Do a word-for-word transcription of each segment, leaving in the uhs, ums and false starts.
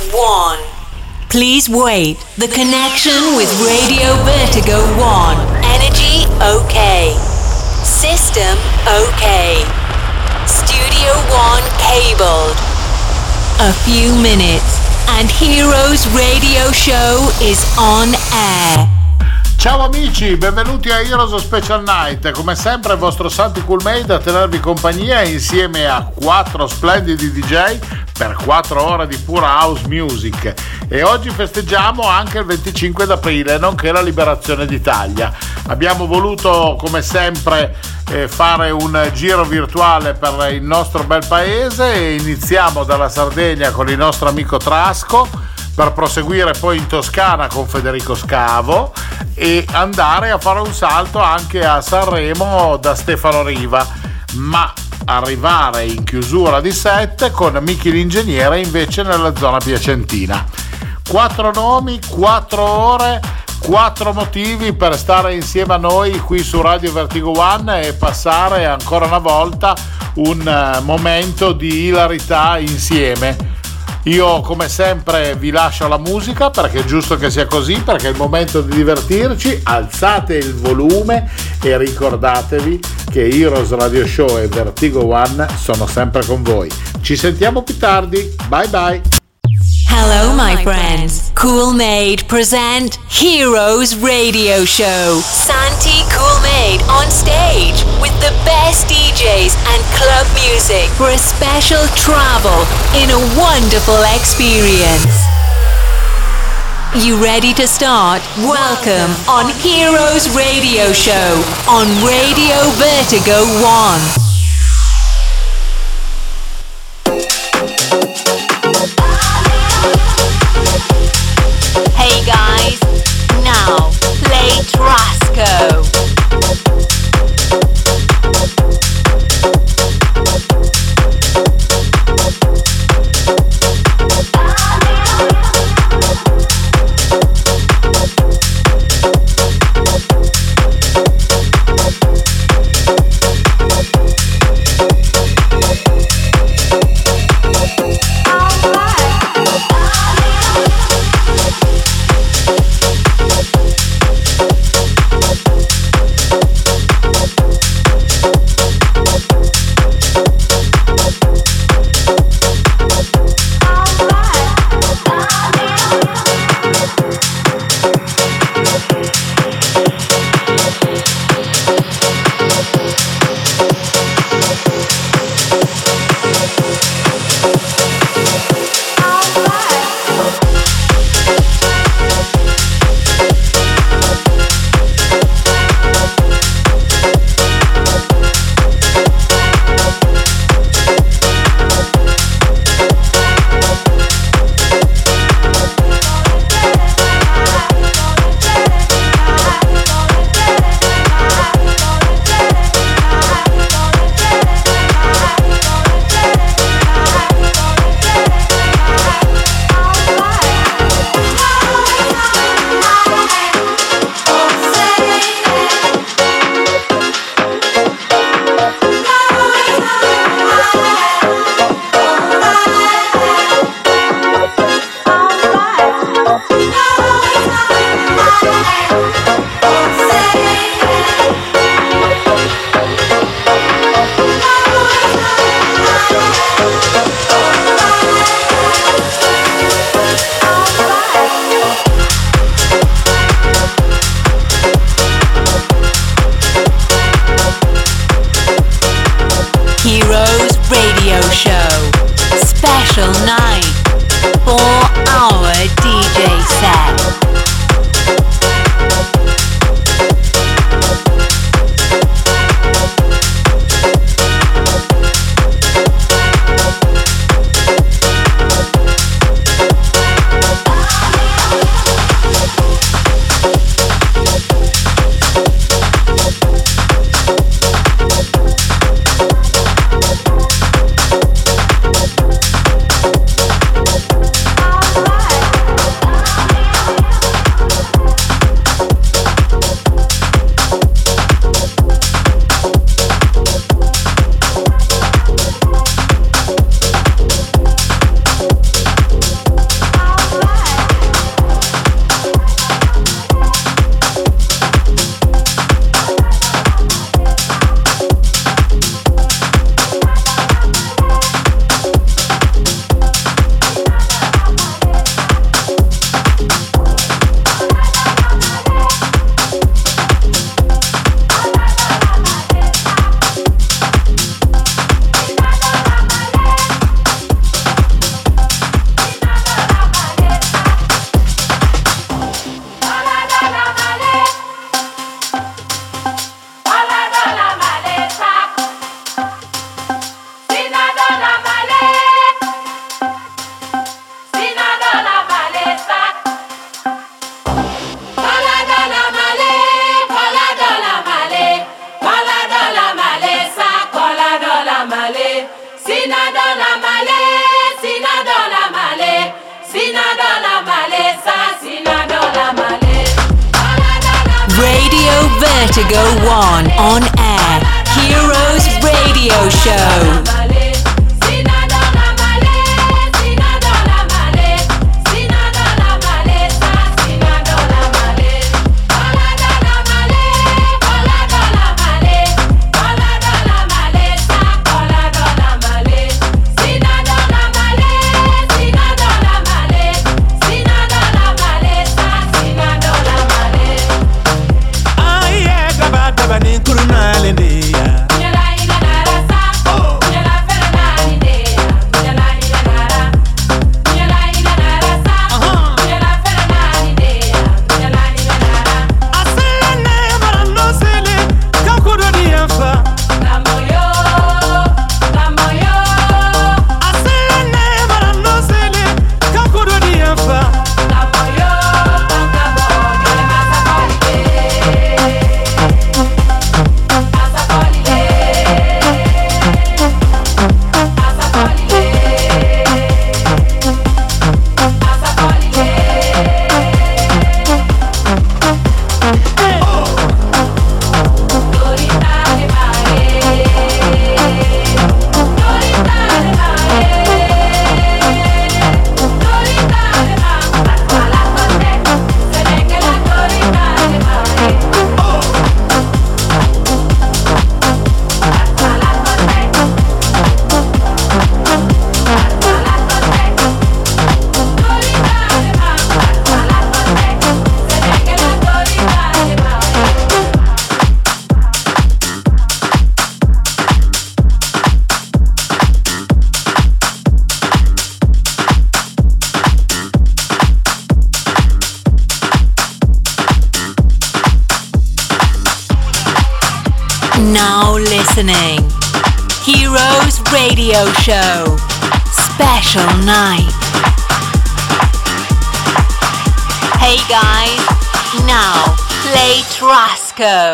one. Please wait. The connection with Radio Vertigo one. Energy okay. System okay. Studio one cabled. A few minutes and Heroes Radio Show is on air. Ciao amici, benvenuti a Heroes Special Night. Come sempre il vostro Santi Coolmade a tenervi compagnia insieme a quattro splendidi D J per quattro ore di pura house music. E oggi festeggiamo anche il venticinque d'aprile, nonché la liberazione d'Italia. Abbiamo voluto come sempre eh, fare un giro virtuale per il nostro bel paese e iniziamo dalla Sardegna con il nostro amico Trasco, per proseguire poi in Toscana con Federico Scavo e andare a fare un salto anche a Sanremo da Stefano Riva, ma arrivare in chiusura di set con Miki l'ingegnere invece nella zona piacentina. Quattro nomi, quattro ore, quattro motivi per stare insieme a noi qui su Radio Vertigo One e passare ancora una volta un momento di ilarità insieme. Io come sempre vi lascio la musica perché è giusto che sia così, perché è il momento di divertirci. Alzate il volume e ricordatevi che Heroes Radio Show e Vertigo One sono sempre con voi. Ci sentiamo più tardi, bye bye. Hello my friends, Coolmade present Heroes Radio Show. Santi Coolmade on stage with the best D Js and club music for a special travel in a wonderful experience. You ready to start? Welcome on Heroes Radio Show on Radio Vertigo One. Hey guys, now play Trasco. to go one on air. Heroes Radio Show. Now listening. Heroes Radio Show. Special night. Hey guys, now play Trasco.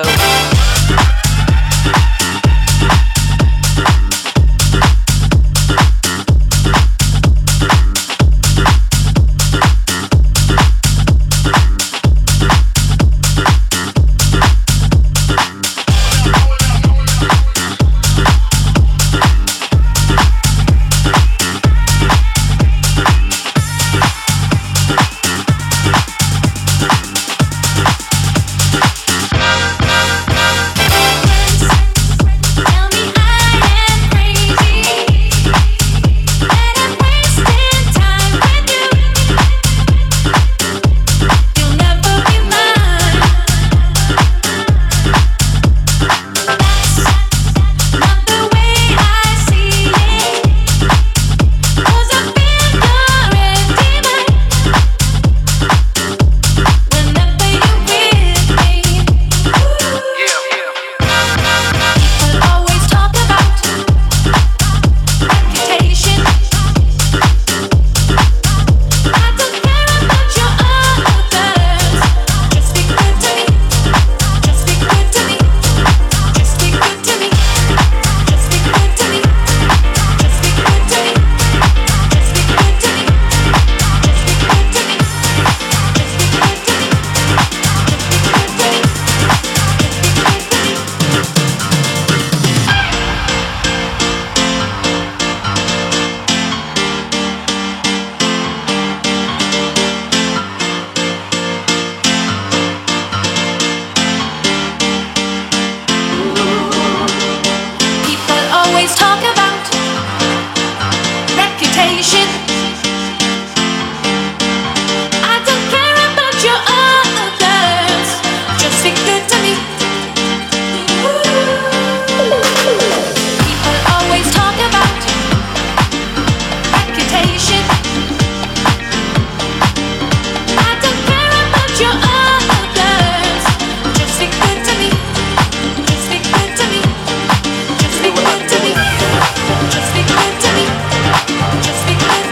Just be good to me.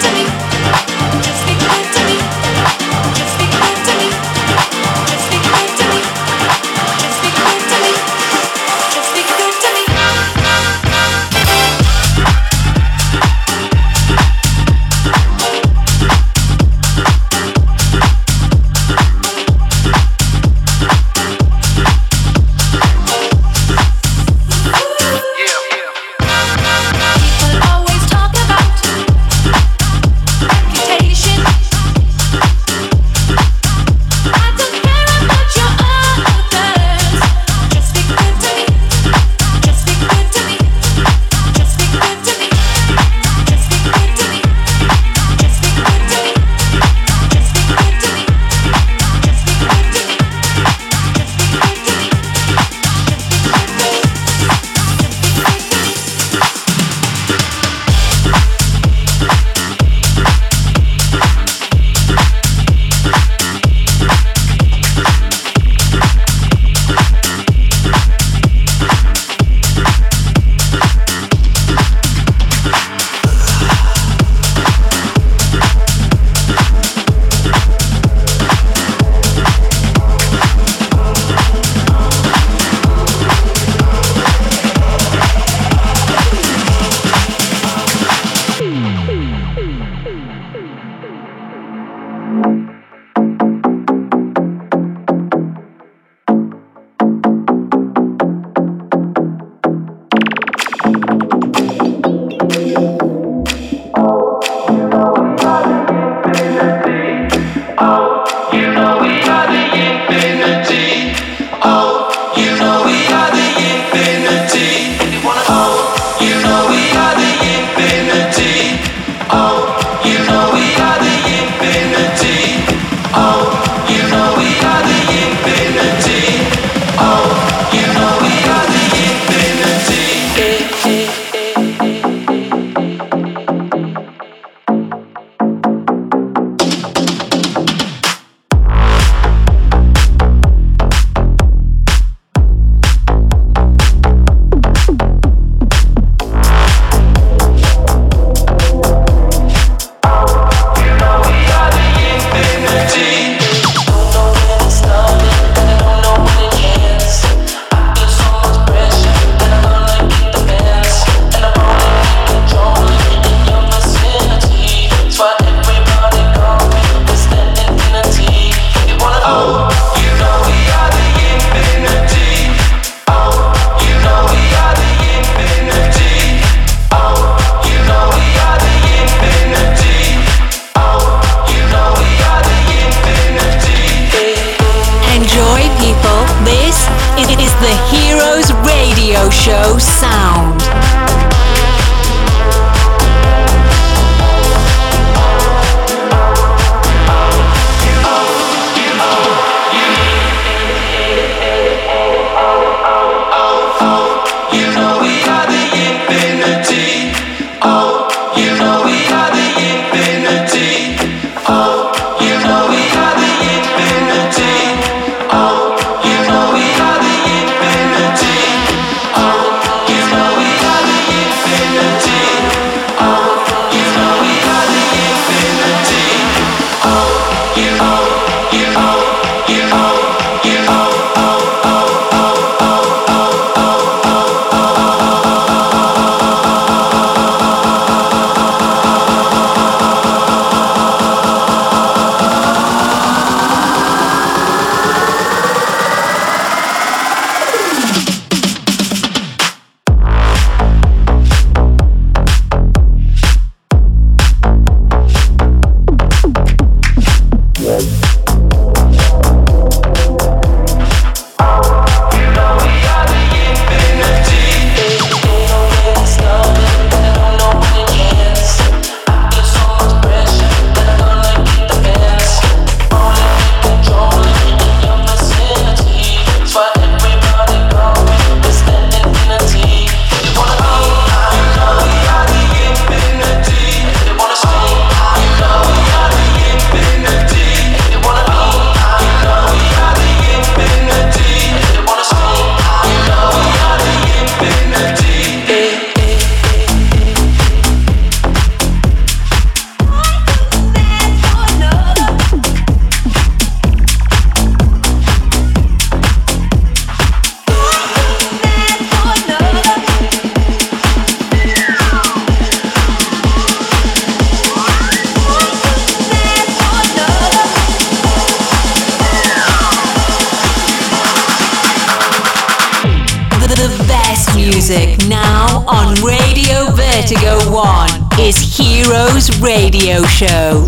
Vertigo One is Heroes Radio Show.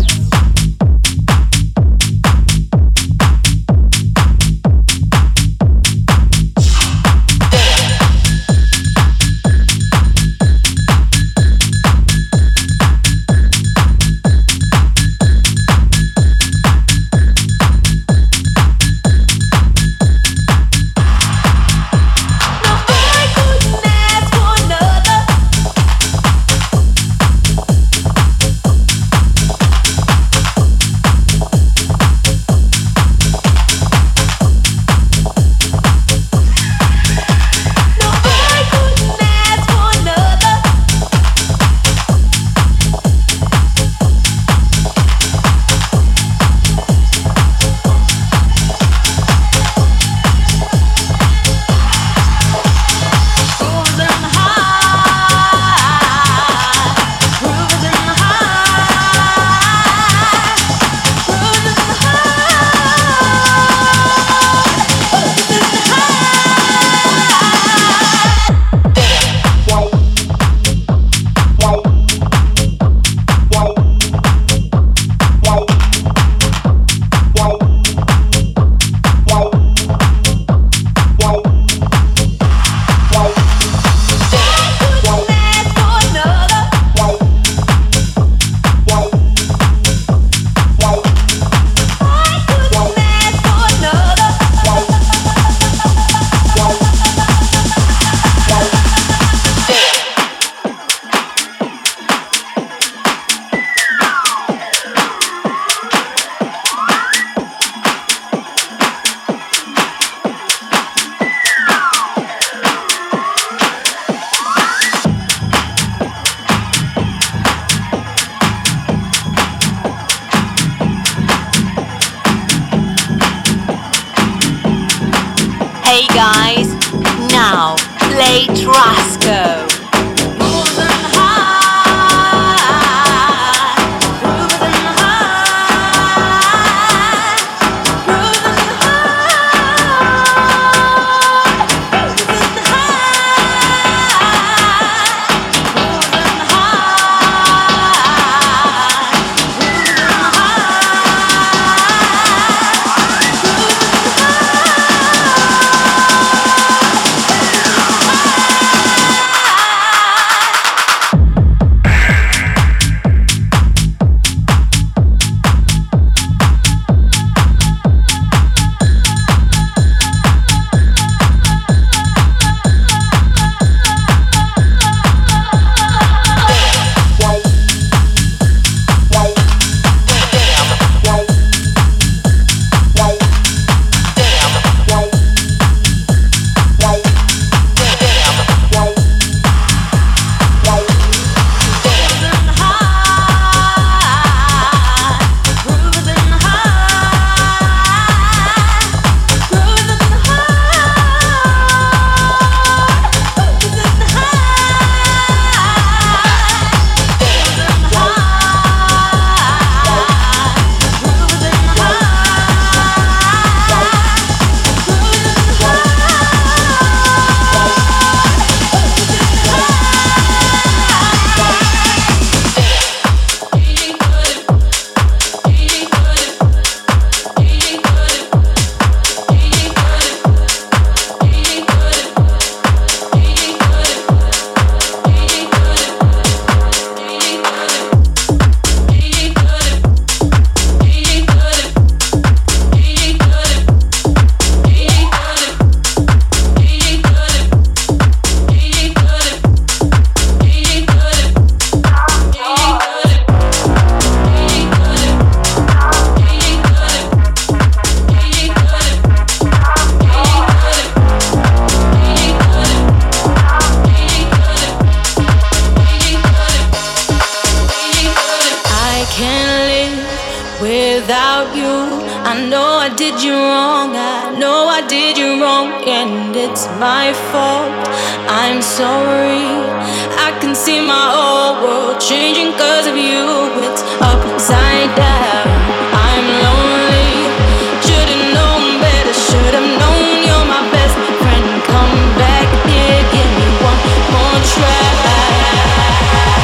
without you. I know I did you wrong, I know I did you wrong, and it's my fault. I'm sorry. I can see my whole world changing cause of you. It's upside down, I'm lonely. Should've known better, should've known you're my best friend. Come back here, give me one more try.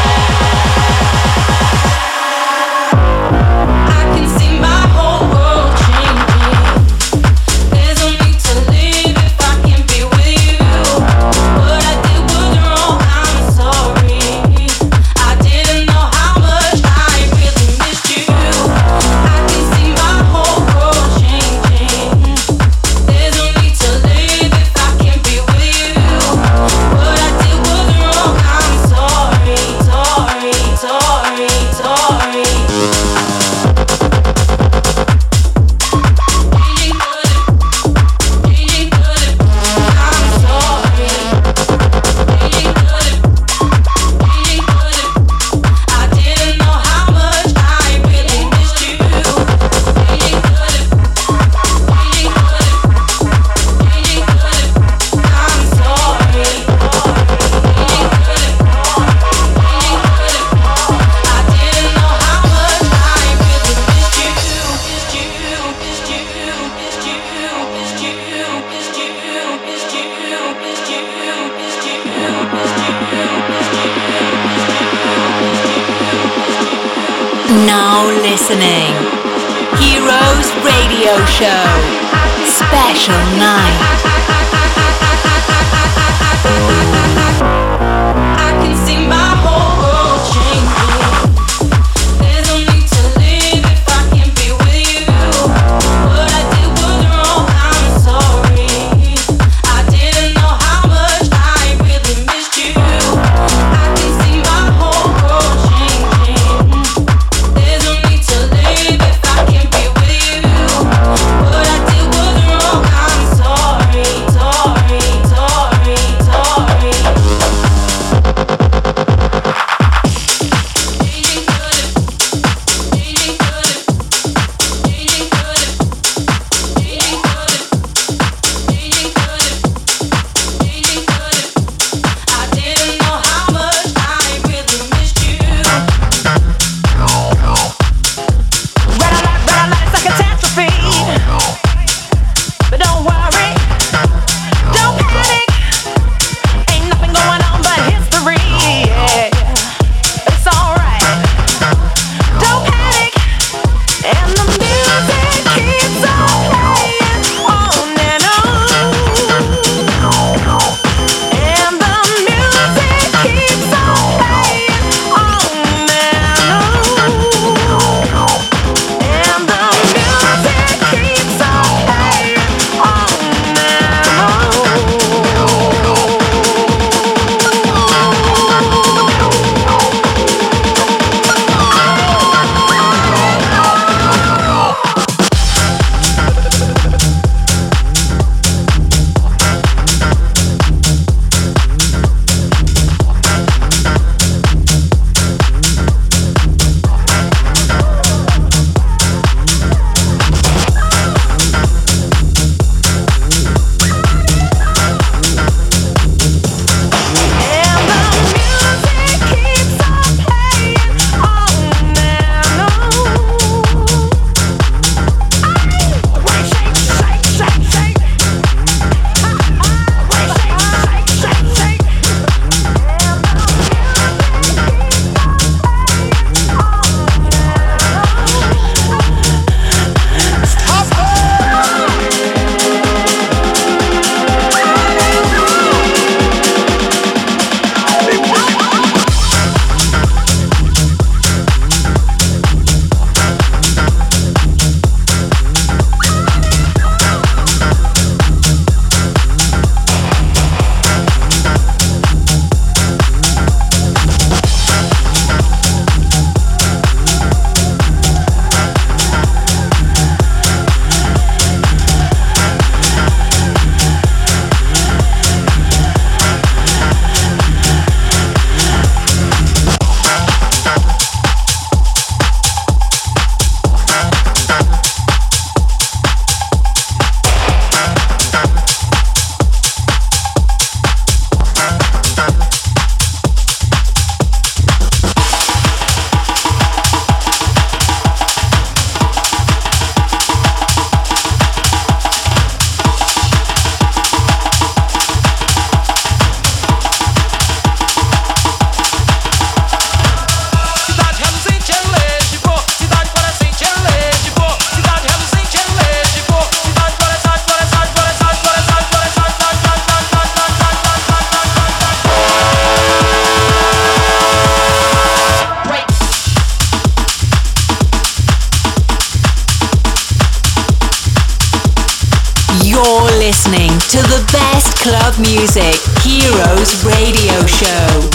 Now listening. Heroes Radio Show. Special night. I can see my whole world changing. There's no need to live if I can't be with you. What I did was wrong, I'm sorry. I didn't know how much I really missed you. I can see my whole world changing. There's no need to live if I can't be with you. What I did was wrong, I'm sorry, sorry, sorry, sorry. listening to the best club music, Heroes Radio Show.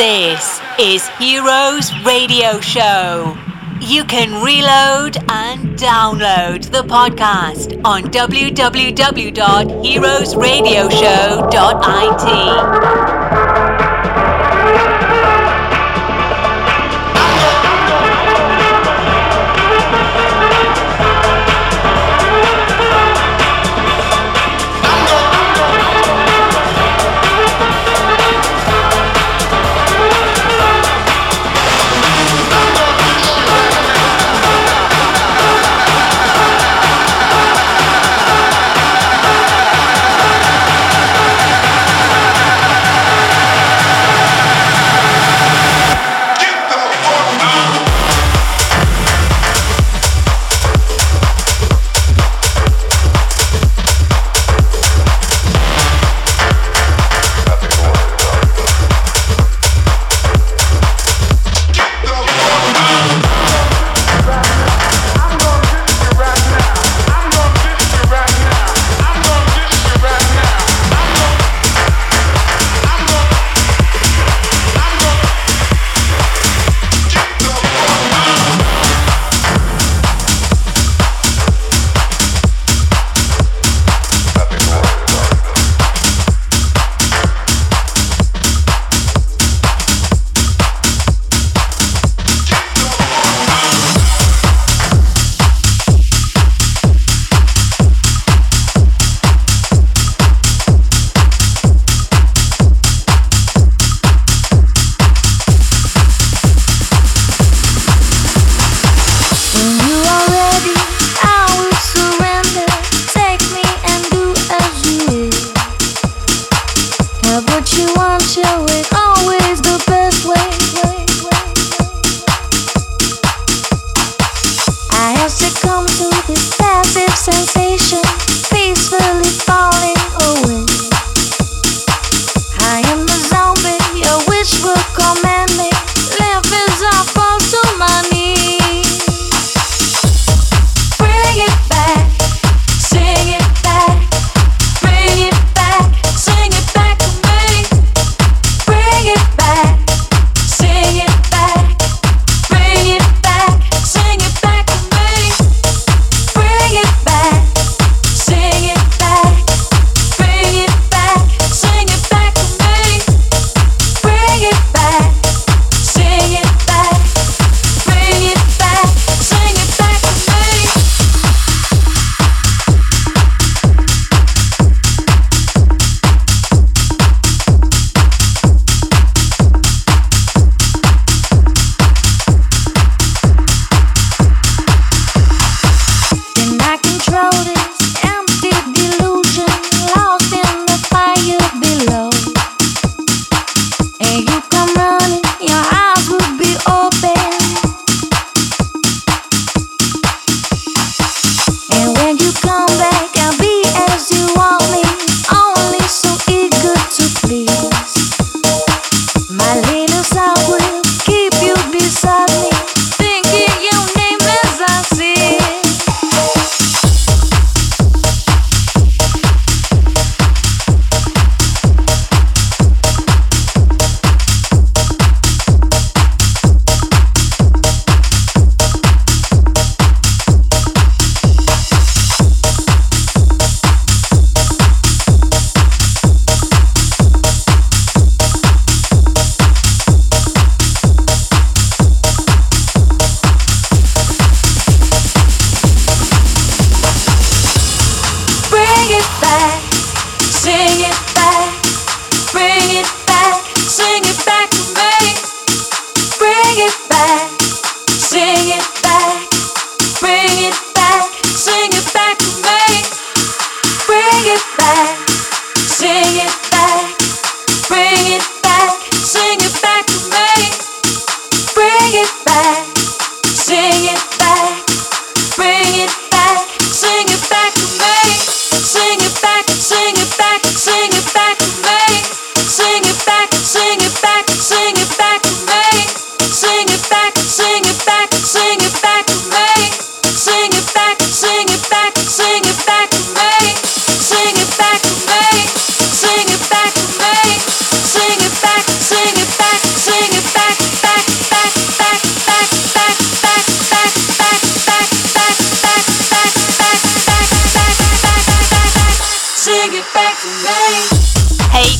This is Heroes Radio Show. You can reload and download the podcast on w w w dot heroes radio show dot i t.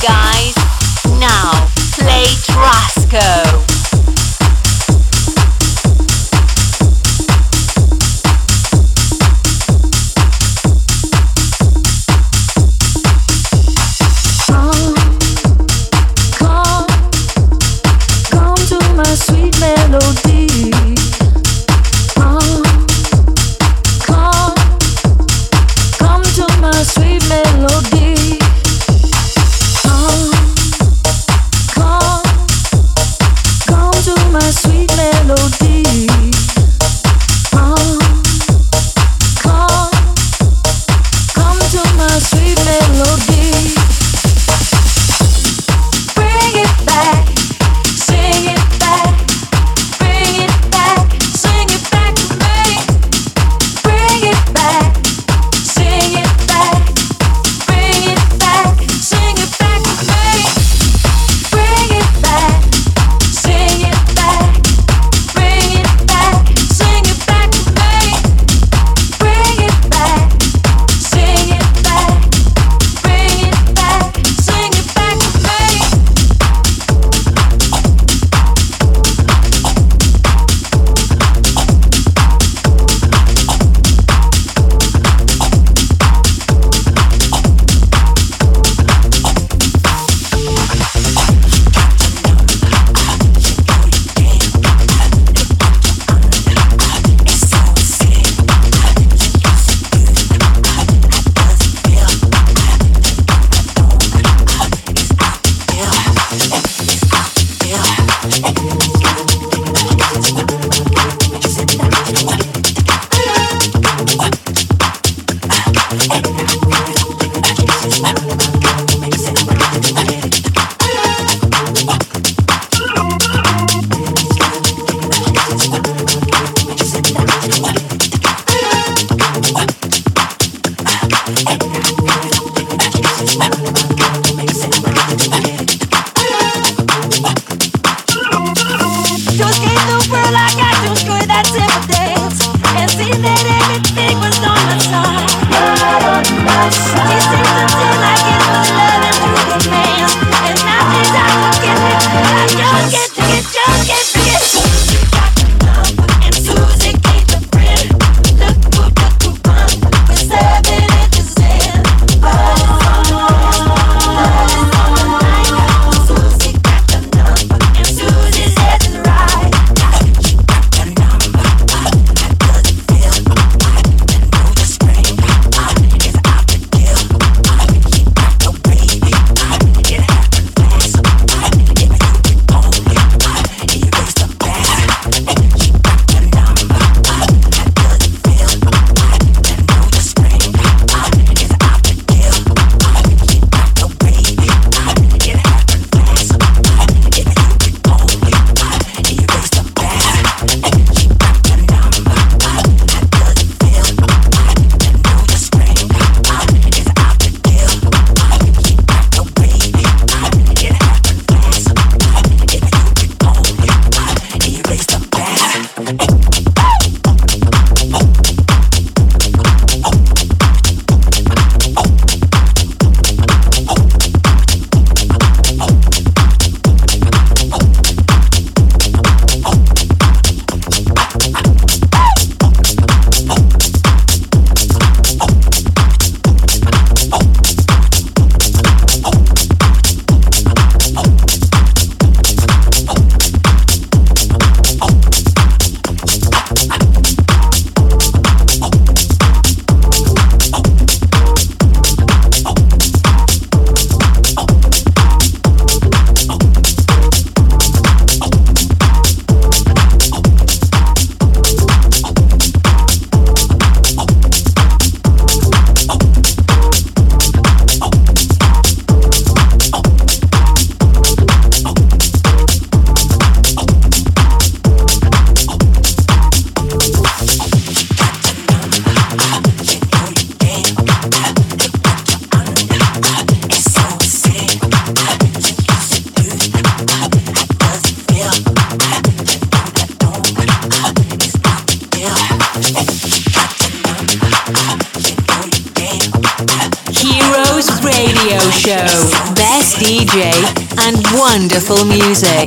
guys. Now, play Trasco. Sweet melody. Come, come, come to my sweet melody. Come, come, come to my sweet melody. Come, come, come to my sweet melody. Bring it back, sing it. Show. Best D J and wonderful music.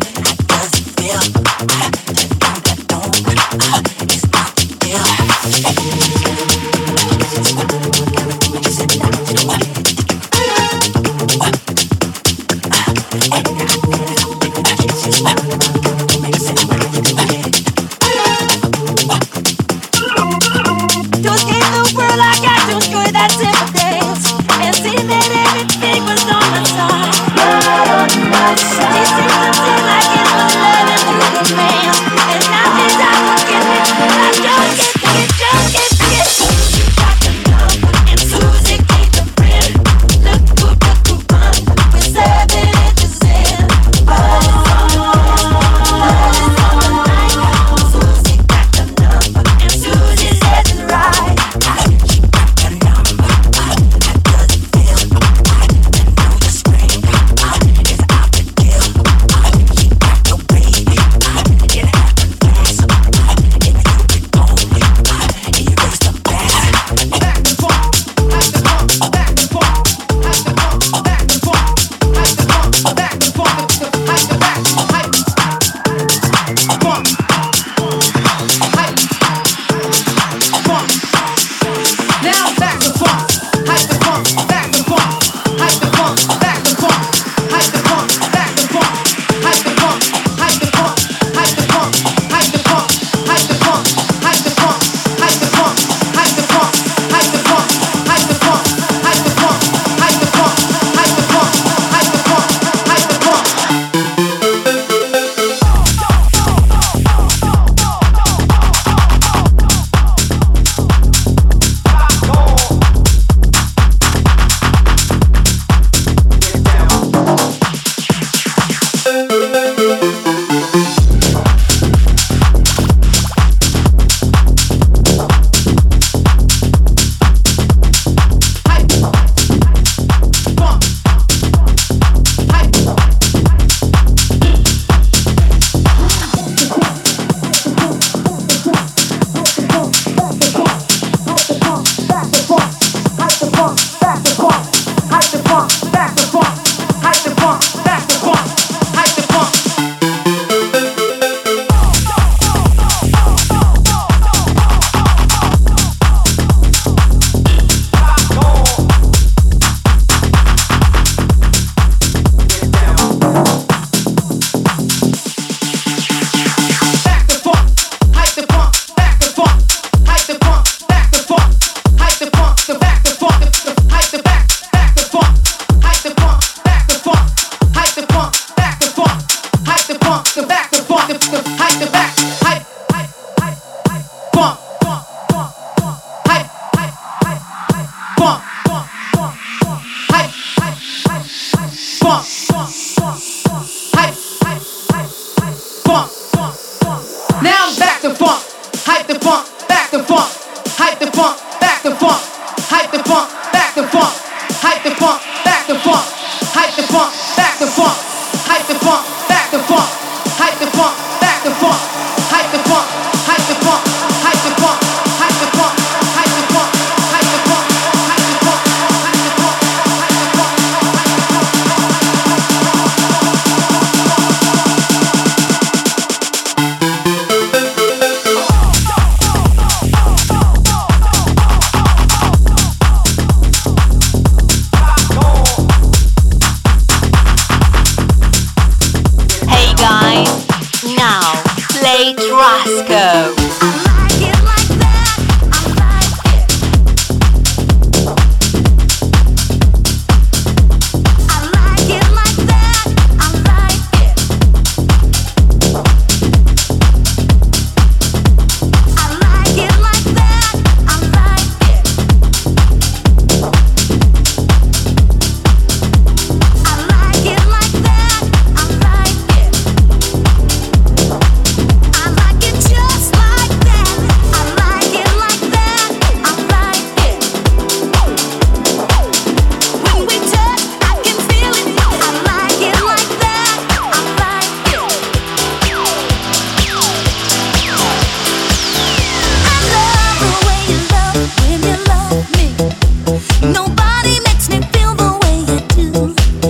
Nobody makes me feel the way you do.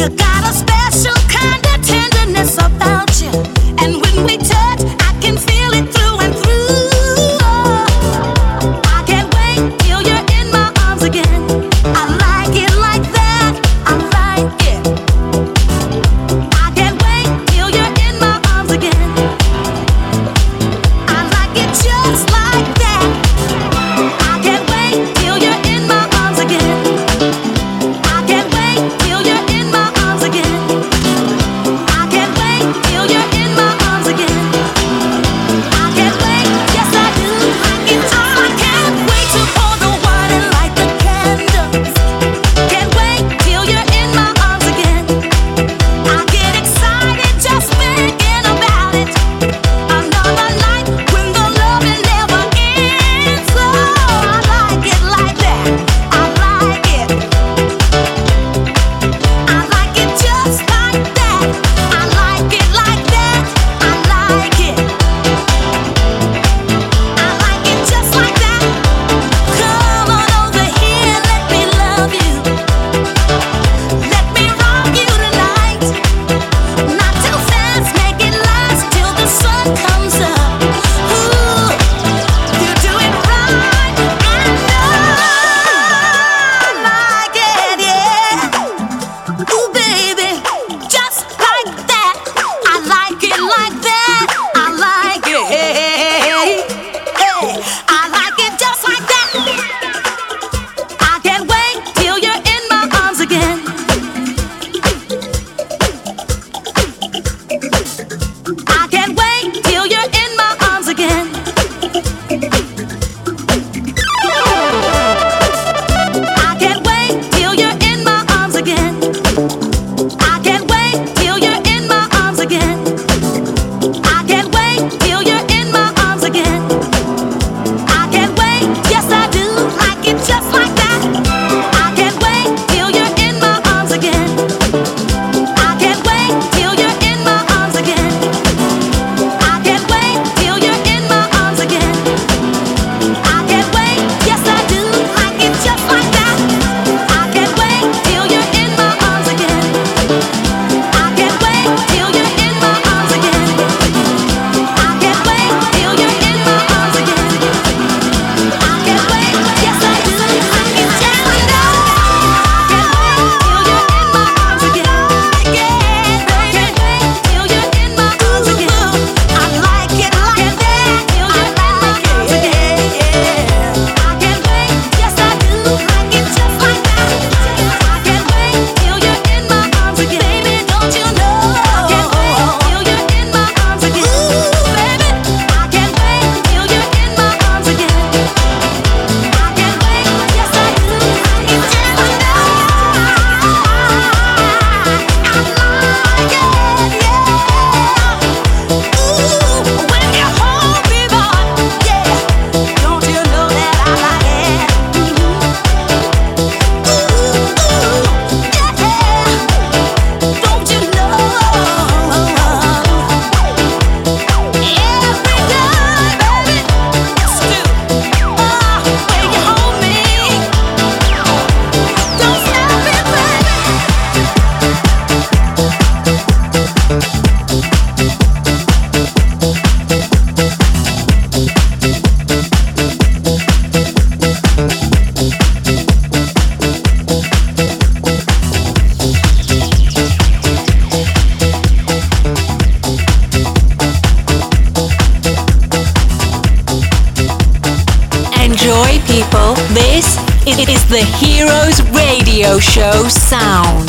people, this is the Heroes Radio Show sound.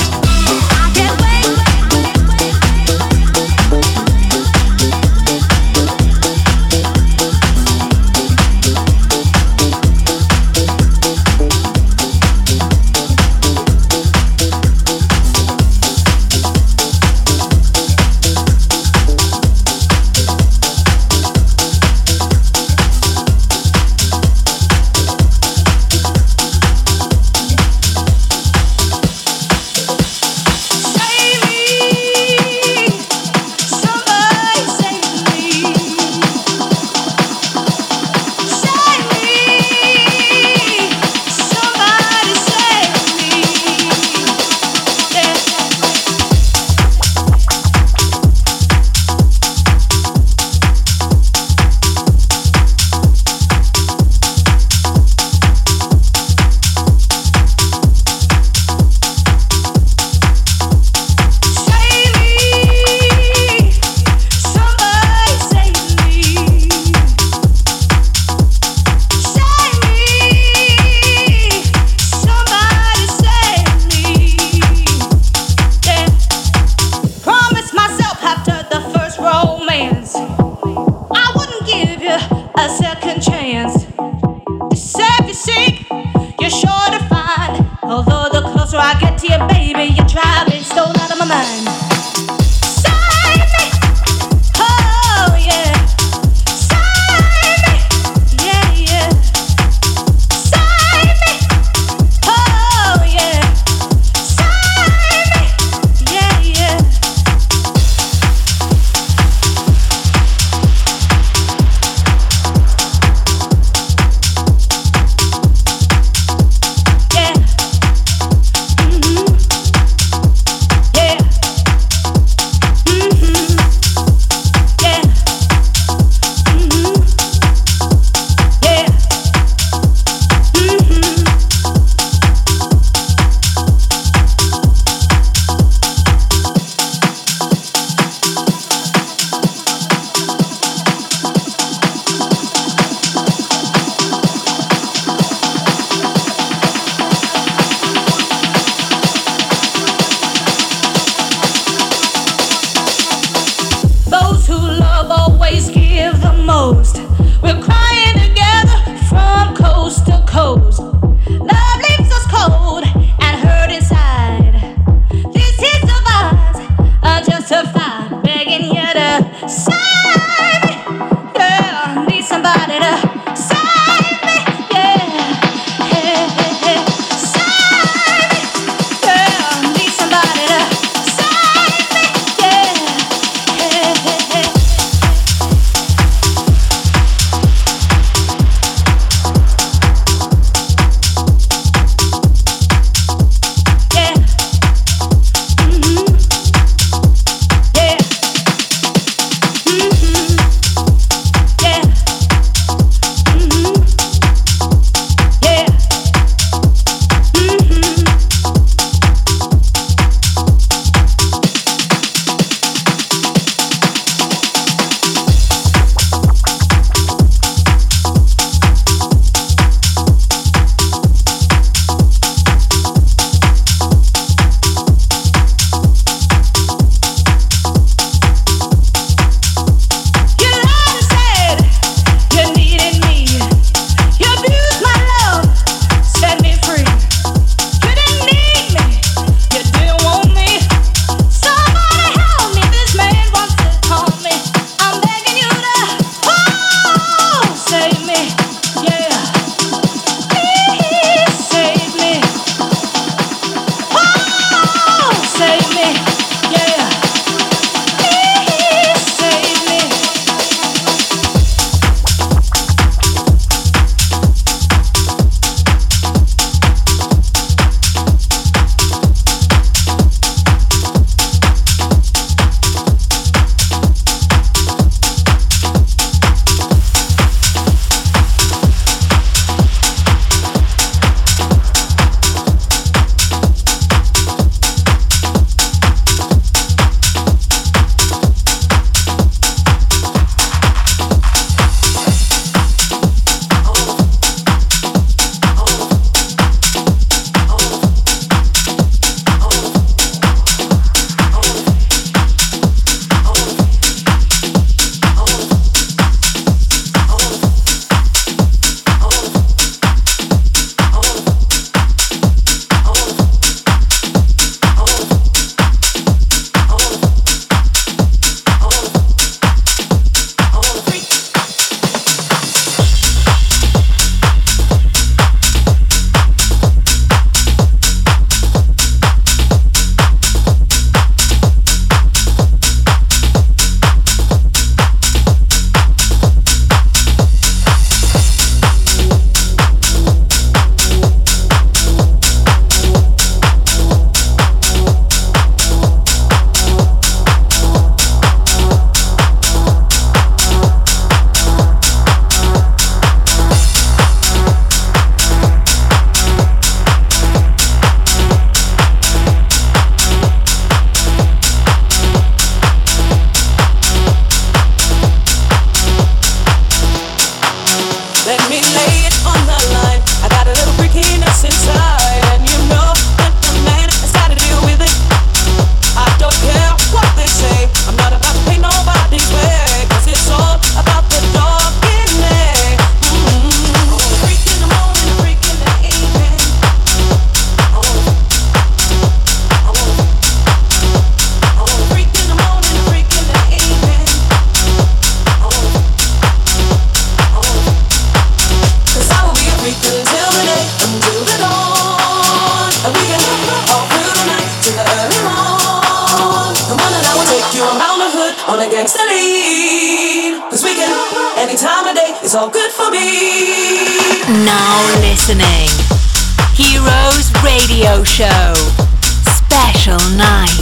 on a gangsta lean. Cause we can, any time of day, it's all good for me. Now listening. Heroes Radio Show. Special night.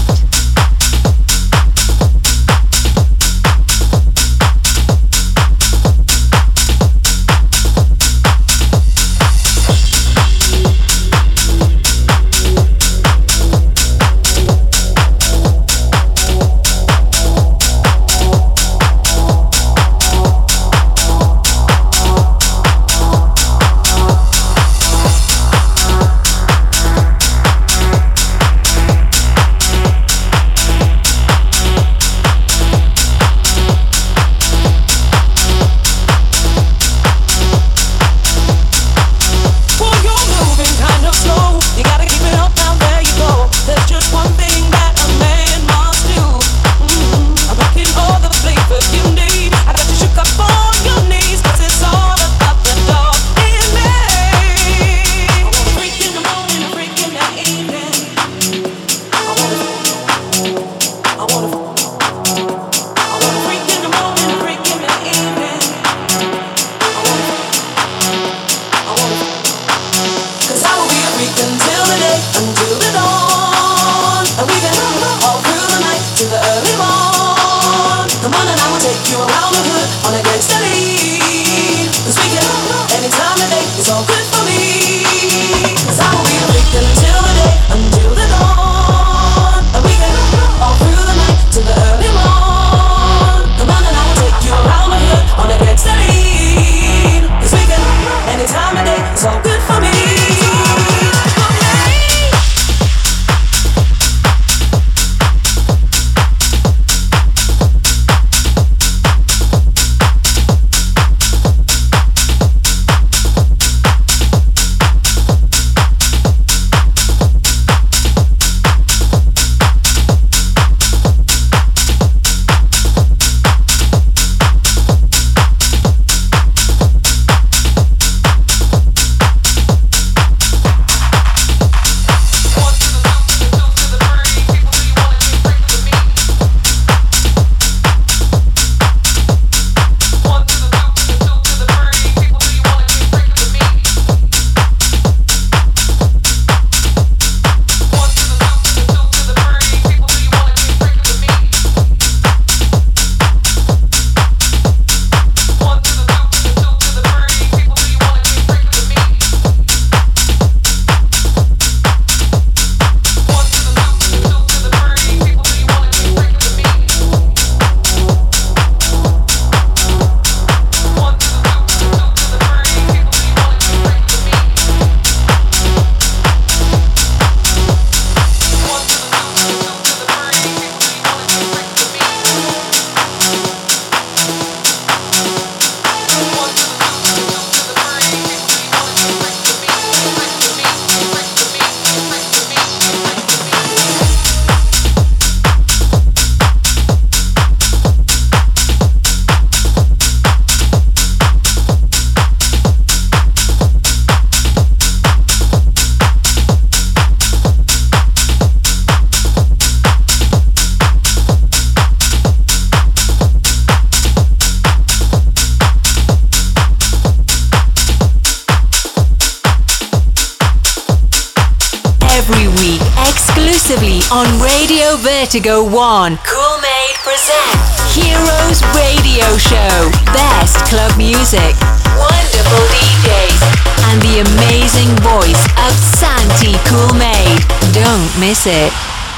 On Radio Vertigo One, Cool Made presents Heroes Radio Show. Best club music, wonderful D Js, and the amazing voice of Santi Cool Made. Don't miss it.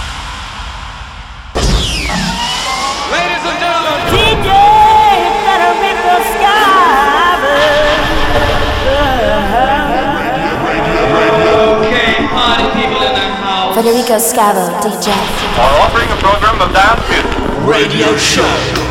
Ladies and gentlemen, D J, better make the sky blue. okay, party people in the house. Federico Scavo, D J. Are offering a program of dance music. Radio Show.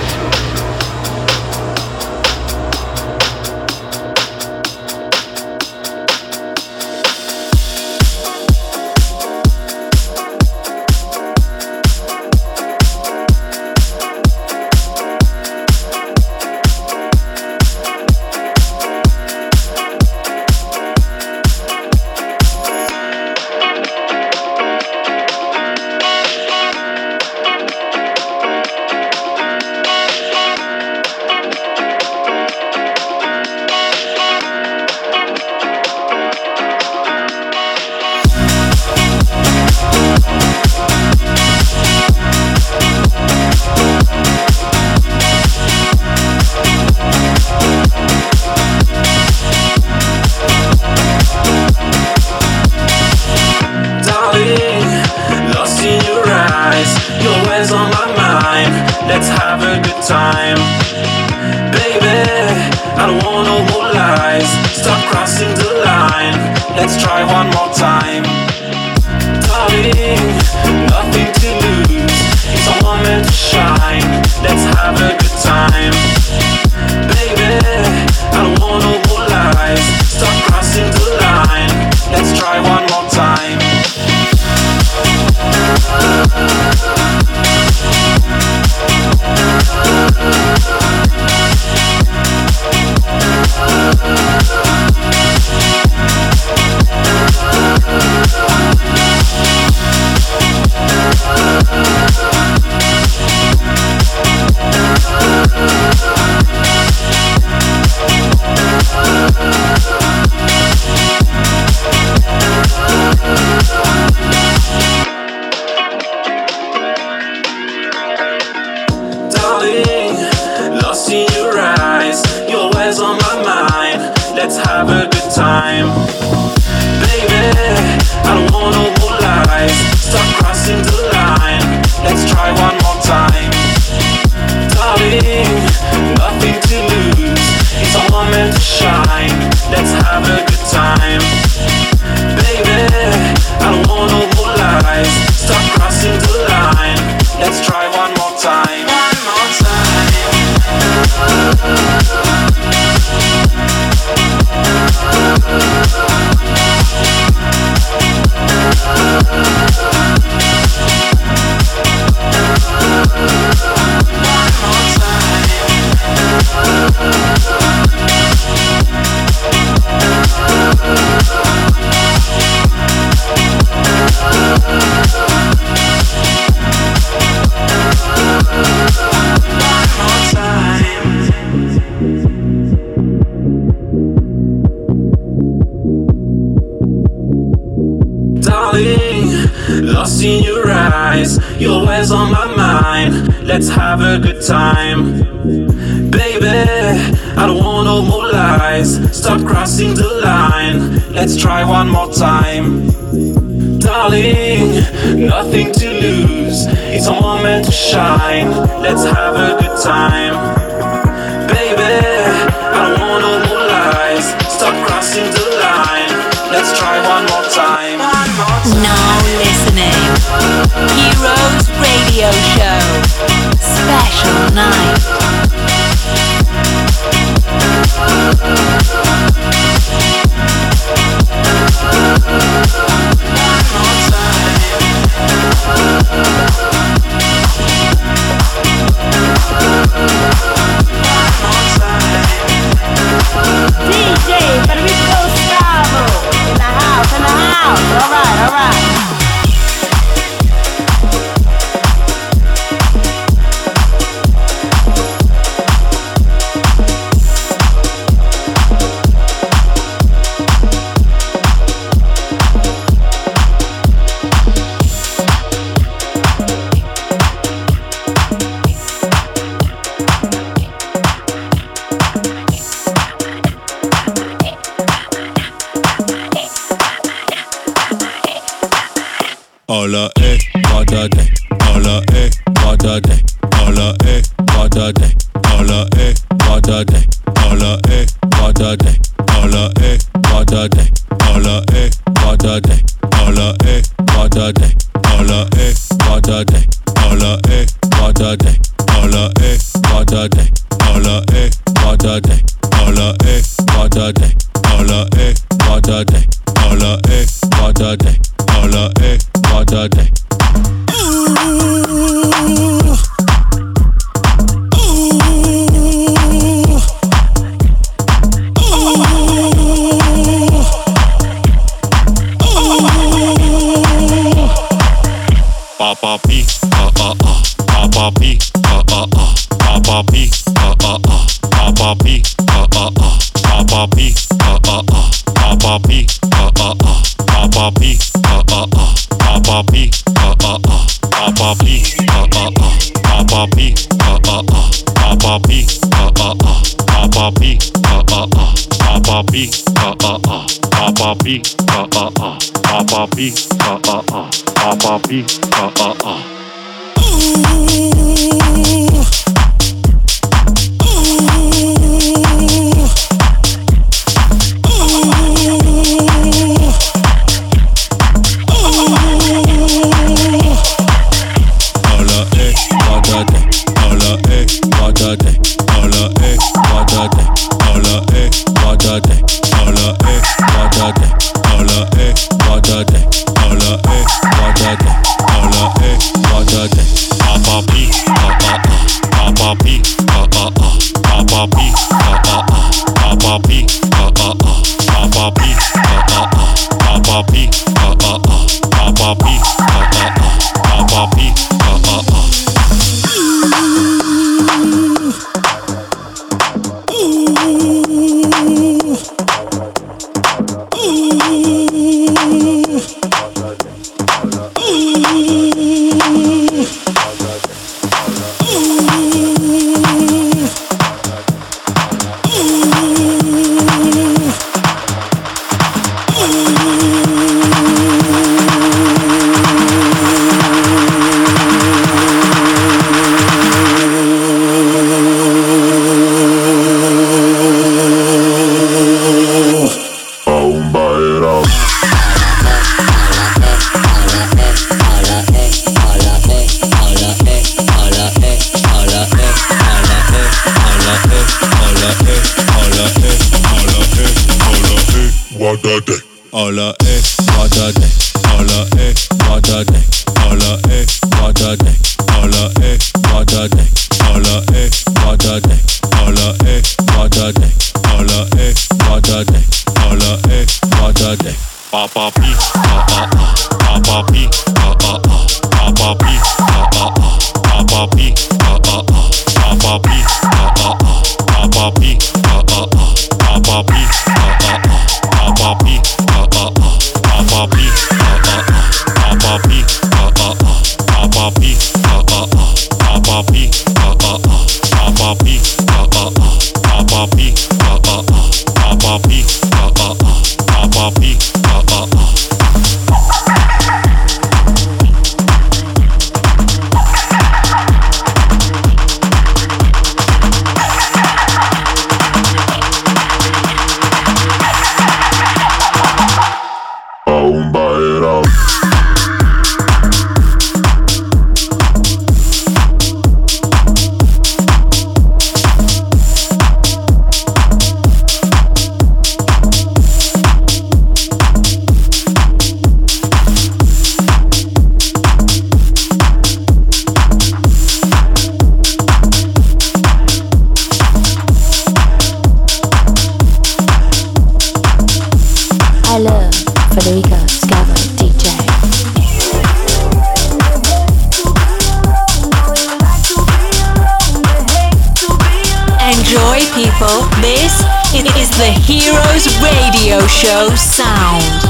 Let's have a good time. Baby, I don't want no more lies. Stop crossing the line. Let's try one more time. Darling, nothing to lose. It's a moment to shine. Let's have a good time. Baby, I don't want no more lies. Stop crossing the line. Let's try one more time. Let's have a good time. Baby, I don't want no more lies. Stop crossing the line. Let's try one more time. Darling, nothing to lose. It's a moment to shine. Let's have a good time. Baby, I don't want no more lies. Stop crossing the line. Let's try one more time. One more time. Lost in your eyes, you're always on my mind. Let's have a good time. Baby, I don't want no more lies. Stop crossing the line. Let's try one more time. Darling, nothing to lose. It's a moment to shine. Let's have a good time. Baby, I don't want no more lies. Stop crossing the line. Let's try one more time. One more time. Now listening. Heroes Radio Show. Special night. D J Federico Scavo in the house, in the house. All right, all right. Alla e vada de, alla e vada de, alla e vada de, alla e vada de, alla e vada de, alla e vada de, alla e vada de, alla e vada de, alla e vada de, alla e vada de, alla e vada de, alla e vada de, alla e vada de, alla e vada de, alla e vada de, alla e vada de. Papa P, ah ah ah, Papa P, ah ah ah, Papa P, ah ah ah, Papa P, ah ah ah, Papa P, ah ah ah, Papa P, ah ah ah, Papa P, ah ah ah, Papa P, ah ah ah, Papa P, ah ah ah, Papa P, ah ah ah, Papa P, ah ah ah, Papa P, ah ah ah, Papa P, ah ah ah, Papa P, ah ah ah, Papa P, ah ah ah, Papa P, ah ah ah. Hola, eh, water day. Hola, eh, water day. Hola, eh, water day. Hola, eh, water day. Hola, eh, water day. Hola, eh, water day. Hola, eh, water day. Hola, eh, water day. Papa P, ah ah ah. Papa P, ah ah ah. Papa P, ah ah ah. Papa P, ah ah ah. Papa P, ah ah ah. Papa P, ah ah ah. Papa P, ah ah ah. Papa P, ah ah ah. Papa P, ah ah ah. Papa P, ah ah ah. Papa P, ah ah ah. Papa P, ah ah ah. Papa P, ah ah ah. Papa P, ah ah ah. Papa P, ah ah ah. Papa P, ah ah ah. Show sound.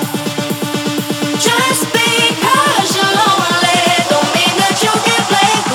Just because you're lonely don't mean that you can play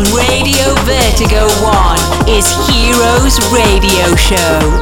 on Radio Vertigo One is Heroes Radio Show.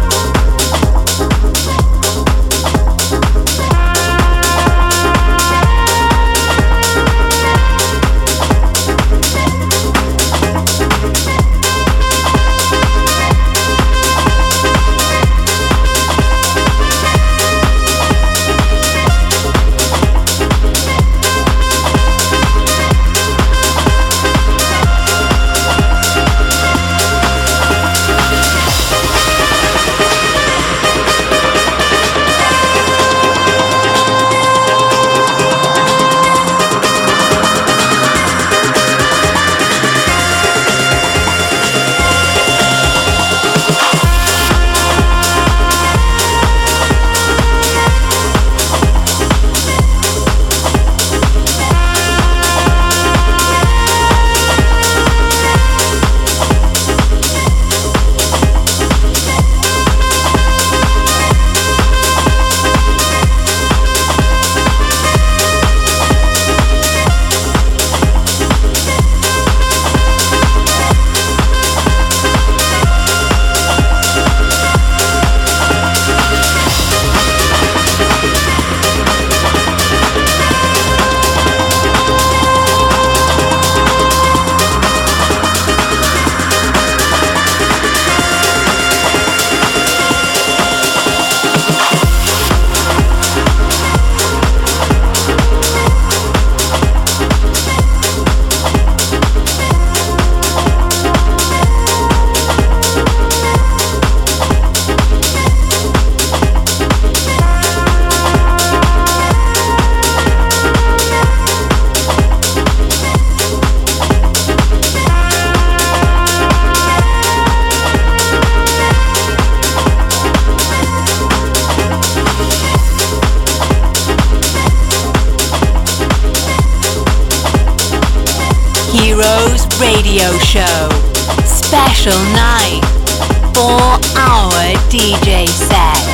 Heroes Radio Show. Special night. four hour D J set.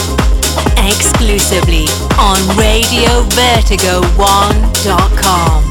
Exclusively on Radio Vertigo one dot com.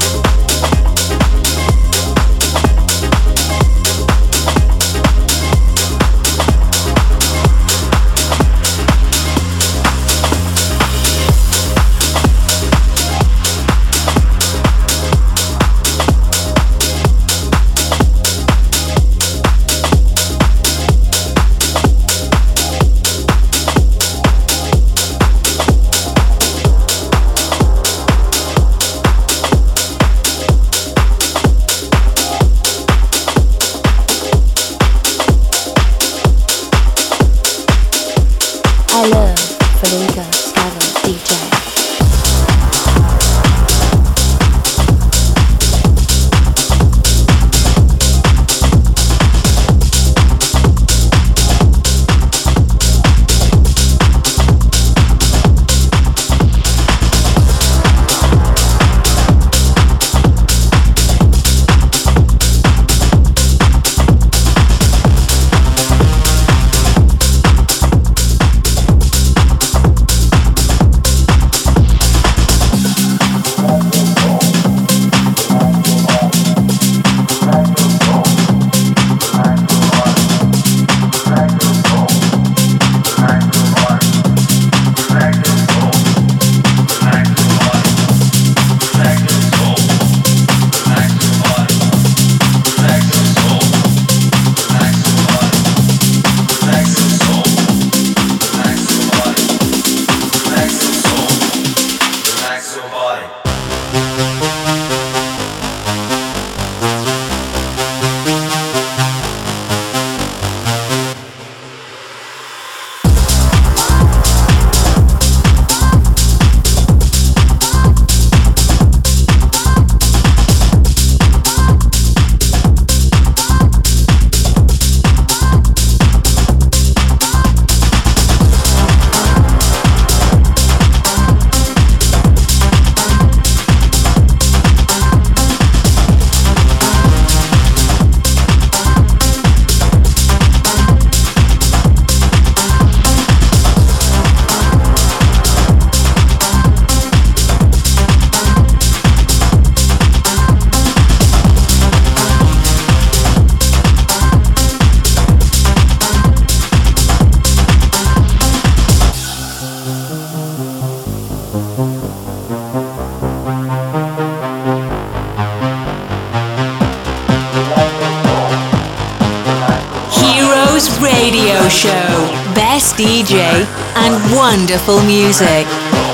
Show. Best D J and wonderful music.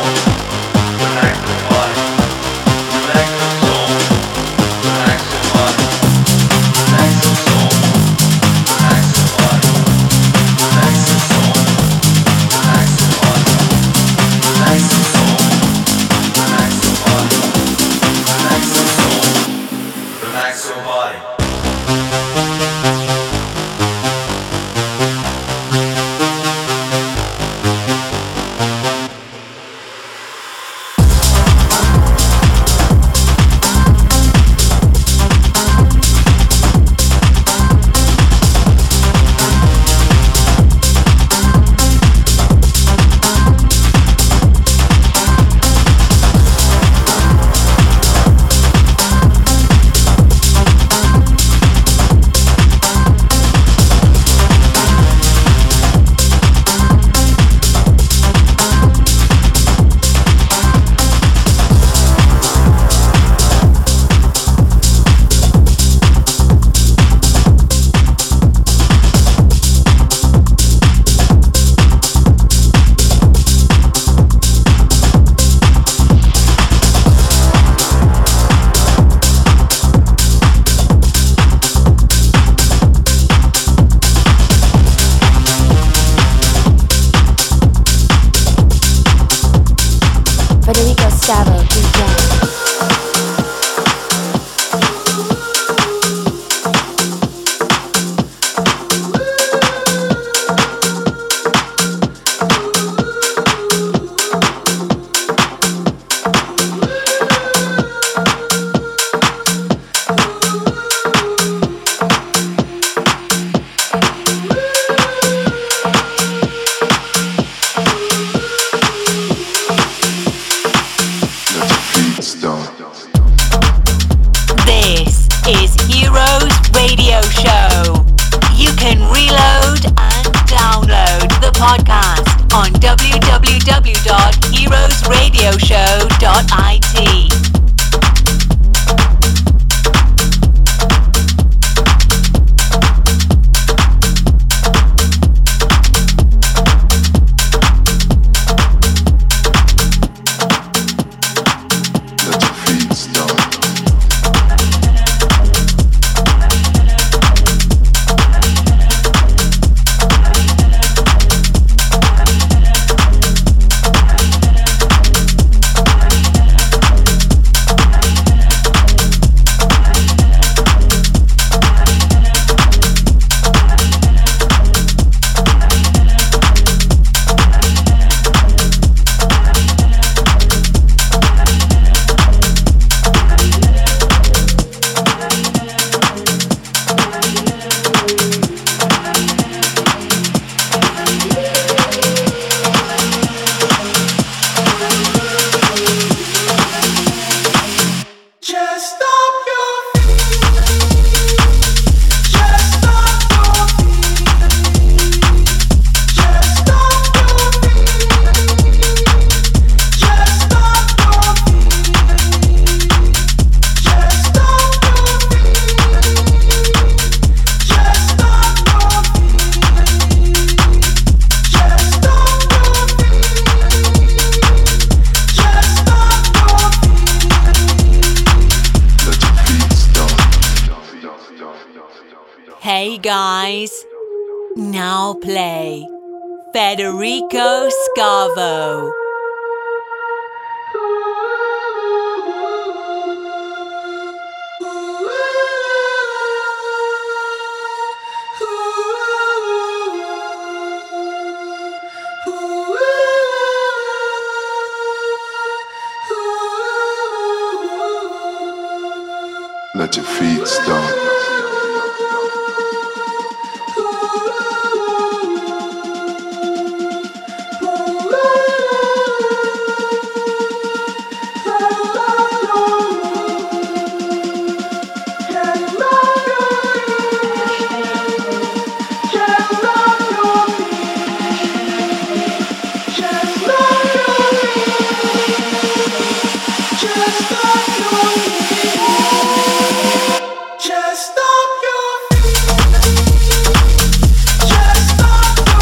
Hey guys, now play Federico Scavo. Let your feet stomp. Just stop your feet. Just stop your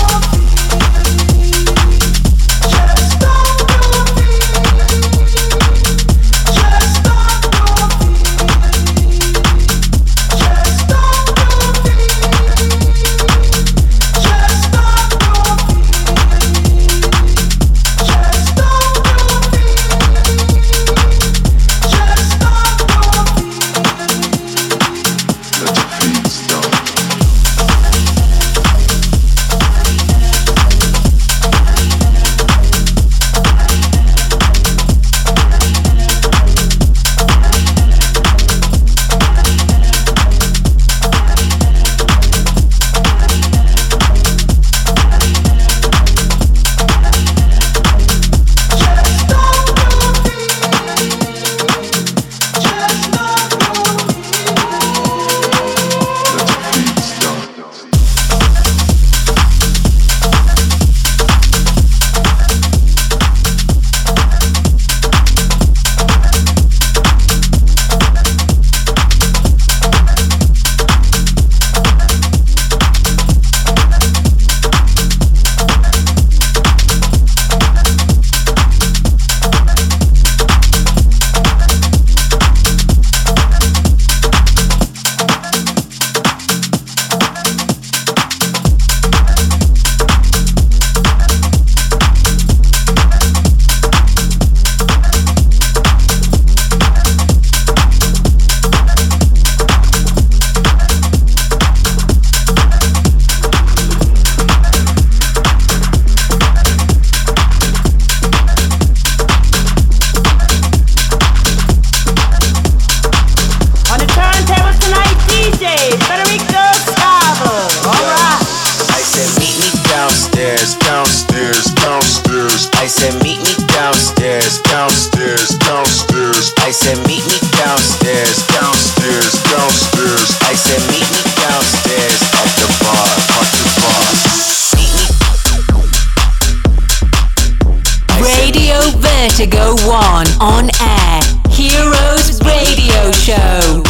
said meet me downstairs, downstairs, downstairs. I said meet me downstairs at the bar, at the bar. Meet me. Radio Vertigo One on air. Heroes Radio Show.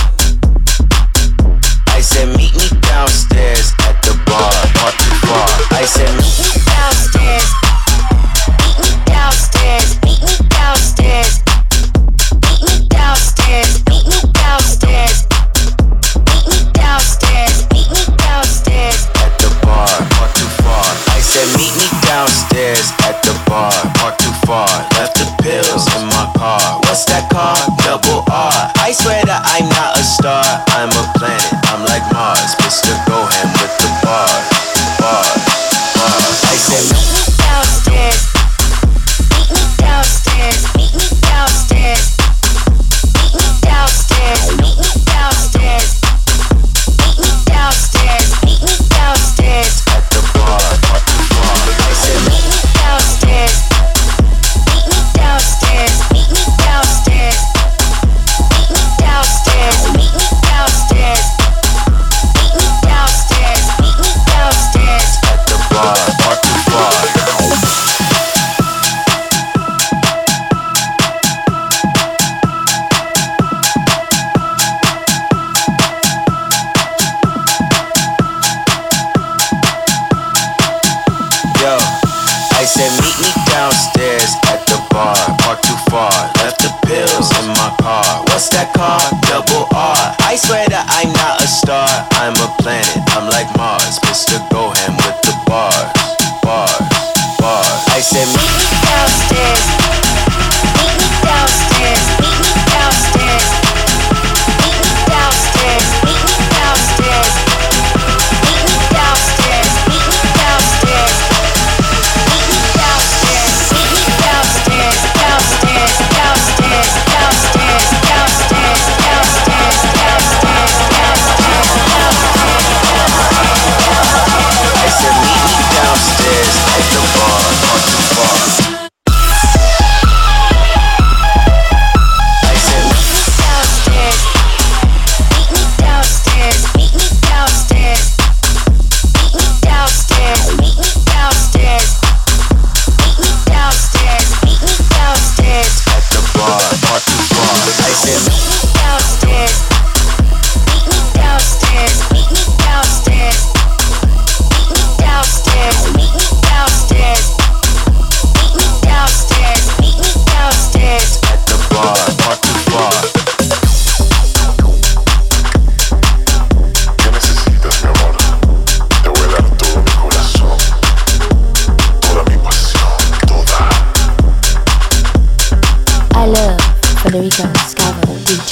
I said meet me downstairs at the bar, at the bar. I said meet me downstairs. Meet me downstairs. Meet me downstairs. Meet me downstairs. Meet me downstairs. Meet me downstairs. Meet me downstairs at the bar, not too far. I said meet me downstairs at the bar, not too far. Left the pills in my car. What's that car? Double R. I swear that I'm not a star. I'm a planet. I'm like Mars. Mister Gohan with the bar, bar, bar. I said meet me downstairs. Meet me downstairs. Meet me downstairs. Meet me downstairs. Meet me downstairs. Meet me downstairs. Meet me downstairs at the bar, at the bar. I said meet me downstairs. Meet me downstairs. Meet me downstairs. Meet me downstairs. Meet me downstairs. Meet me downstairs. Meet me downstairs at the bar, at the bar. Yo, I said meet me downstairs at the bar, park too far, left the pills in my car. What's that car? Double R. I swear that I'm not a star, I'm a planet, I'm like Mars. Mister Gohan with the bars, bars, bars. I said meet me downstairs. Meet me downstairs. Meet me downstairs. Meet me downstairs. Meet me downstairs. Meet me downstairs. Meet me downstairs. Meet me downstairs. Meet me downstairs. Downstairs. Downstairs. Downstairs. Downstairs. Downstairs. Downstairs. Downstairs. I said meet me downstairs at the bar, not too far. I said meet me downstairs. Meet me downstairs. Meet me downstairs. Meet me downstairs. Meet me downstairs. Meet me downstairs. Meet me downstairs at the bar, not too far. I said meet me downstairs. Meet me downstairs. Meet me downstairs. Meet me downstairs. Meet me downstairs. Meet me downstairs. Meet me downstairs at the bar, not too far. ¿Qué necesitas, mi amor? Te voy a dar todo mi corazón, toda mi pasión, toda. I love Federico Scavo, D J.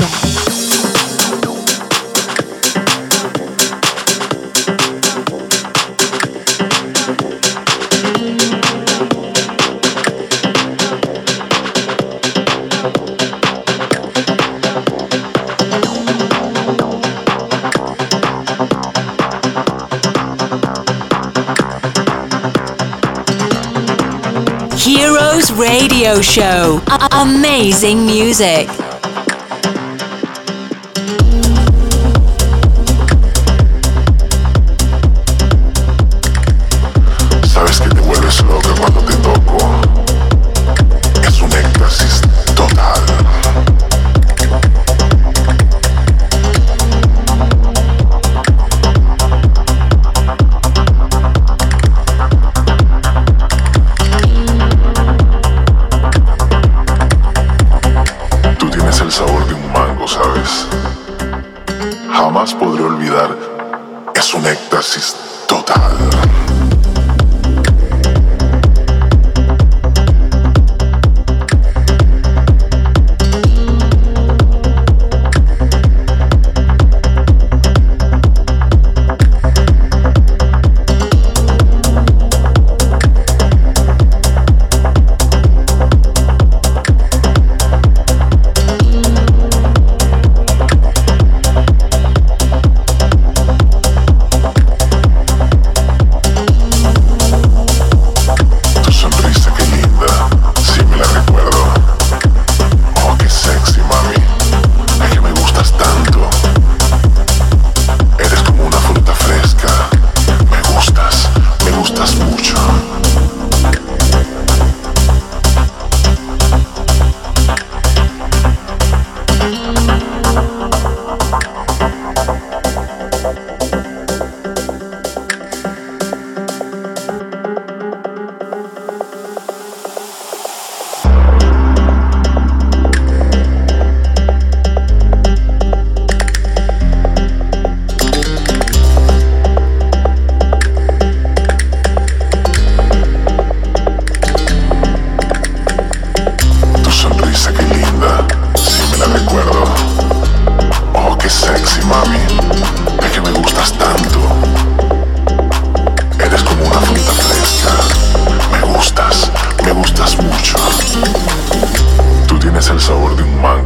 Heroes Radio Show. A- amazing music. Sabes que te vuelves loca cuando te toco. Es un éxtasis total. Tú tienes el sabor de un mango, ¿sabes? Jamás podré olvidar. Es un éxtasis total.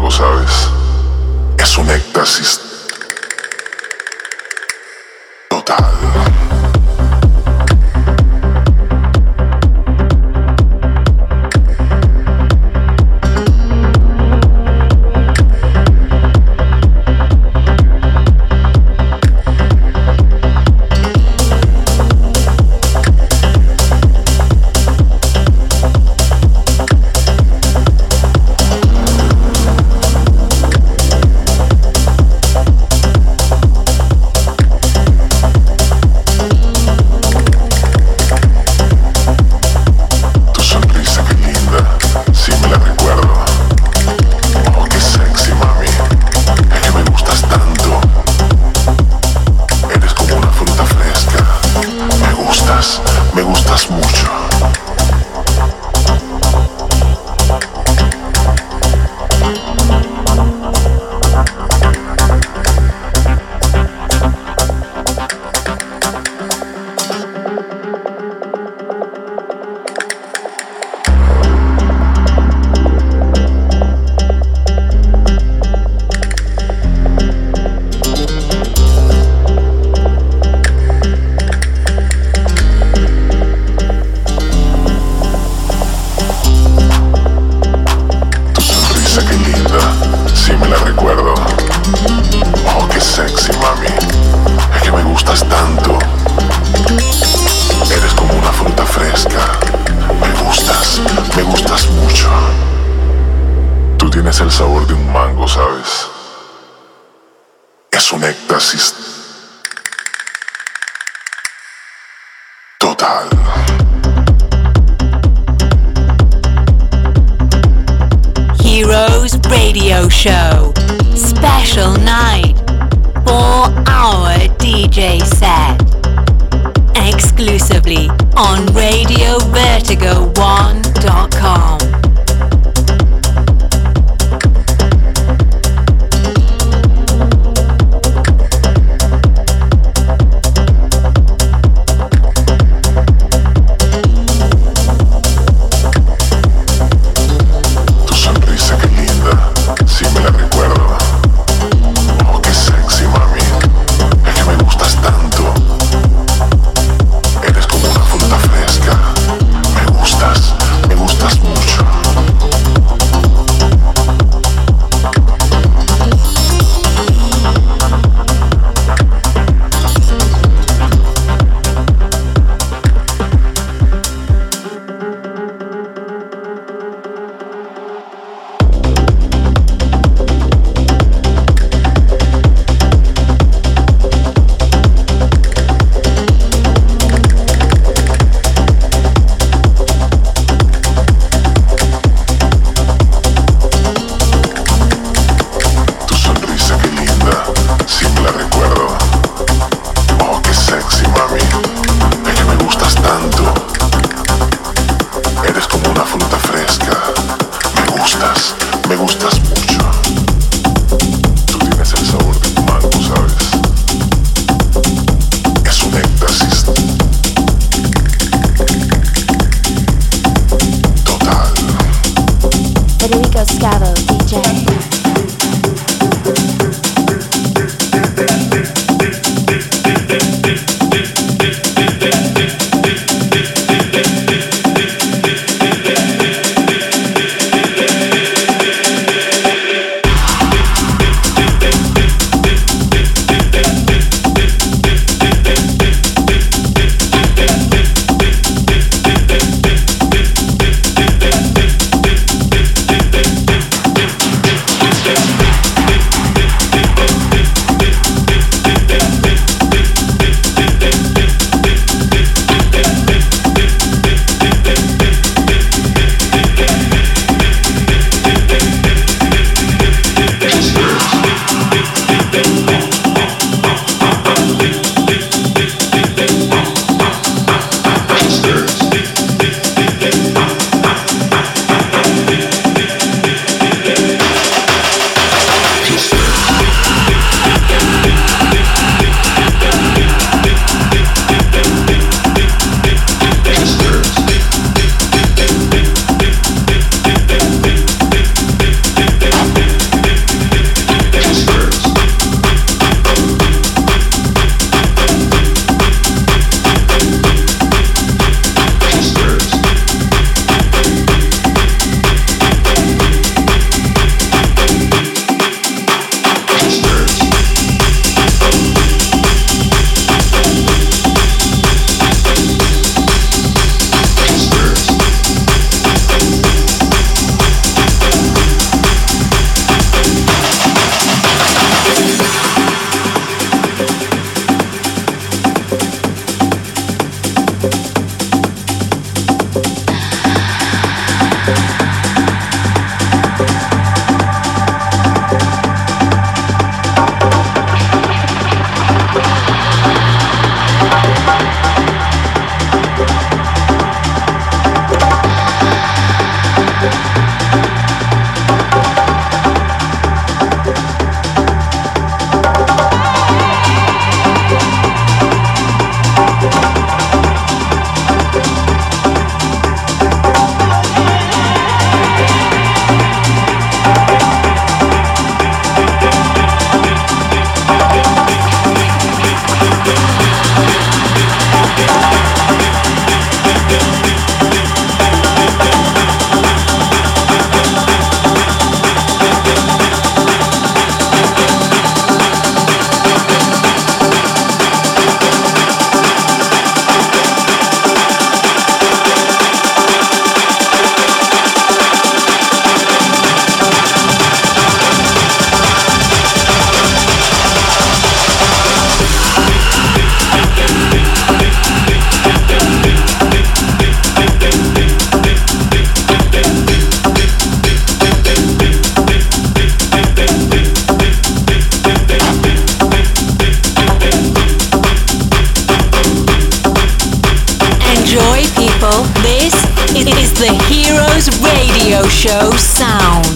mango, ¿sabes? Es un éxtasis total. Heroes Radio Show. Special night. four hour D J set. Exclusively on radio vertigo one dot com. Me gustas mucho. Show sound.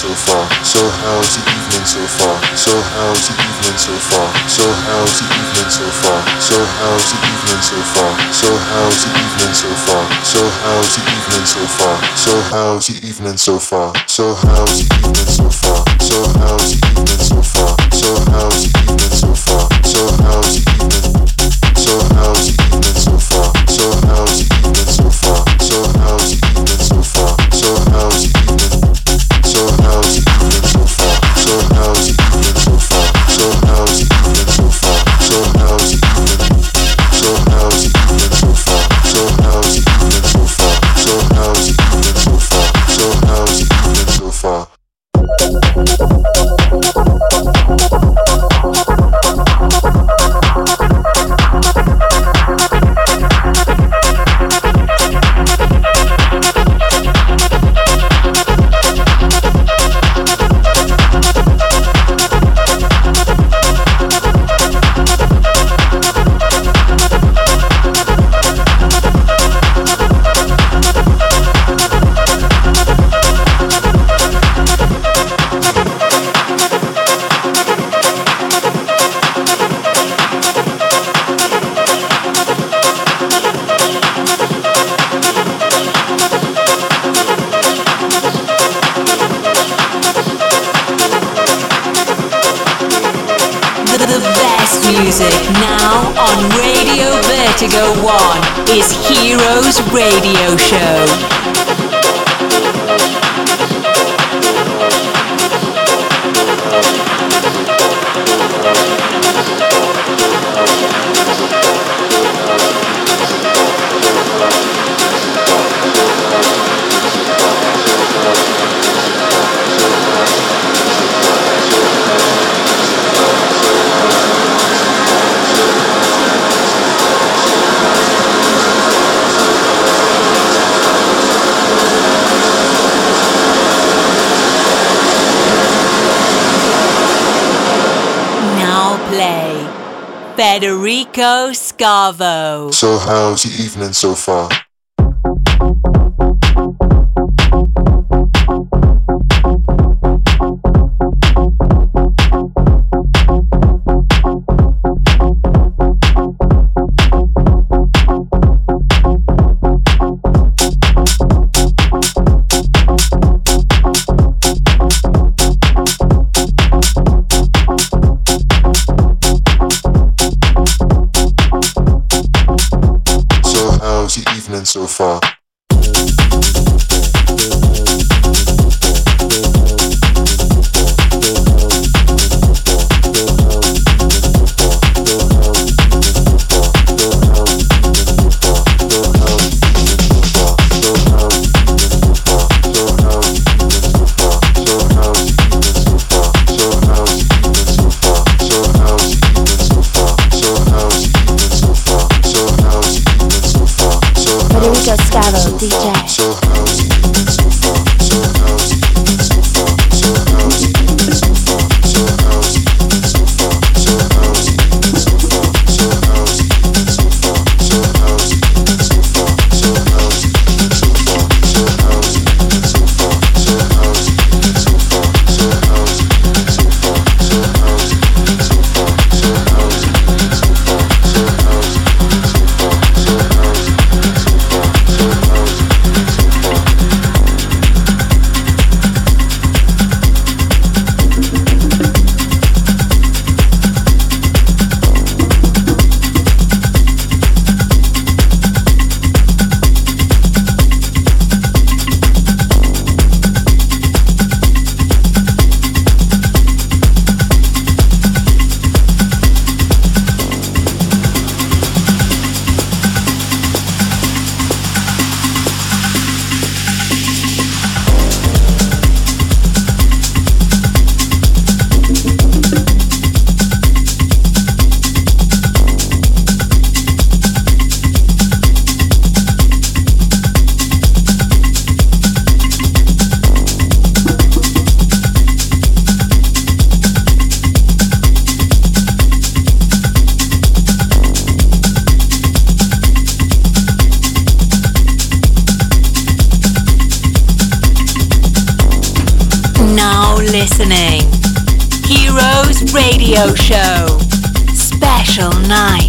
so far? So how's the evening so far? So how's the evening so far? So how's the evening so far? So how's the evening so far? So how's the evening so far? So how's the evening so far? So how's the evening so far? So how's the evening so far? So how's the evening so far? So how's the evening so far? So how's the evening? So how's the evening so far? So how's the evening so far? So how's the evening so far? So how's the evening? So how's the evening so far? So how's the evening so far? So how's the evening so far? So how's the evening? So how's the evening so far? So how's the evening so far? So how's the evening so far? So how's the evening so far? Music now on Radio Vertigo One is Heroes Radio Show. Federico Scavo. So how's the evening so far? So far. Scavo D J. So how's the evening so far? So how's the evening so far? So how's the evening so far? So how's the evening so far? So how's the evening so far? So how's the evening so far? So how's the evening so far? So how's the evening so far? So how's the evening so far? So how's the evening so far? So how's the evening so far? So how's the evening so far? So how's the evening so far? So how's the evening so far? So how's the evening so far? So how's the evening so far? listening. Heroes Radio Show. Special night.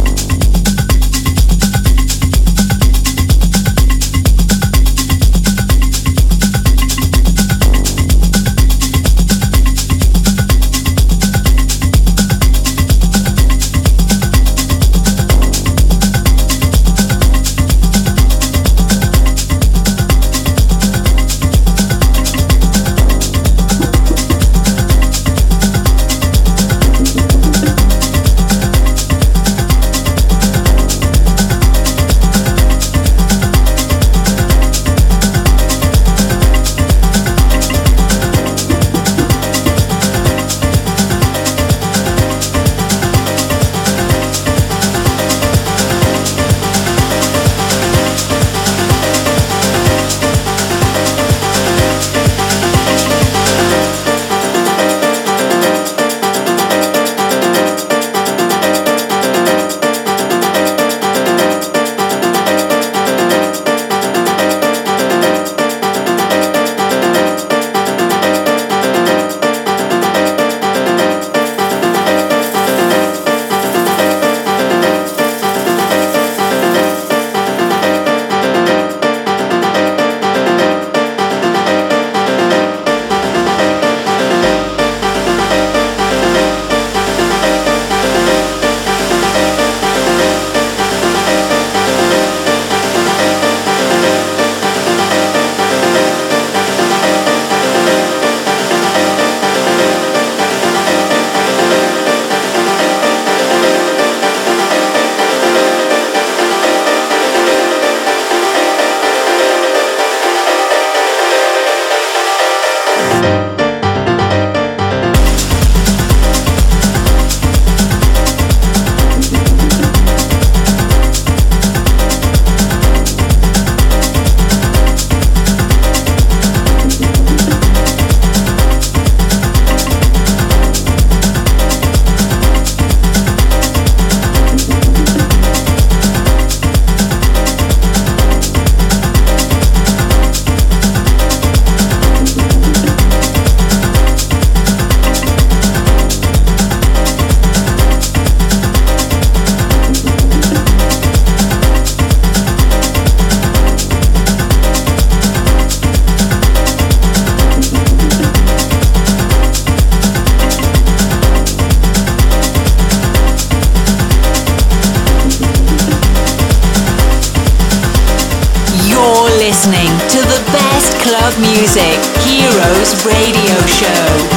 Listening to the best club music, Heroes Radio Show.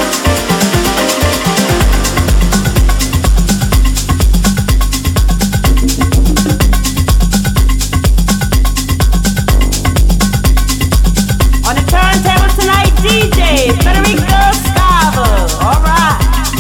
On the turntable tonight, D J Federico Scavo. All right.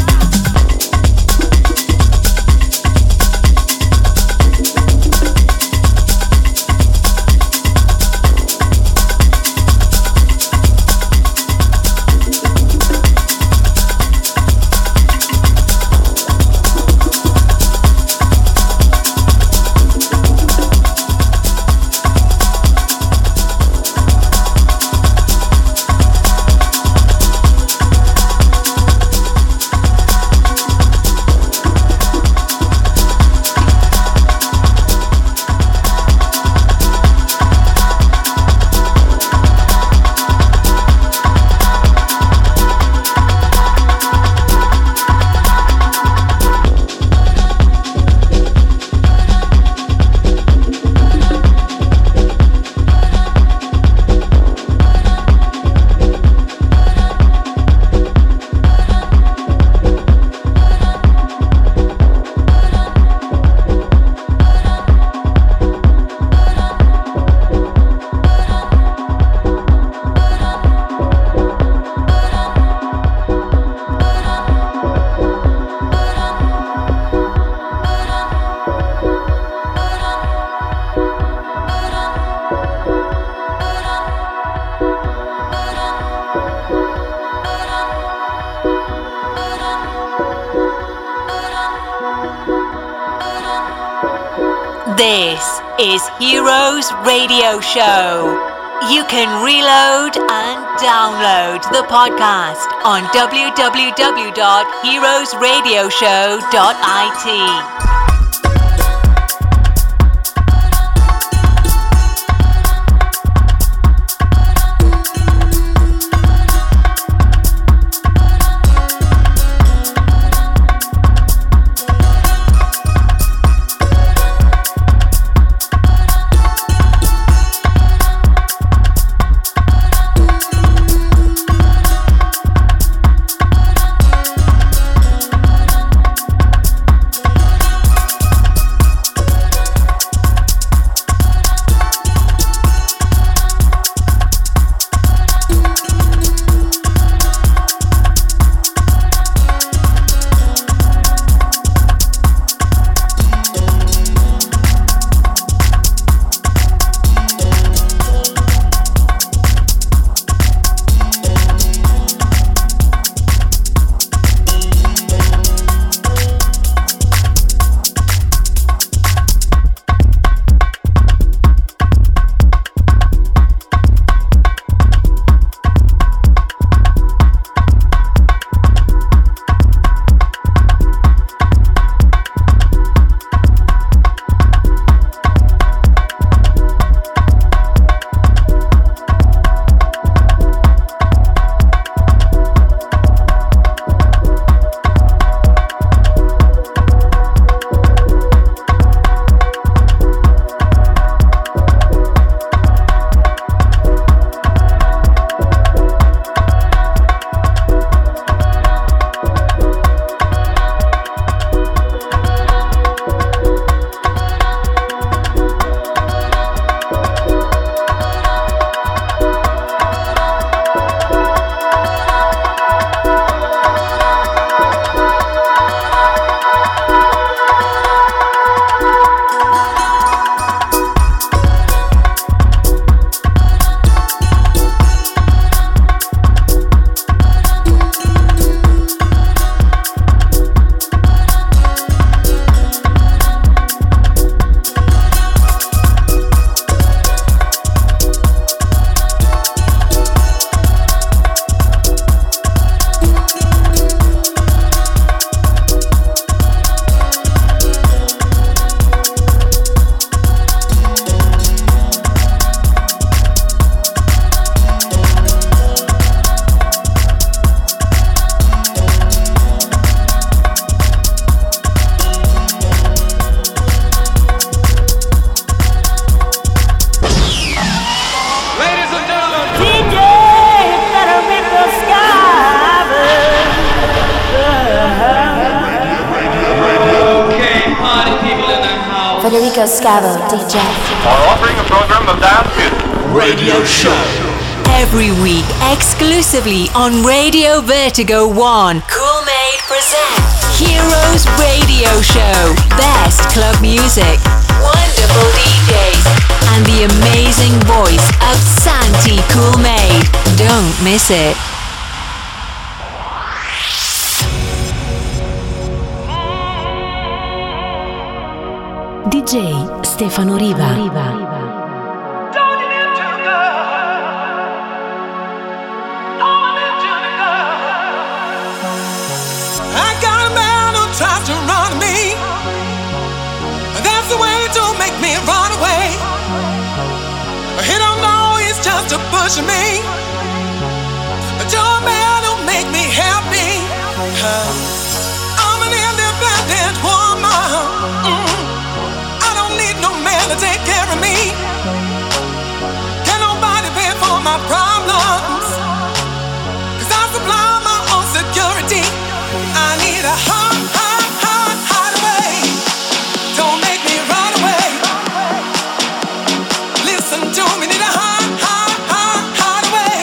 This is Heroes Radio Show. You can reload and download the podcast on w w w dot heroes radio show dot i t. Federico Scavo, D J. Are offering a program of dance music. Radio Show. Every week, exclusively on Radio Vertigo One, Coolmade presents Heroes Radio Show. Best club music, wonderful D Js, and the amazing voice of Santi Coolmade. Don't miss it. D J Stefano Riva. Riva. Tries to run me. That's the way to make me run away. He don't know he's just a push me. Your man will make me happy. I'm an independent woman. Mm. I don't need no man to take care of me. Can nobody pay for my problems? 'Cause I supply my own security. I need a heart. To me, need a hide, hide, hide, hide away.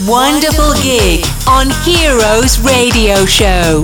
wonderful gig on Heroes Radio Show.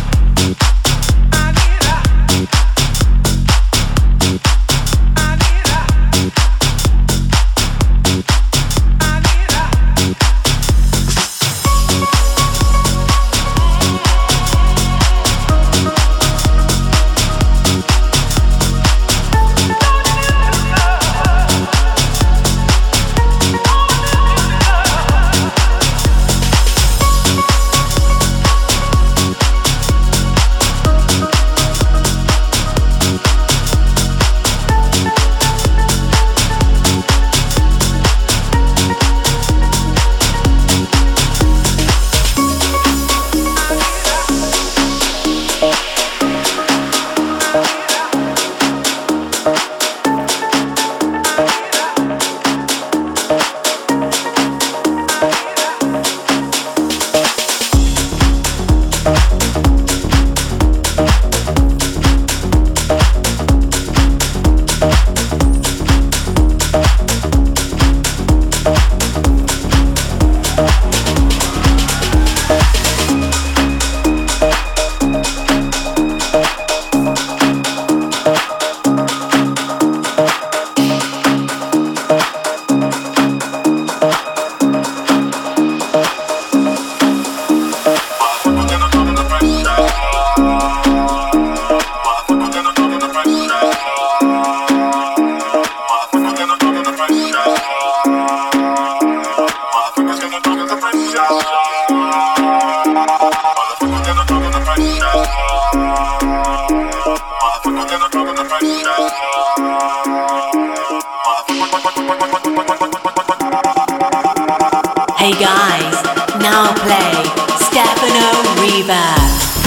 Hey guys, now play Stefano Riva.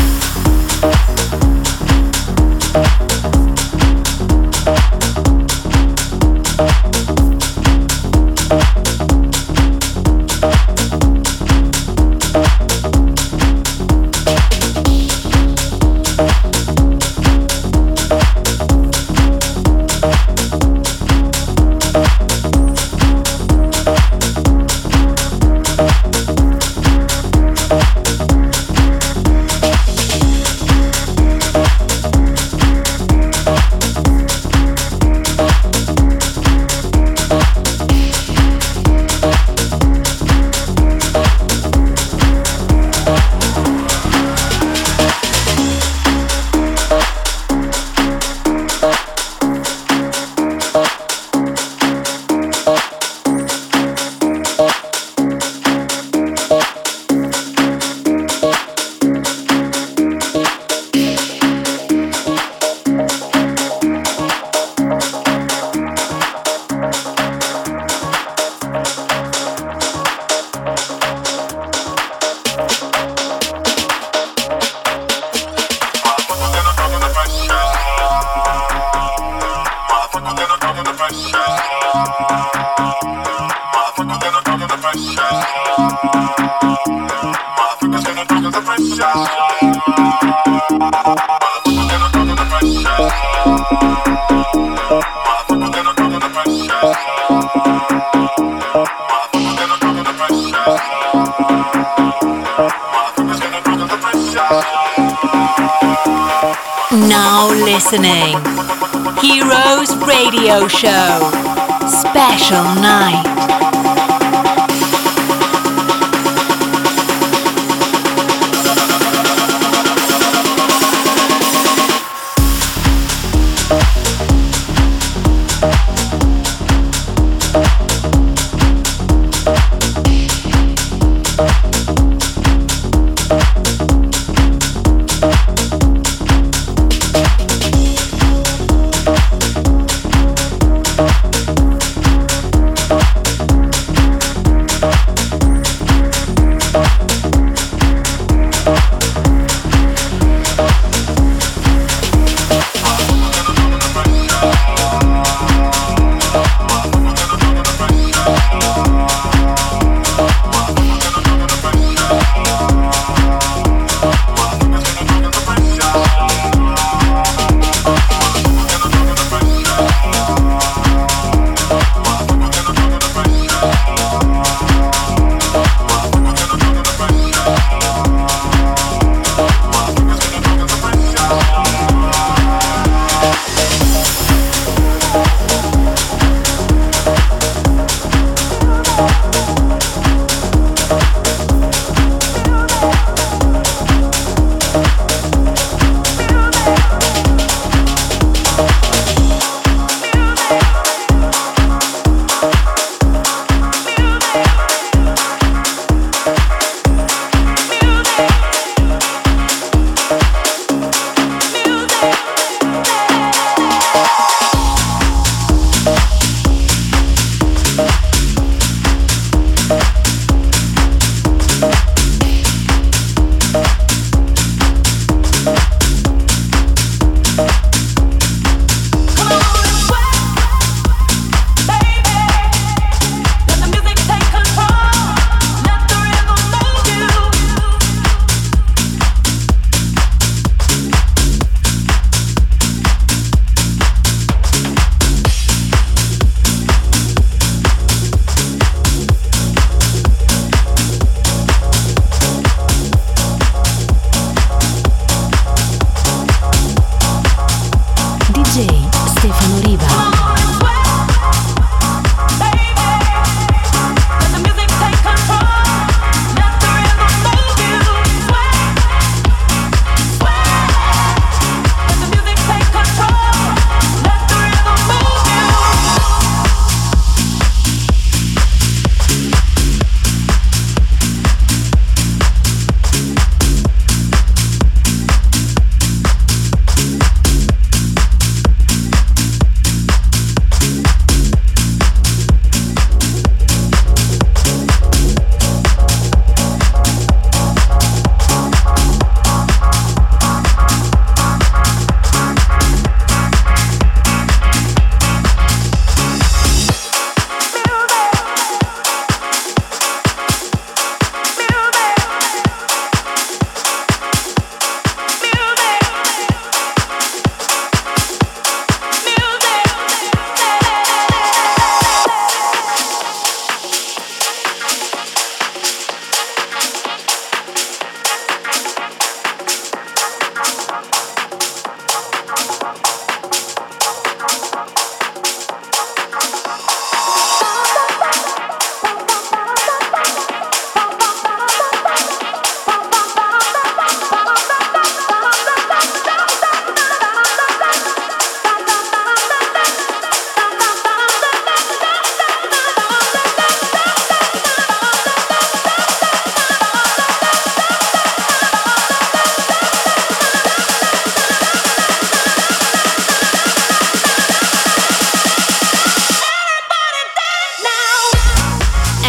Now listening, Heroes Radio Show, Special Night.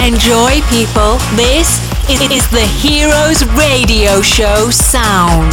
Enjoy, people. This is the Heroes Radio Show sound.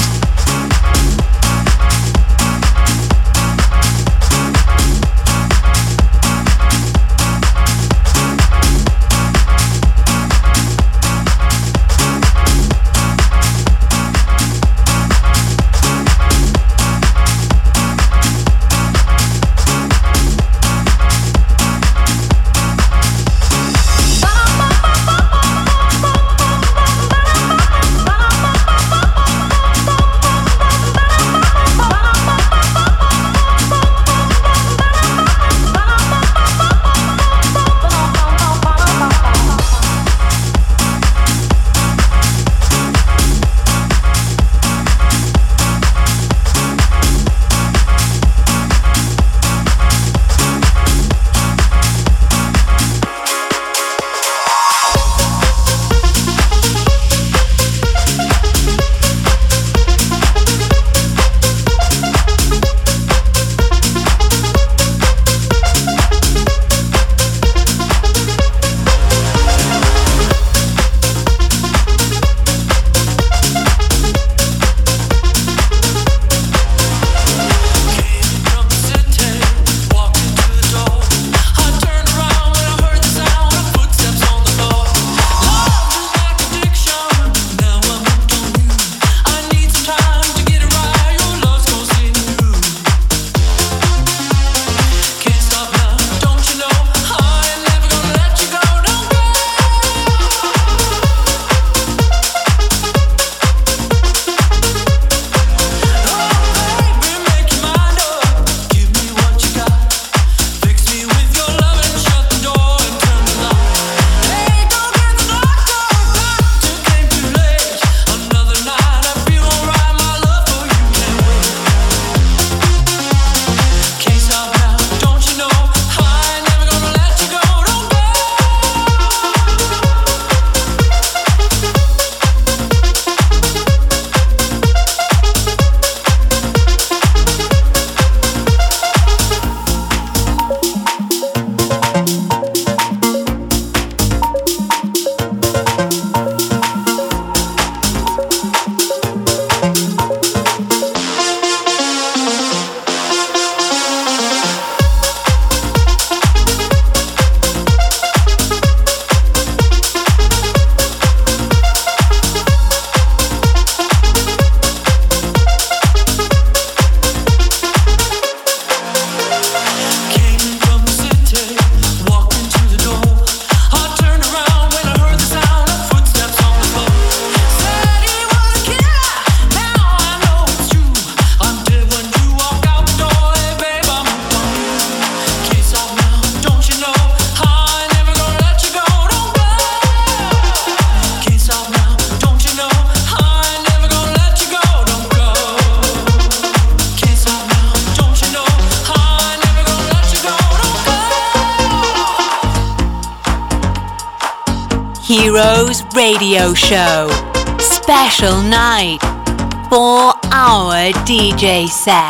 Heroes Radio Show. Special night. Four hour D J set.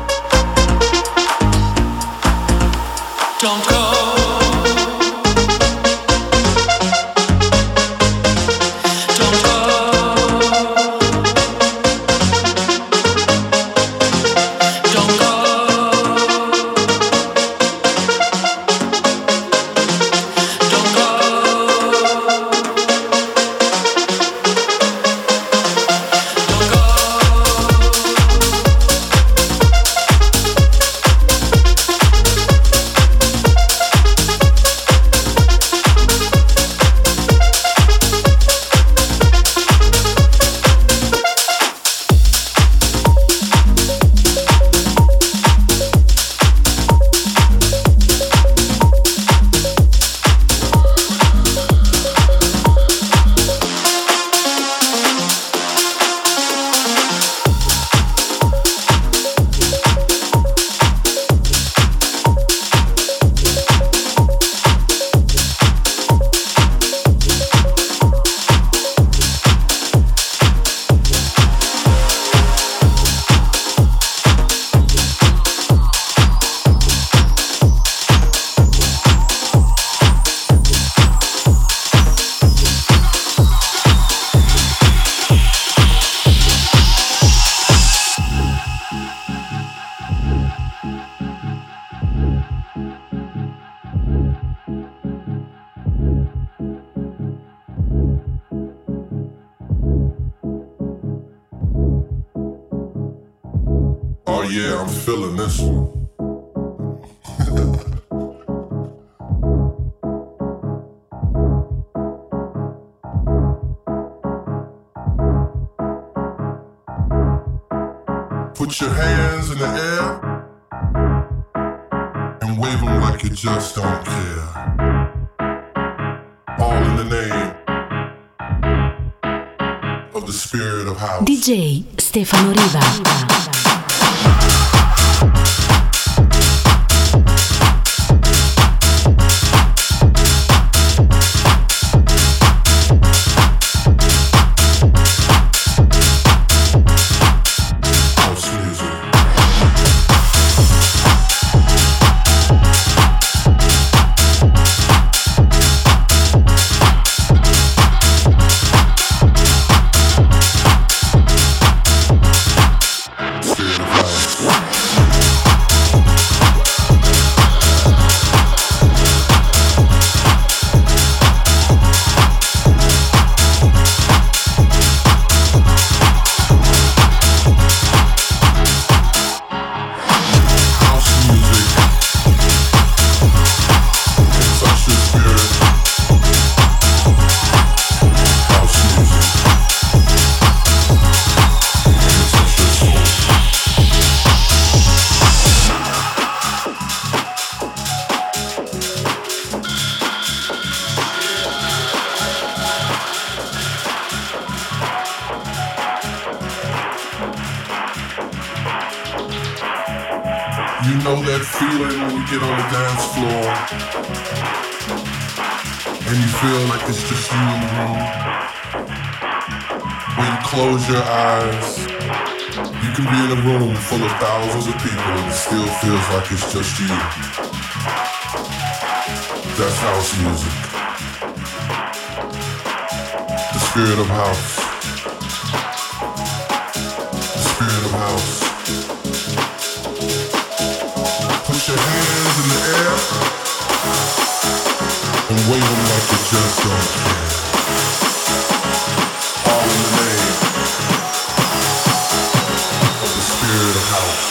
Don't go. Oh yeah, I'm feeling this one. Put your hands in the air and wave them like you just don't care. All in the name of the spirit of house. D J Stefano Riva. You know that feeling when you get on the dance floor and you feel like it's just you in the room. When you close your eyes, you can be in a room full of thousands of people and it still feels like it's just you. That's house music. The spirit of house. The spirit of house. Put your hands in the air and wave them like you just don't care. All in the name of the spirit of house.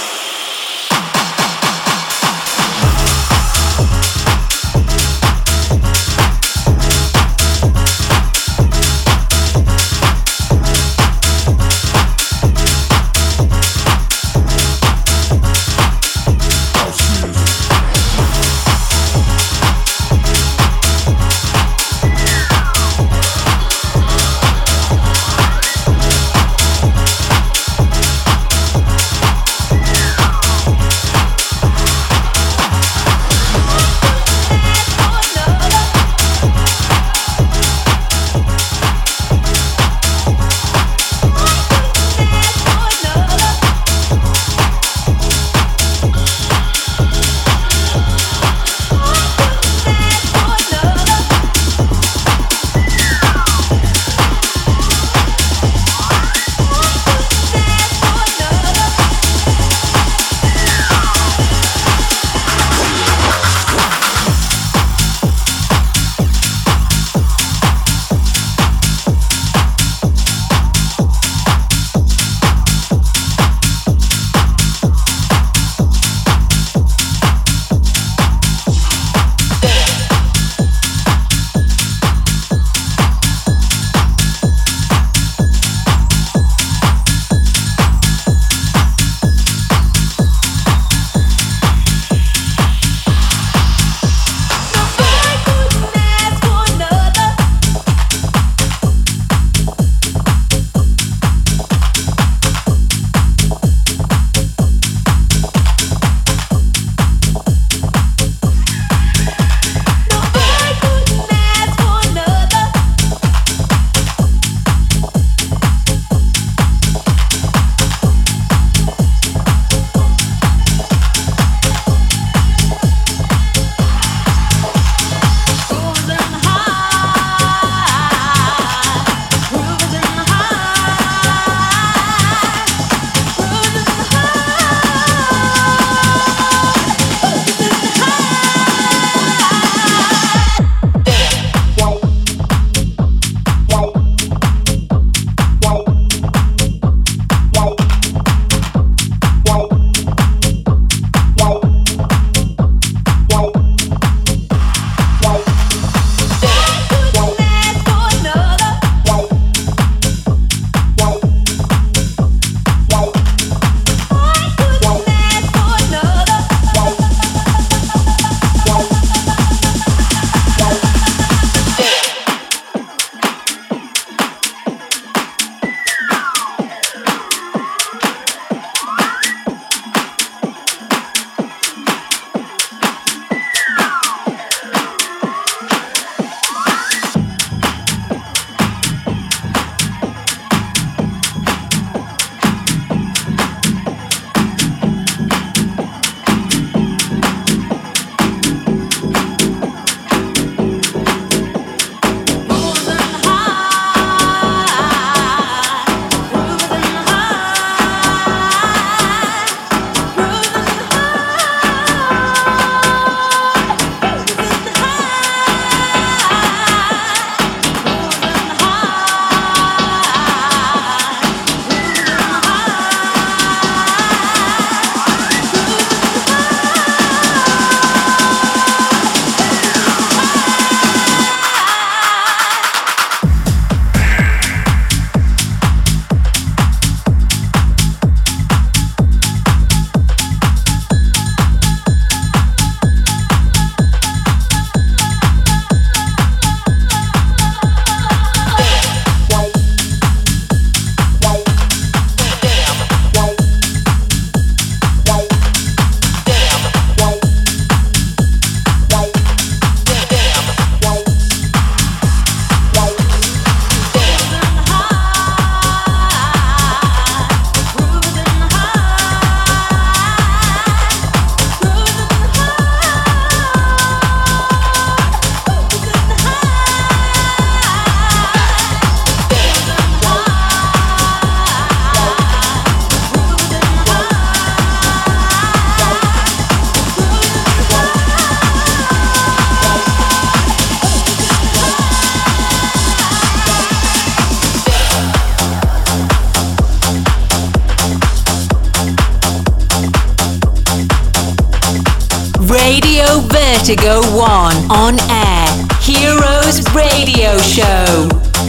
about to go one on air. Heroes Radio Show.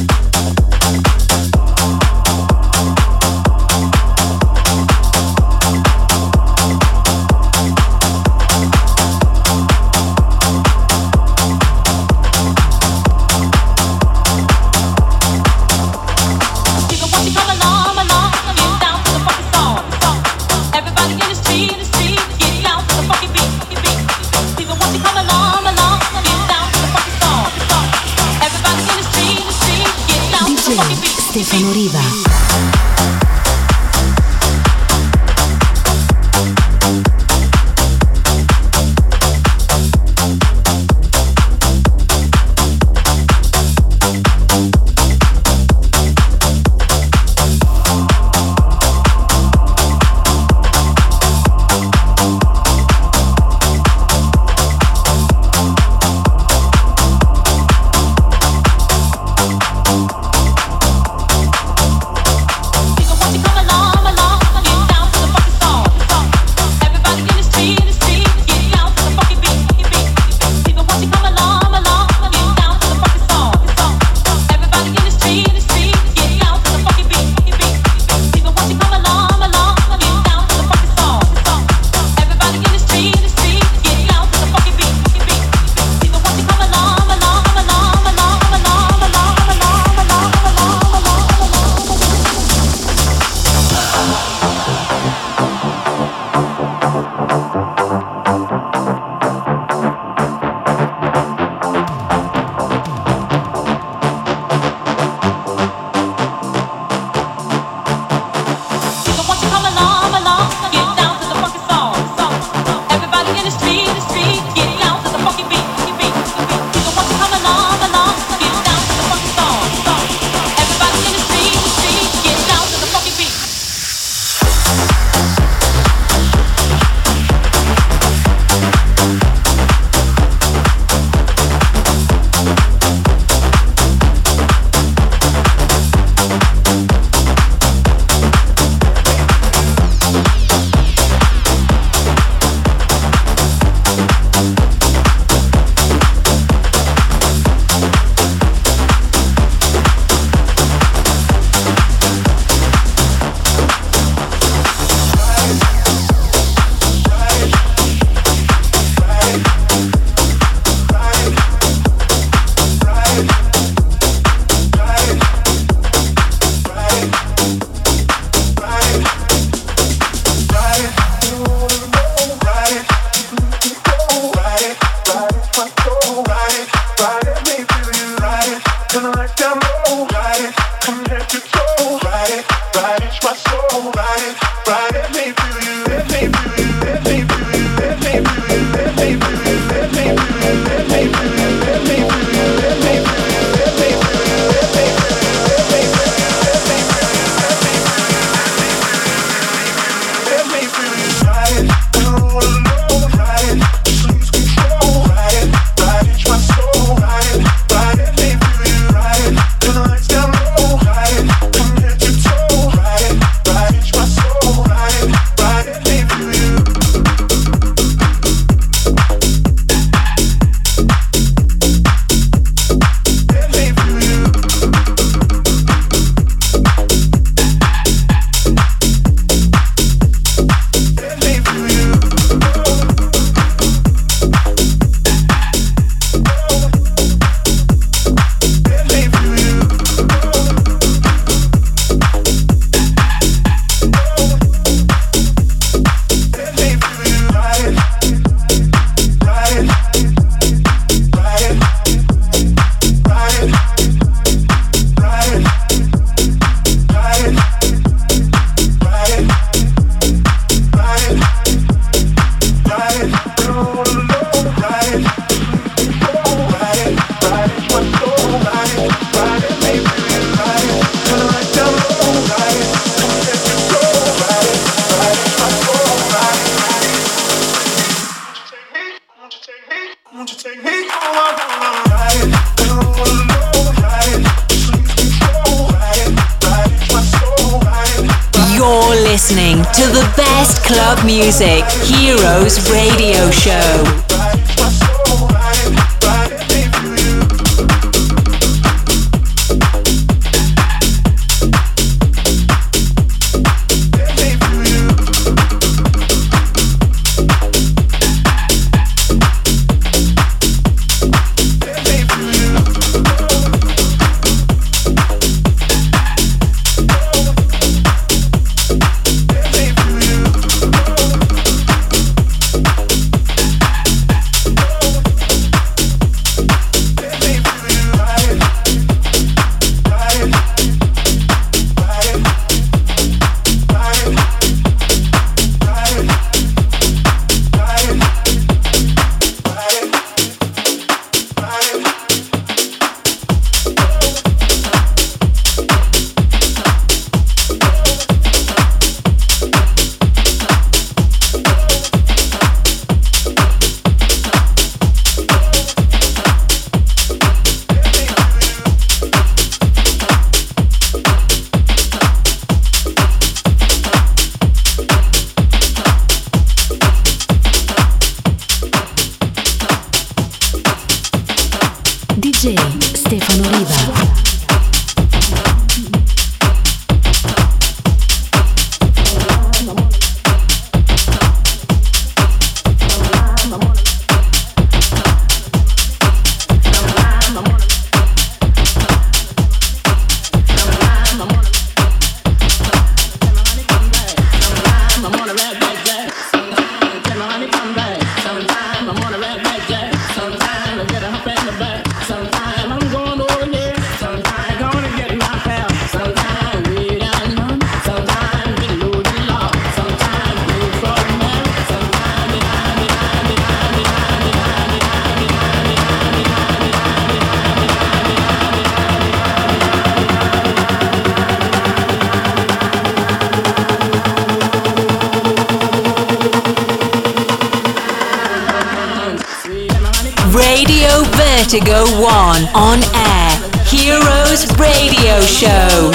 Stefano Riva. listening to the best club music, Heroes Radio Show. D J Stefano Riva. Radio Vertigo One on air. Heroes Radio Show.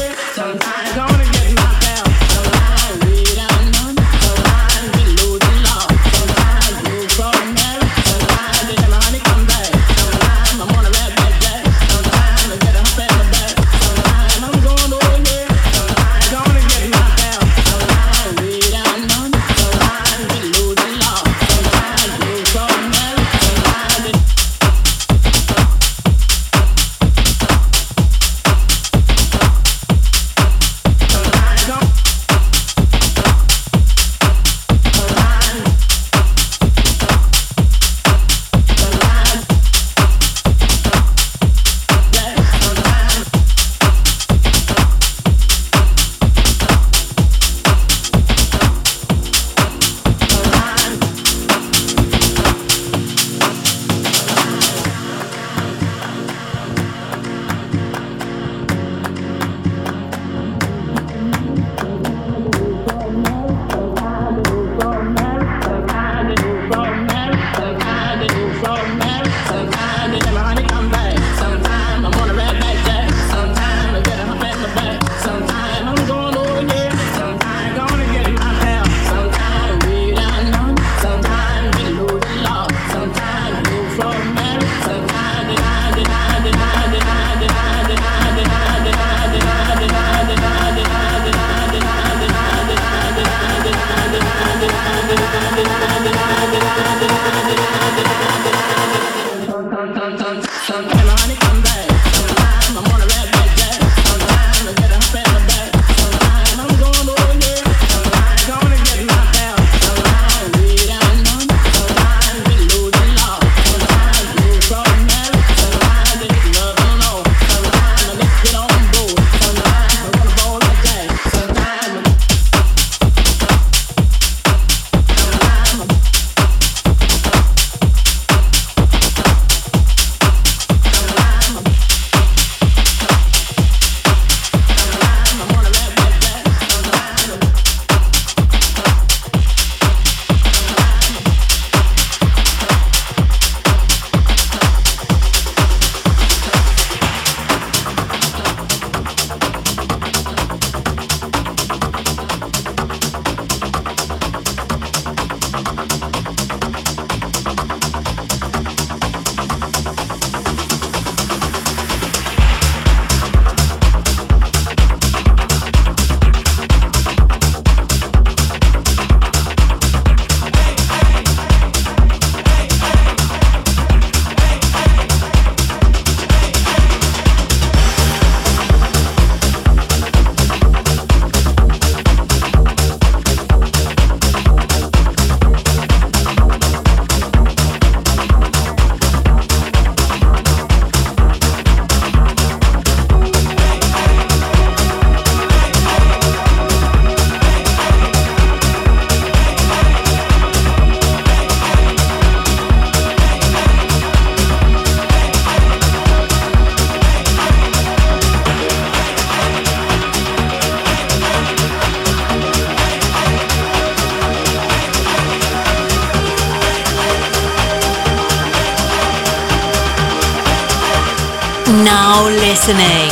Now listening.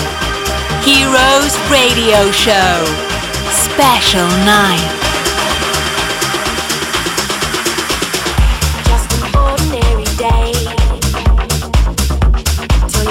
Heroes Radio Show. Special night. Just an ordinary day.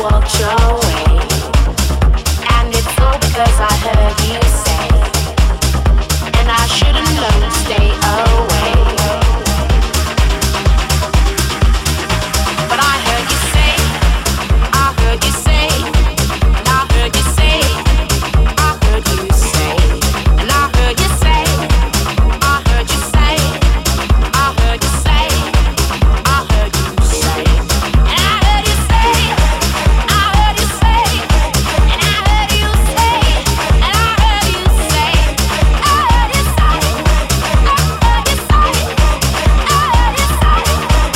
walked your way. And it's all because I heard you say, and I should've known to stay away. But I heard you say, I heard you say, and I heard you say, I heard you say, and I heard you say, I heard you say, I heard you say, I heard you say, and I heard you say, I heard you say, and I heard you say, and I heard you say, I heard you say, I heard you say, I heard you say, I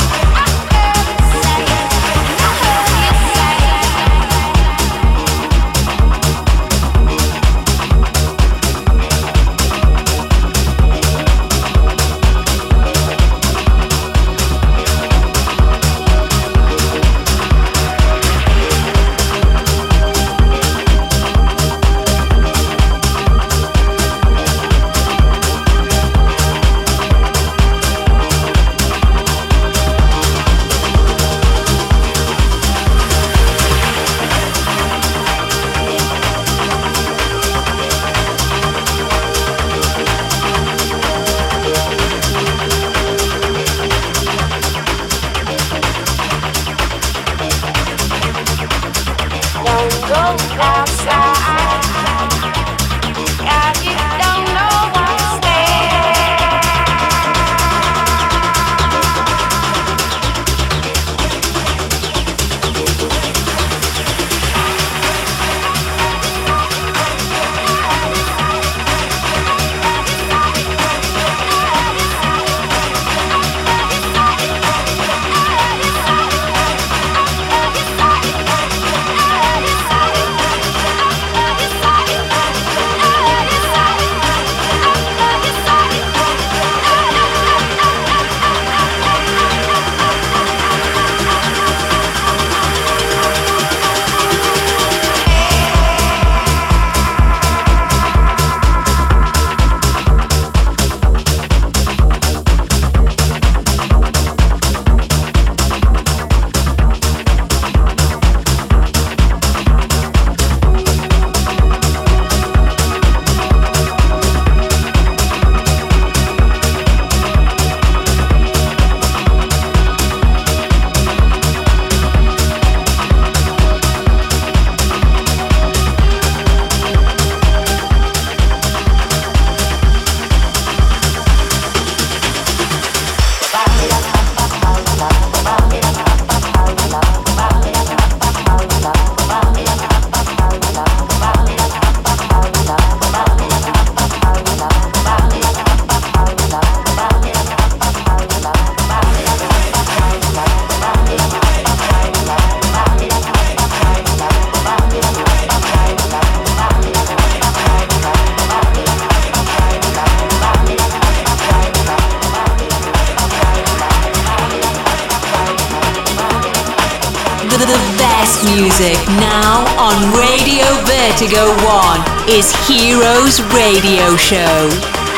music now on Radio Vertigo One is Heroes Radio Show.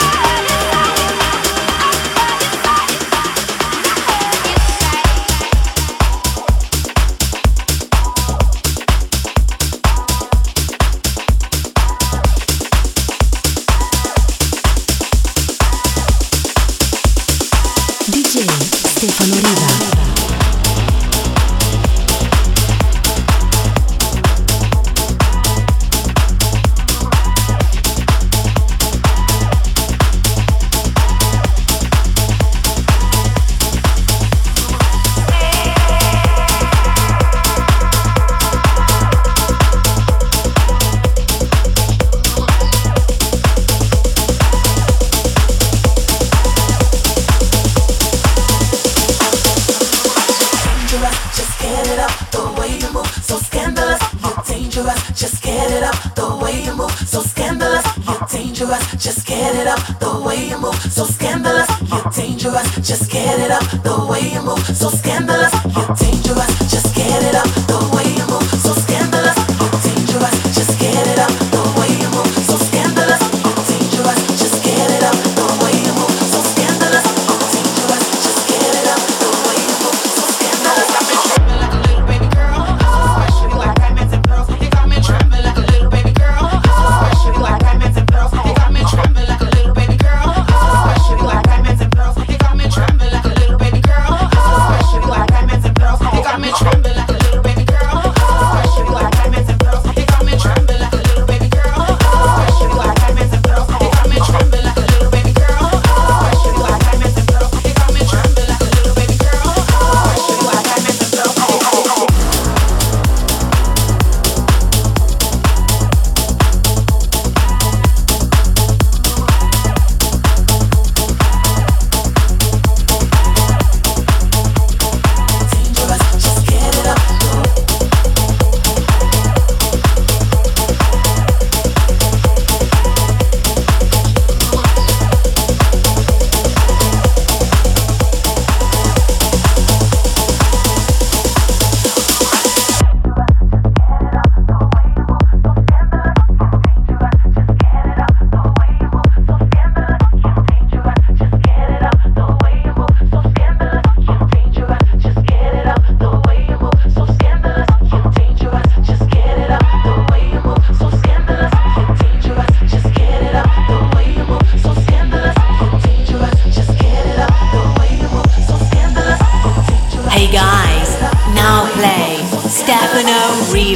D J Stefano Riva. Just get it up, the way you move, so scandalous, you're dangerous. Just get it up, the way you move, so scandalous, you're dangerous. Just get it up, the way you move, so scandalous, you're dangerous. Just get it up, the way you move, so scandalous, you're dangerous. Just get it up, the way you move, so scandalous, you're dangerous. Just get it up, the way you move, so scandalous. I've been tripping like a little baby girl, so special.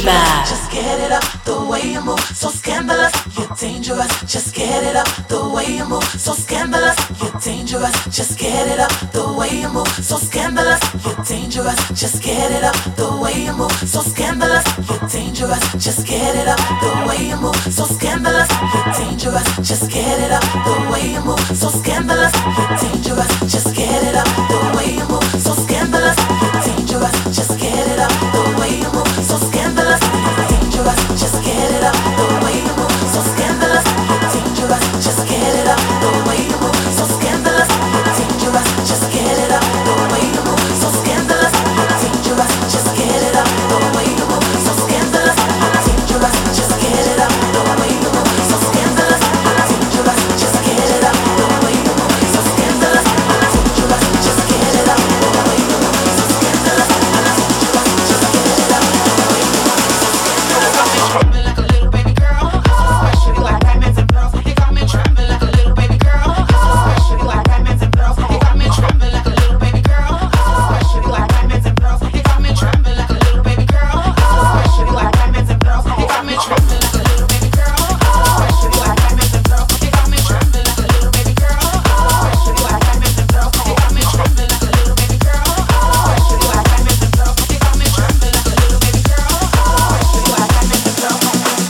Oliva. Just get it up the way you move, so scandalous, you're dangerous. Just get it up the way you move, so scandalous, you're dangerous. Just get it up the way you move, so scandalous, you're dangerous. Just get it up the way you move, so scandalous, you're dangerous. Just get it up the way you move, so scandalous, you're dangerous. Just get it up the way you move, so scandalous, you're dangerous. Just get it up the way you move, so scandalous, you're dangerous. Just get it up the way you move, so scandalous, you're dangerous. Just get it up the way you move, so scandalous, you're dangerous. Just get it up the way you move, so scandalous, you're dangerous. Just get it up the way you move, so scandalous, you're dangerous. Just get it up the way you move, so scandalous, you're dangerous. Just get it up the way you move, so scandalous, you're dangerous. Just get it up the way you move, so scandalous, you're dangerous. Just get it up the way you move, so scandalous, you're dangerous. Just get it up the way you move, so scandalous. Like a little baby girl, especially like diamonds and pearls. He got me trembling like a little baby girl, especially like diamonds and pearls. He got me trembling like a little baby girl, especially like diamonds and pearls. He got me trembling like a little baby girl, especially like diamonds and pearls. He got me trembling like a little baby girl, especially like diamonds and pearls. He got me trembling like a little baby girl, especially like diamonds and pearls. He got me trembling like a little baby girl, especially like diamonds and pearls. He got me trembling like a little baby girl, especially like diamonds and pearls.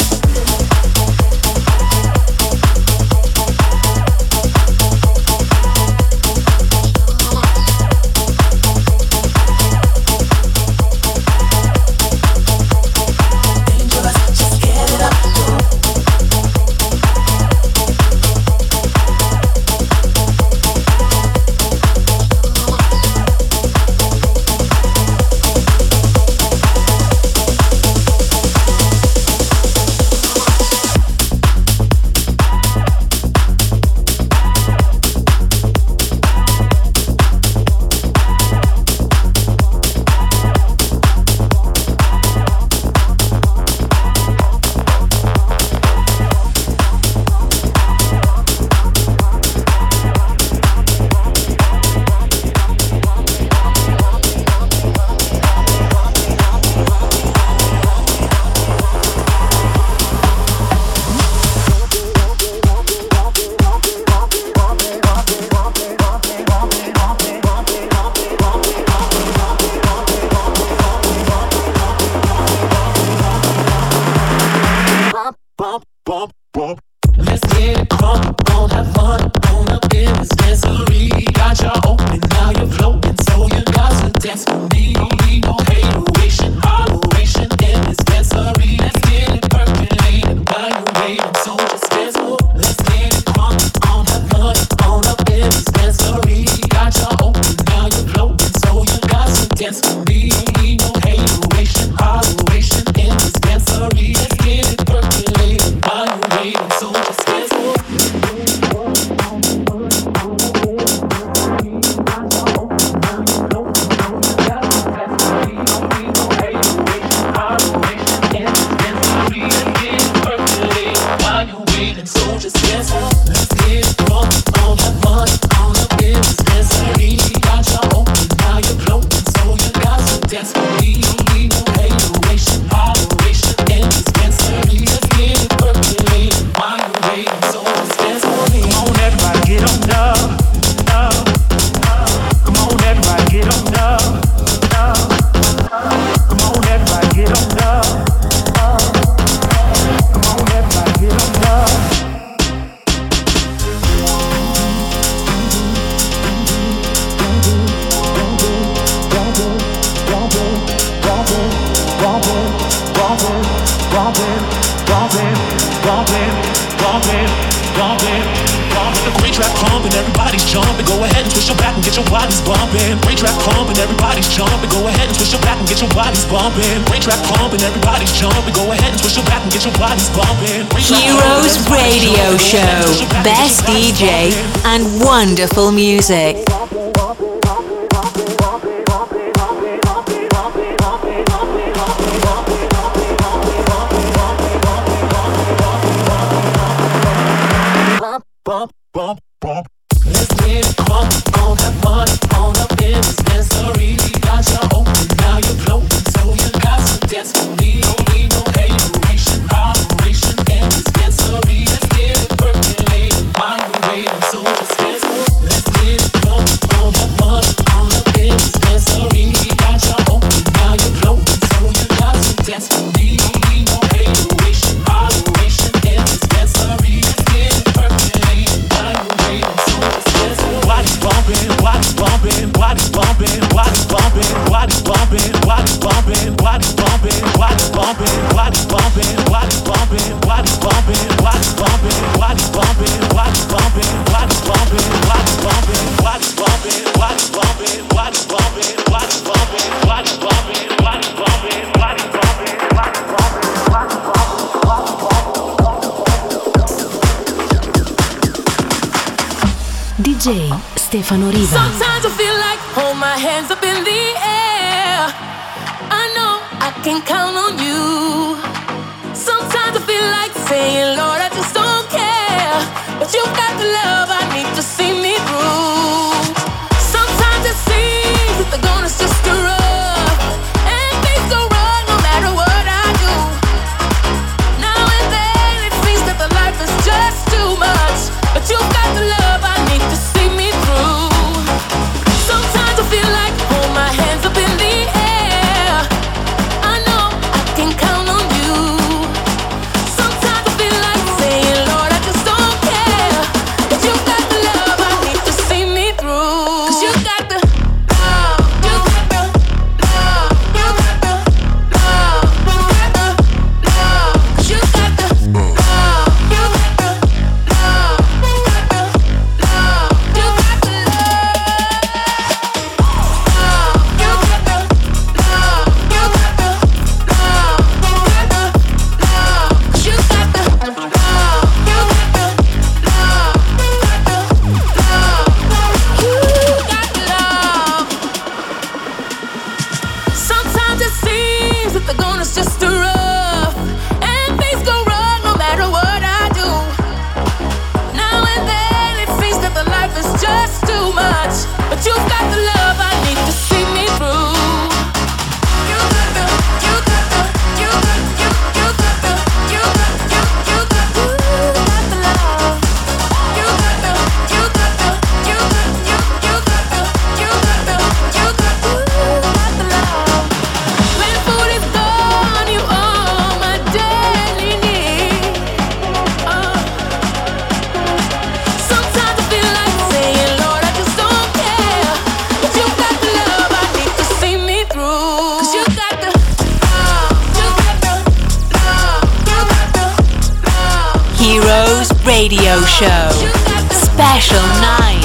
Let's get it crunk, on, have fun, on up in this dancery. Got you open, now you're floating, so you got to dance for me. No hateration, holleration in this dancery. Let's get it percolating, while you're waiting, so just dance more. Let's get it crunk, on, have fun, on up in this dancery. Got you open, now you're floating, so you got to dance for me. No hateration, holleration in this dancery. Let's get it percolating, while you're waiting, so just dance more. Great track pumping, everybody's jumping. Go ahead and twist your back and get your bodies bumping. Great track pumping, everybody's jumping. Go ahead and twist your back and get your bodies bumping. Great track pumping, everybody's jumping. Go ahead and twist your back and get your bodies bumping. Heroes Radio Show, best D J and wonderful music. Bump, bump, bump. Let's get it crunk, on, have fun, on up in this dancery. Got you open, now you're floating, so you got to dance for me. Don't need bumping, body bumping, body bumping, body bumping, body bumping, body bumping, body bumping, body bumping, body bumping, body bumping, body bumping, body bumping, body bumping, body bumping, body bumping, body bumping, body bumping. D J Stefano Riva. Sometimes I feel like hold my hands up in the air. I know I can count on you. Sometimes I feel like saying, Lord, I just don't care. But you got the love I need to see me through. Sometimes it seems that the going is just too rough, and things go wrong no matter what I do. Now and then it seems that the life is just too much, but you got the love I need to see me through. Sometimes I feel like hold my hands up in the air. I know I can count on you. Sometimes I feel like saying, Lord, I just don't care. But you got the love I need to see me through. 'Cause you got the love, you got the love, you got the love, you got the love. 'Cause you got the love, you got the love, you got the love, you got the Sometimes it seems that the going is just too rough, and things go wrong no matter what I do. Now and then it seems that the life is just too much, but you've got the love I need to see me through. You got the, you got the, you got, you, you got the, you got, you, you got, you got the love. You got the, you got the, you got, you, you got the, you got the, you got, you got the love. When food is gone, you are my daily need. Oh. Sometimes I feel like saying, Lord, I just don't care. But you got the love I need to see me through. 'Cause you got the love, you got the love, you got the love. Heroes Radio Show. Special night.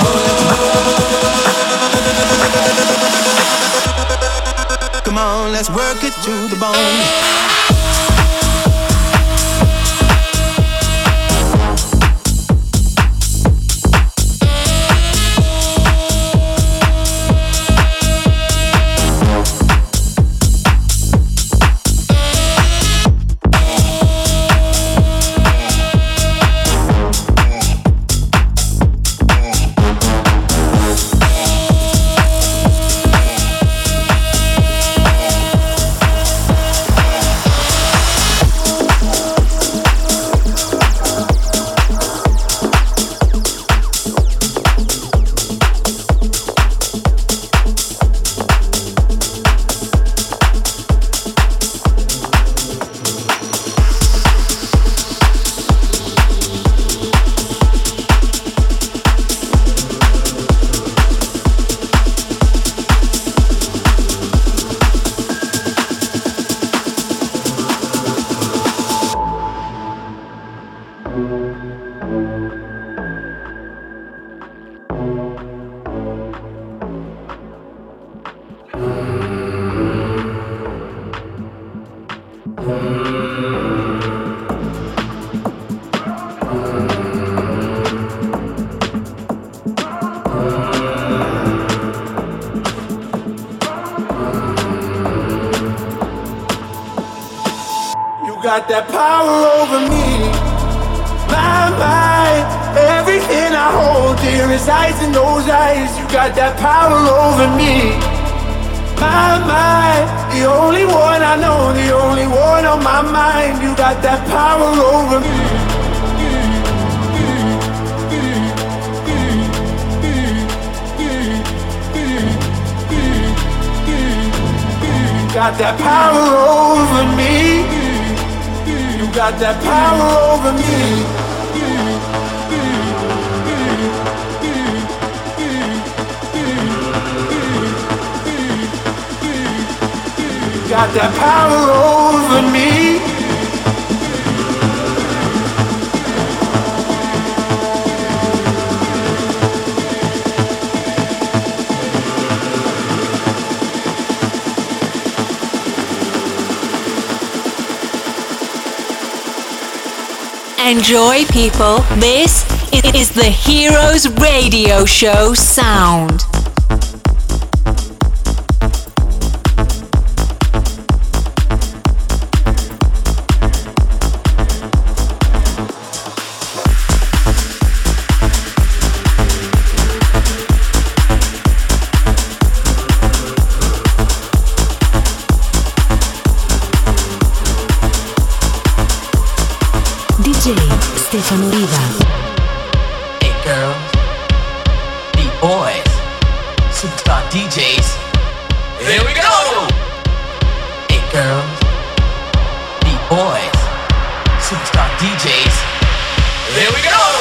Let's work it to the bone. Got that power over me, my mind. Everything I hold dear resides in those eyes. You got that power over me, my mind. The only one I know, the only one on my mind. You got that power over me. You got that power over me. You got that power over me. You got that power over me. Enjoy, people. This is the Heroes Radio Show sound. Stefano Riva. Hey girls, beat boys, superstar D Js. Here we go! Hey girls, beat boys, superstar D Js. Here we go!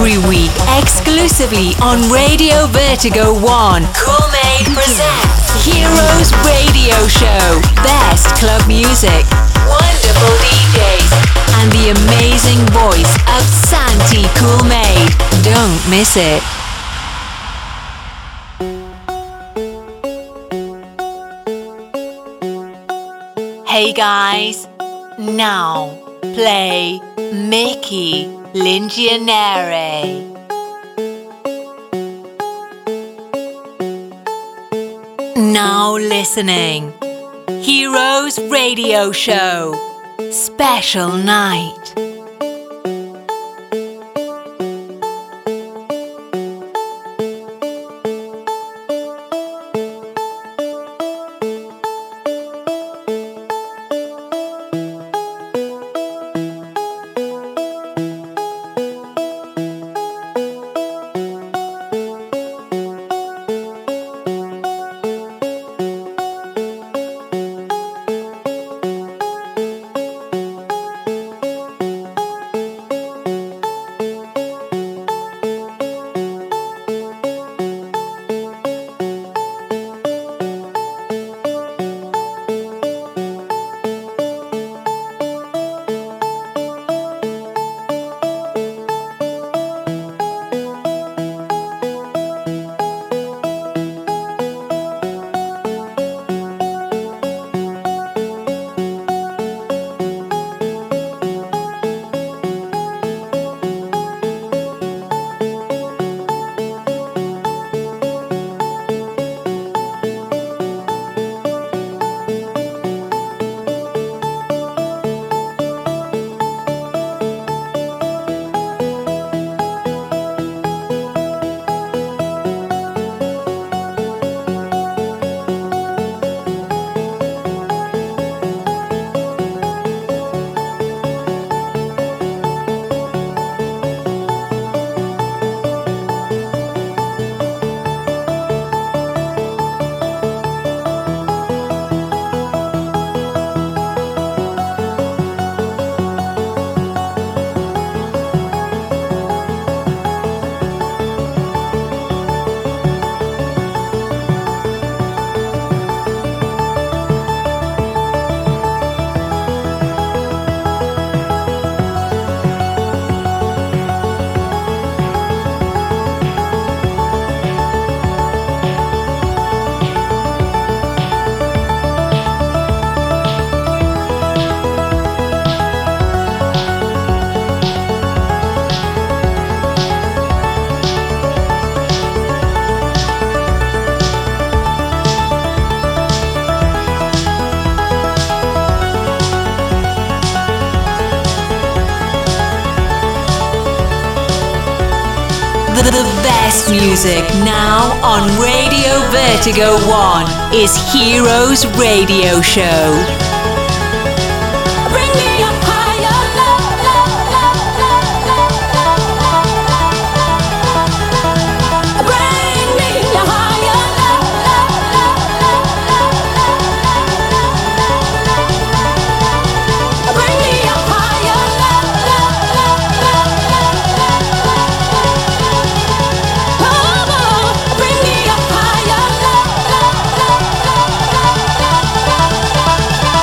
every week exclusively on Radio Vertigo One. Cool-Made presents Heroes Radio Show. Best club music, wonderful D Js, and the amazing voice of Santi Cool-Made. Don't miss it. Hey guys, now play Mickey Lingianere. Now listening, Heroes Radio Show, special night. The best music now on Radio Vertigo One is Heroes Radio Show. Bring me up higher,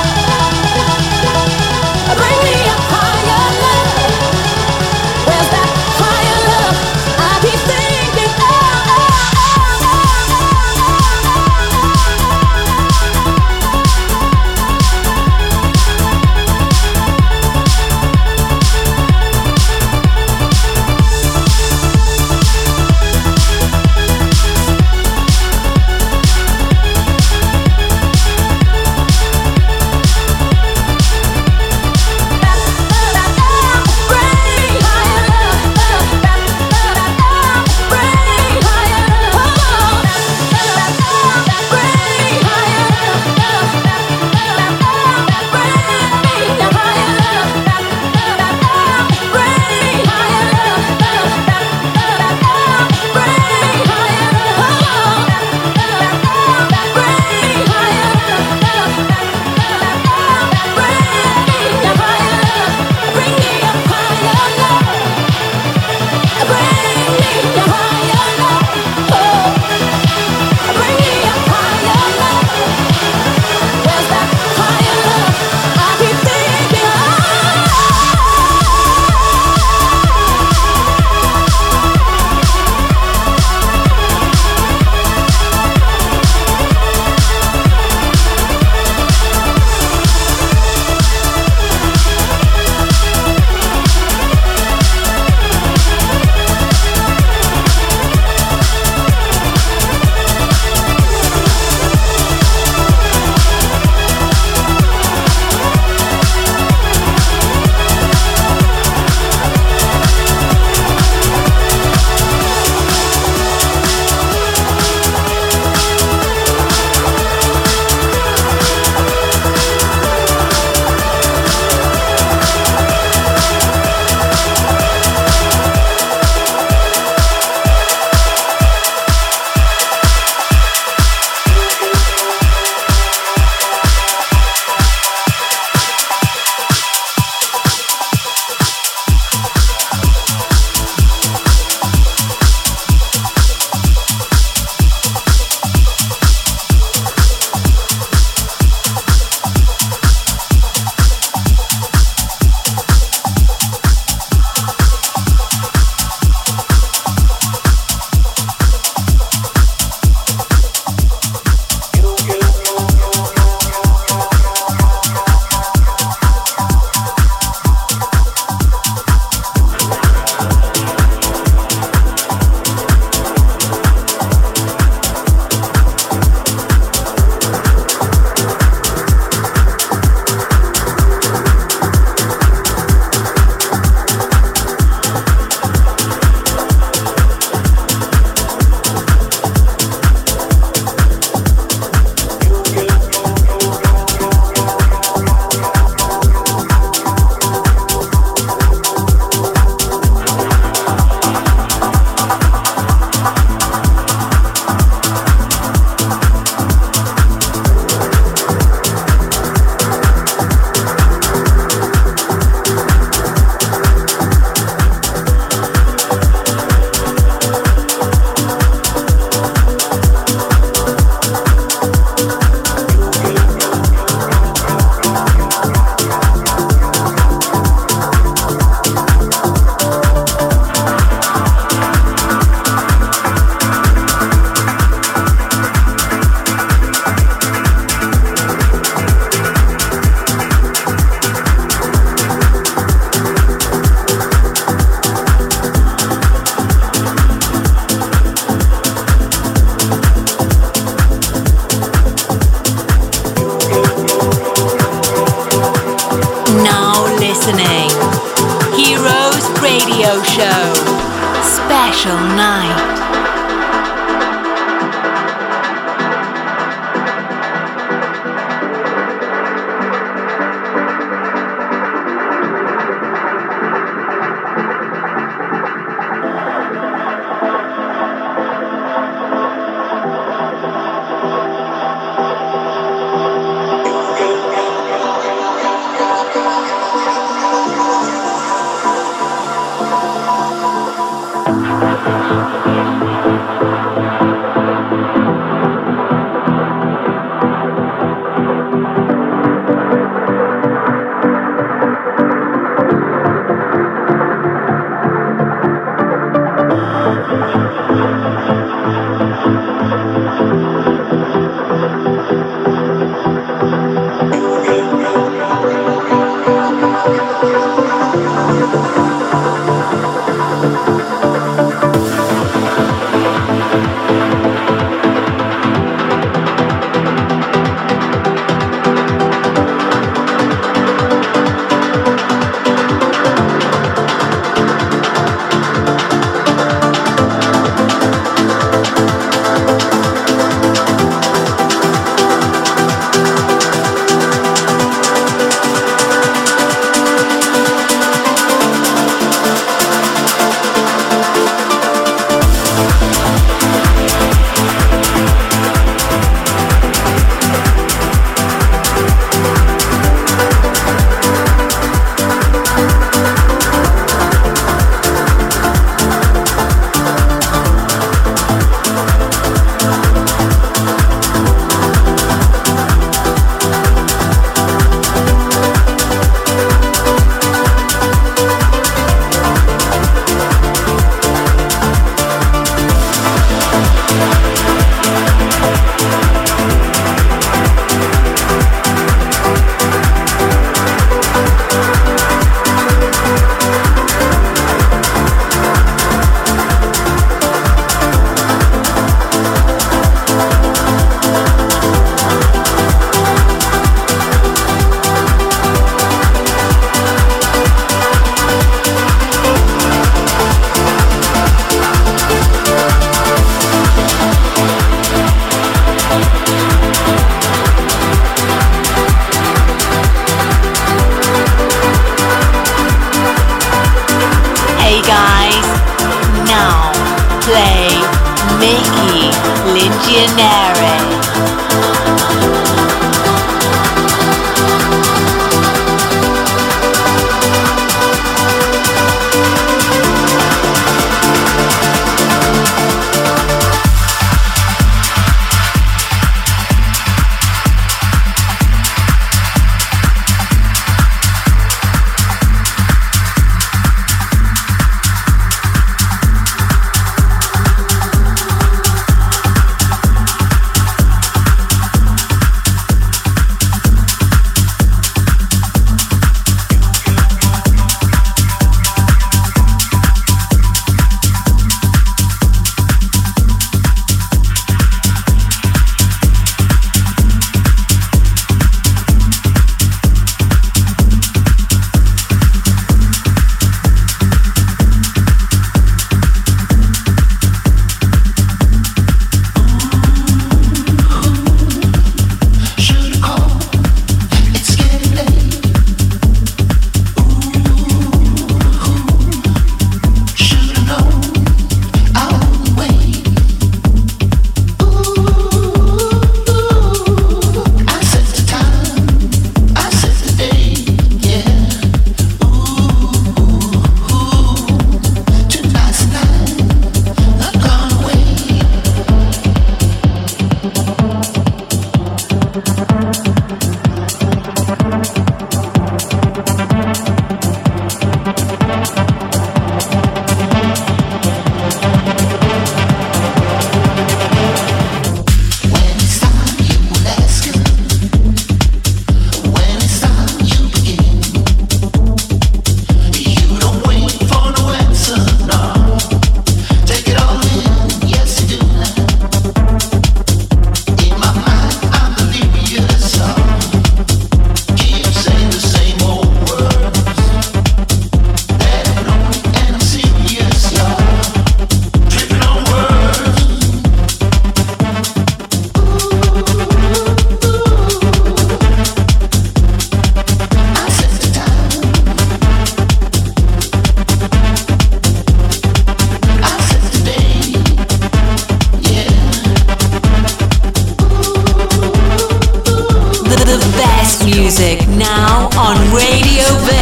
listening. Heroes Radio Show. Special night.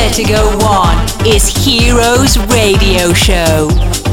Vertigo One is Heroes Radio Show.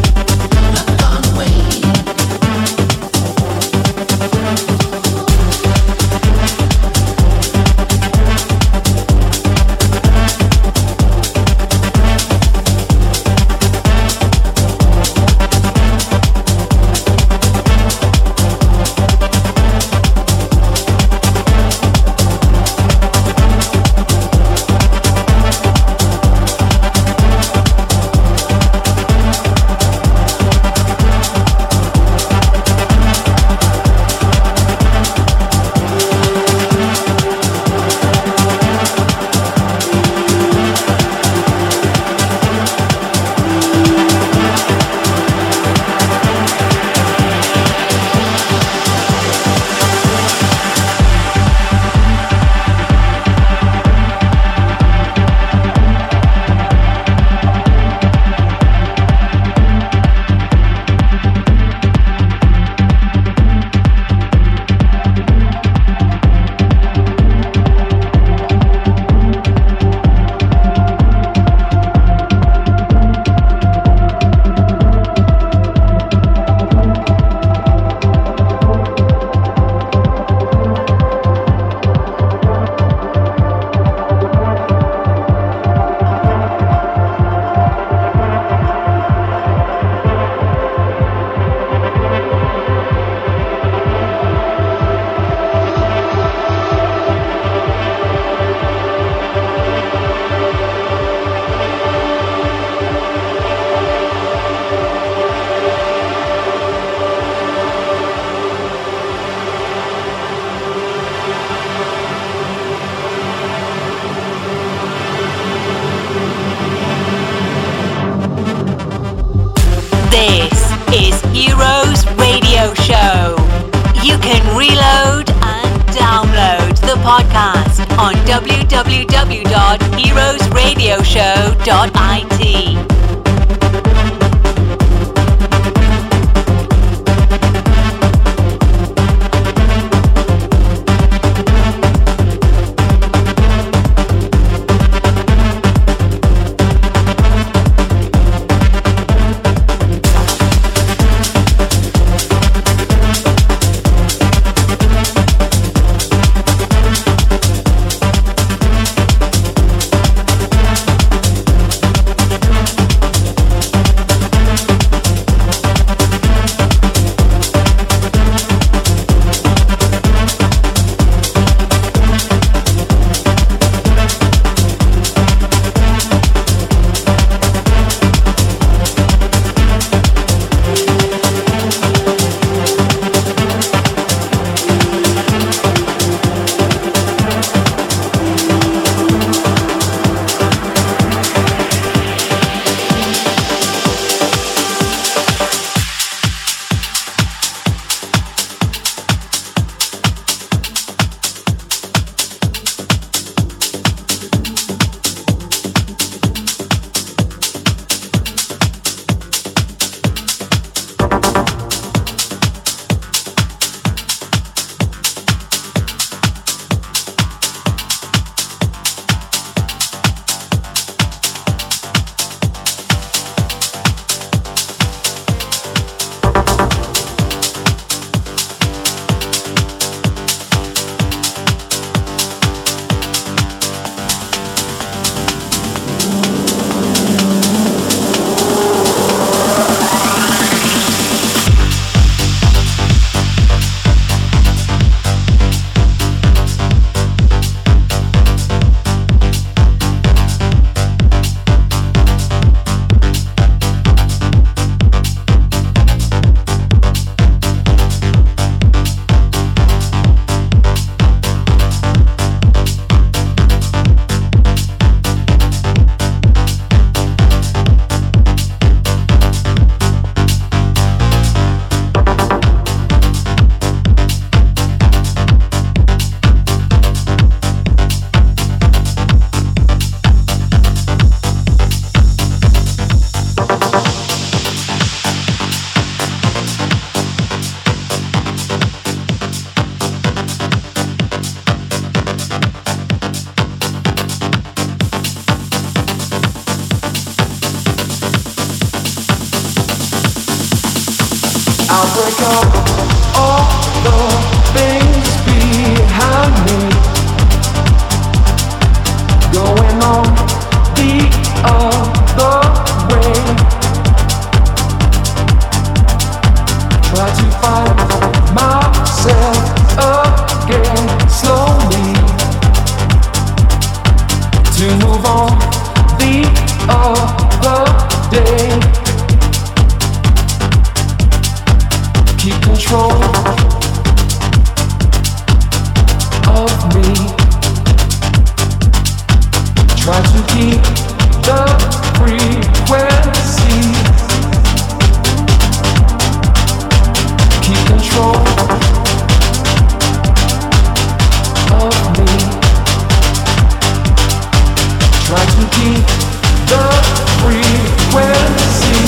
w w w dot heroes radio show dot i t. I'll break up all the things behind me, going on the other way. Try to find myself again slowly, to move on the other day. Keep control of me. Try to keep the frequency. Keep control of me. Try to keep the frequency.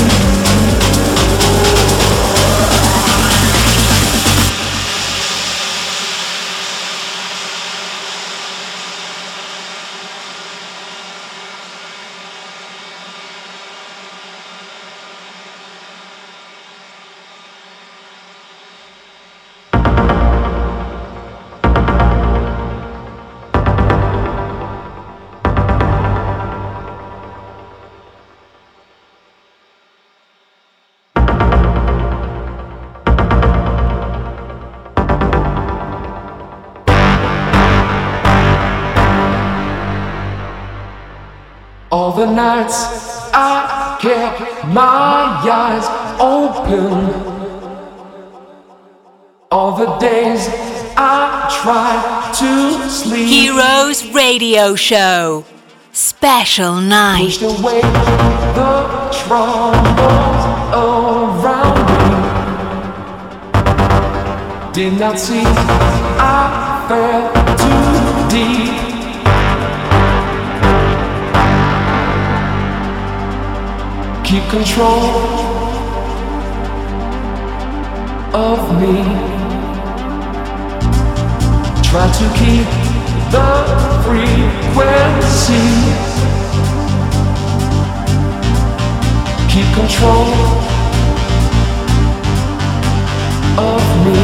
All the nights I kept my eyes open, all the days I tried to sleep. Heroes Radio Show Special Night. Pushed away the troubles around me. Did not see I fell too deep. Keep control of me. Try to keep the frequency. Keep control of me.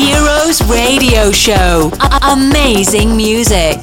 Heroes Radio Show. A- amazing music.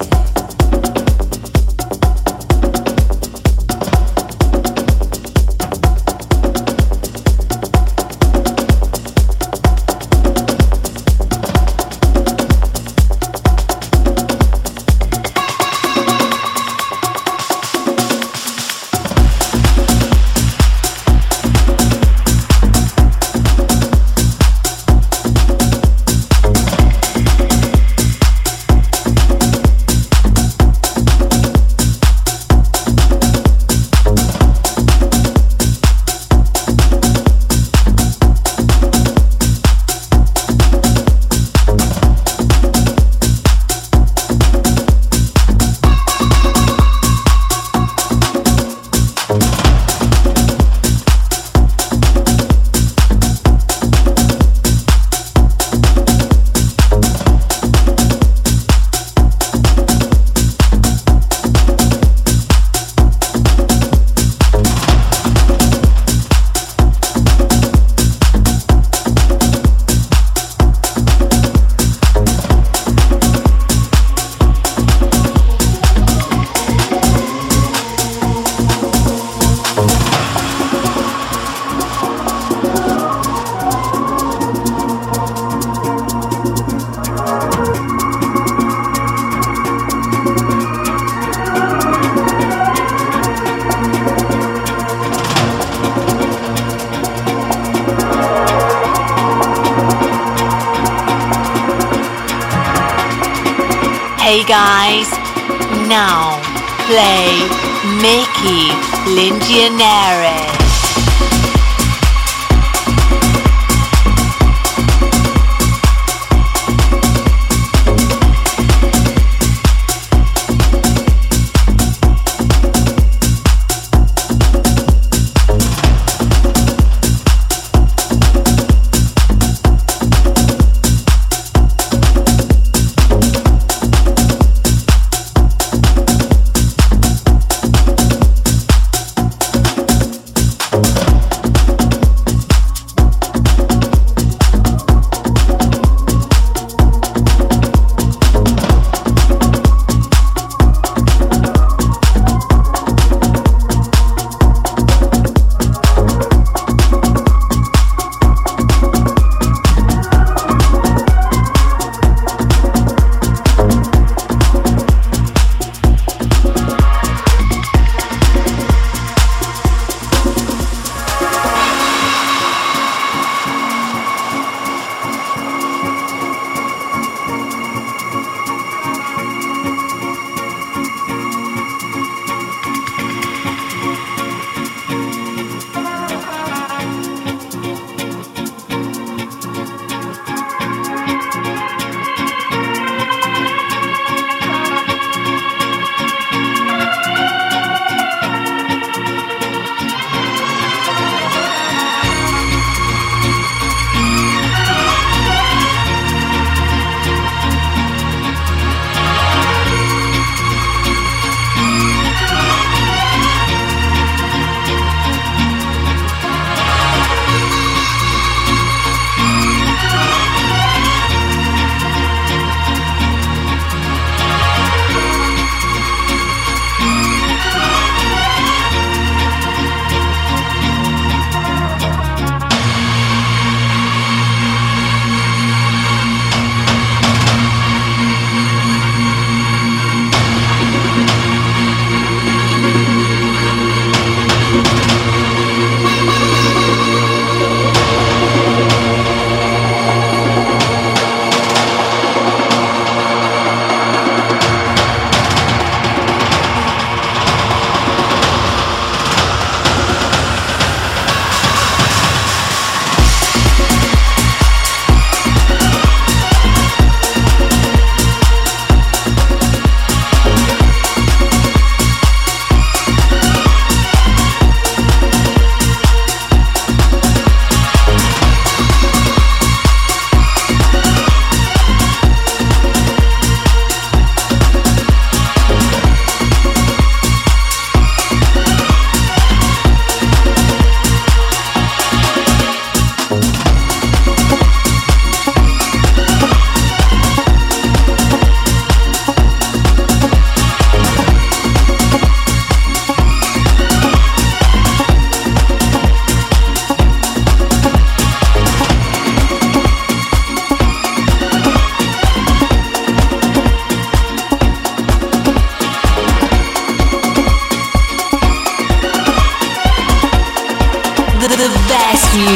Hey guys, now play Mickey Lingianere.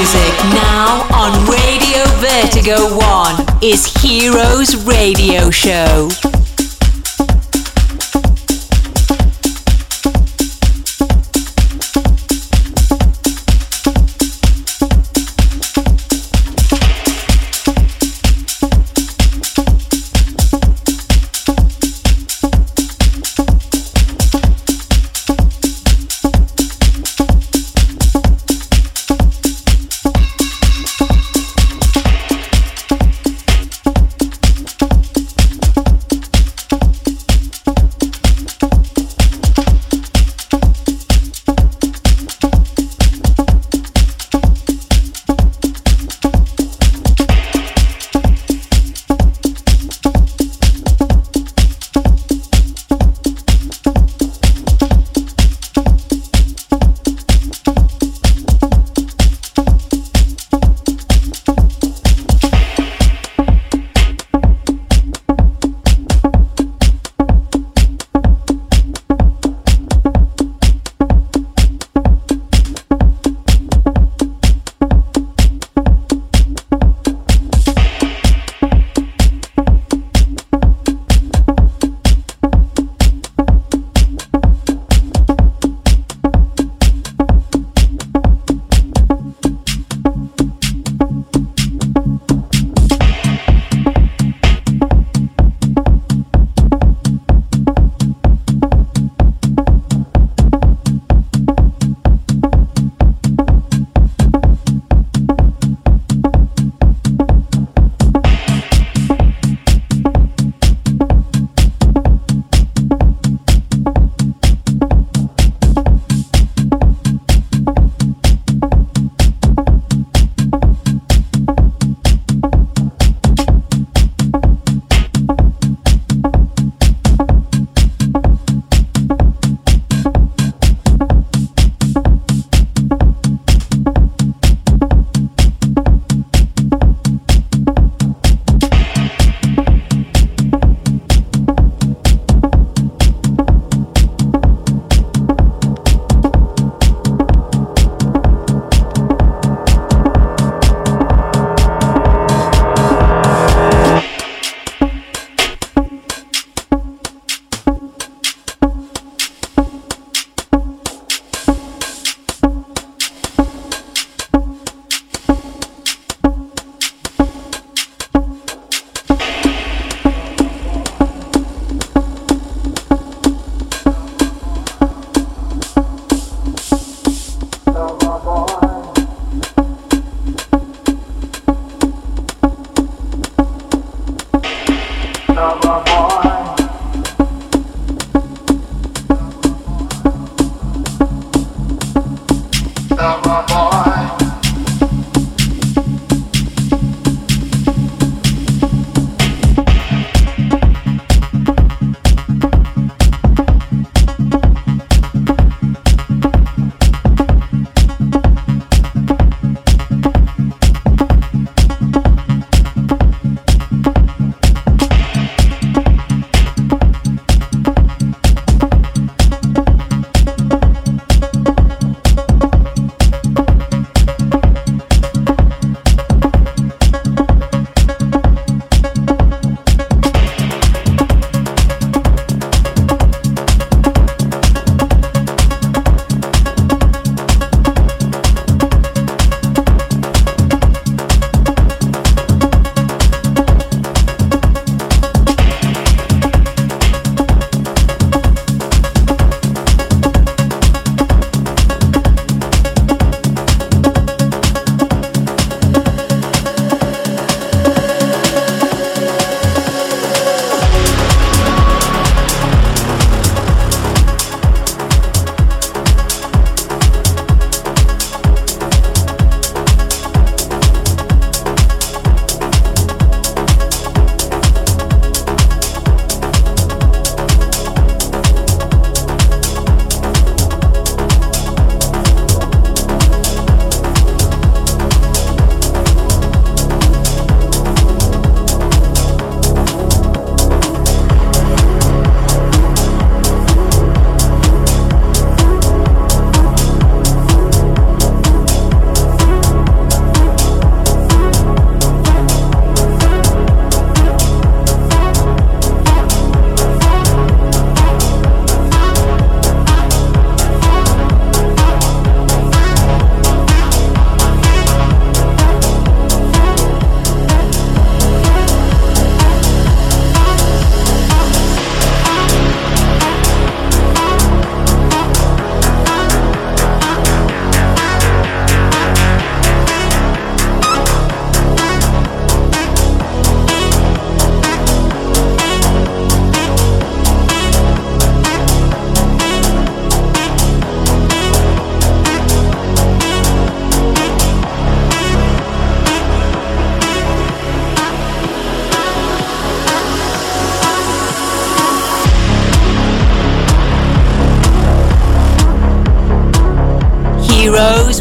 music now on Radio Vertigo One is Heroes Radio Show.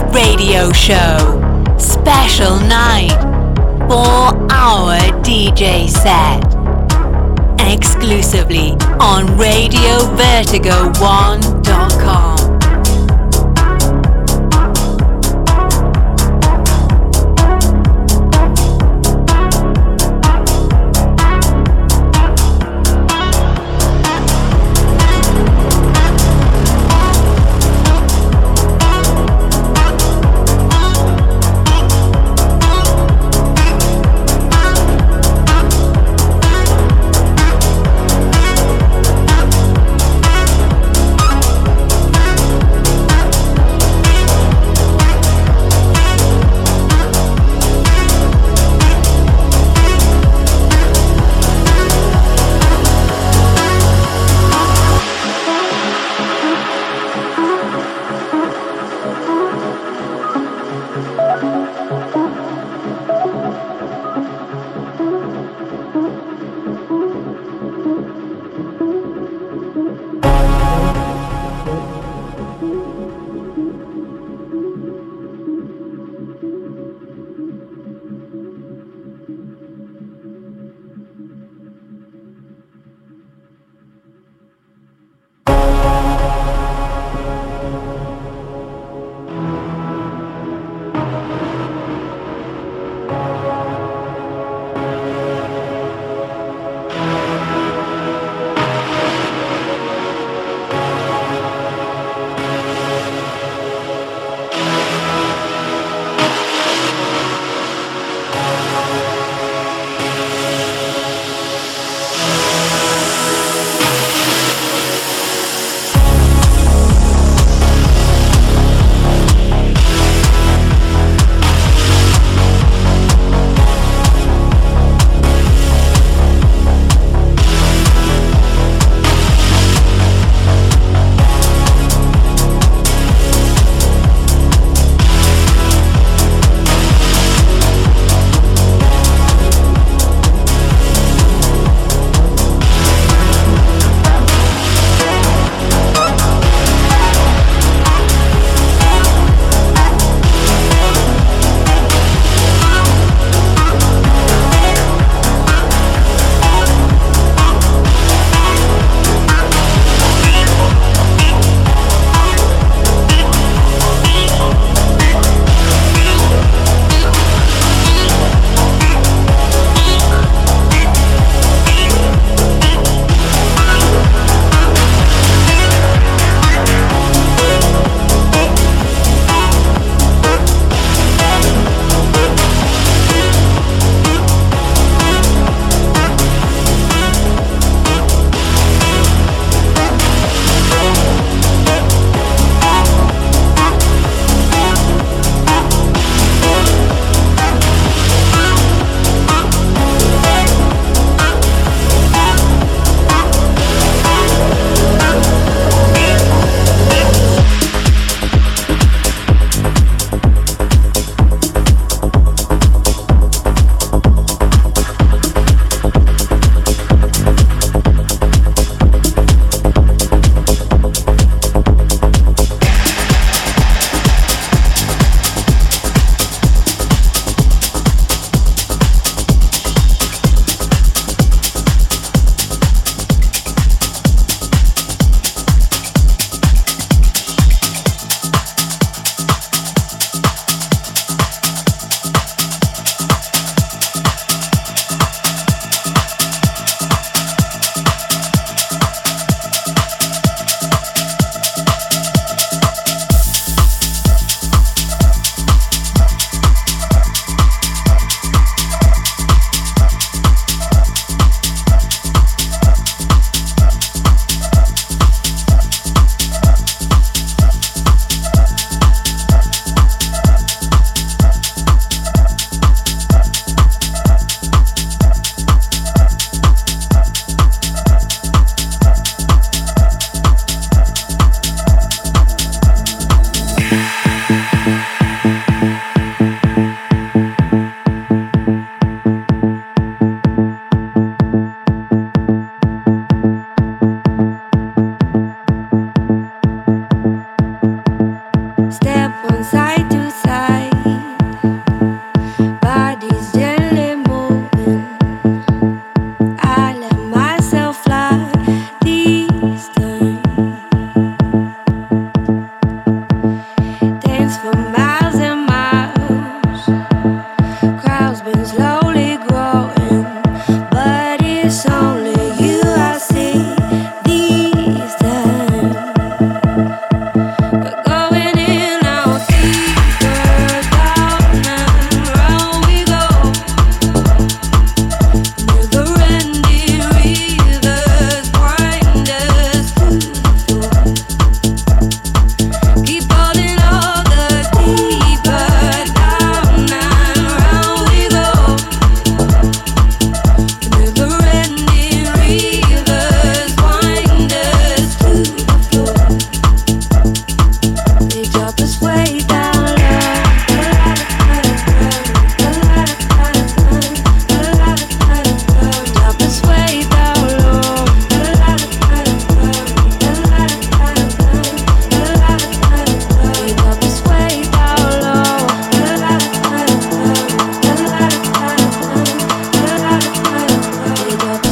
Radio Show. Special night. four hour D J set. Exclusively on radio vertigo one dot com.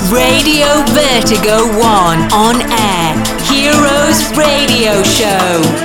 Radio Vertigo One on air. Heroes Radio Show.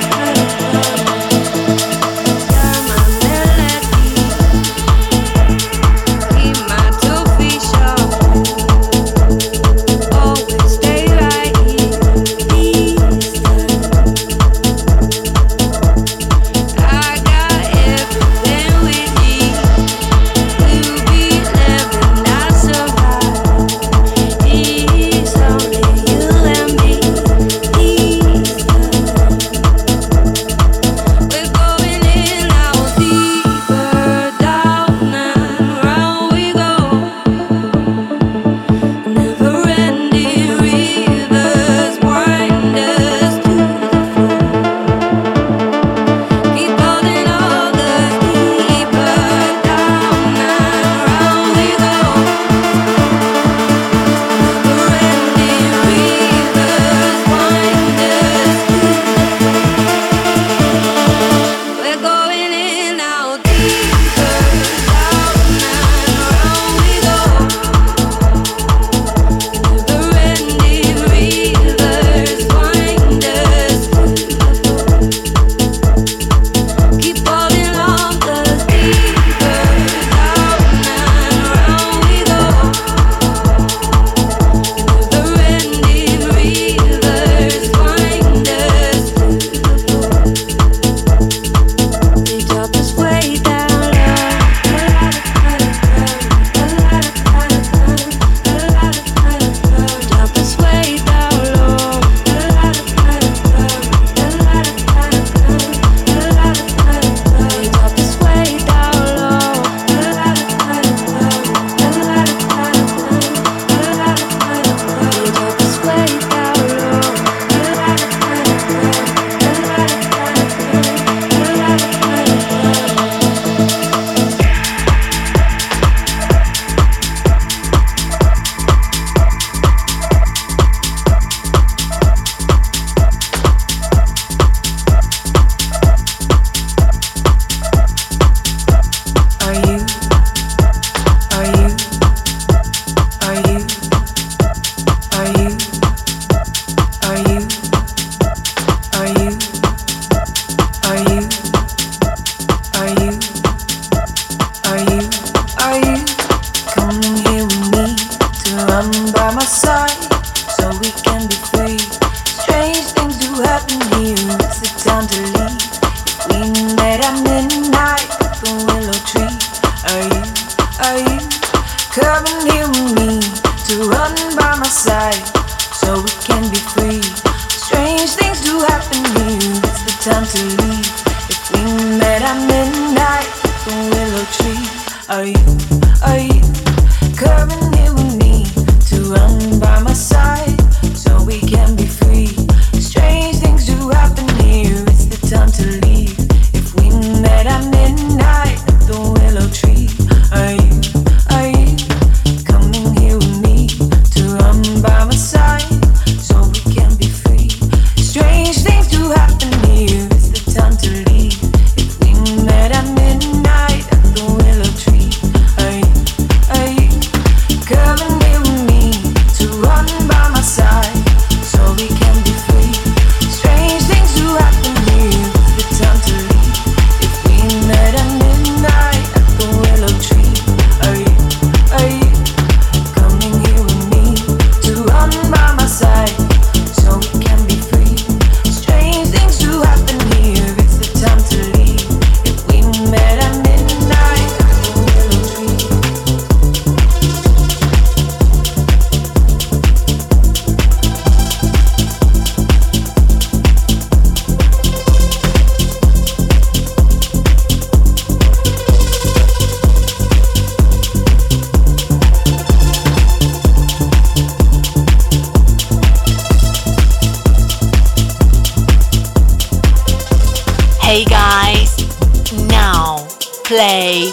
Play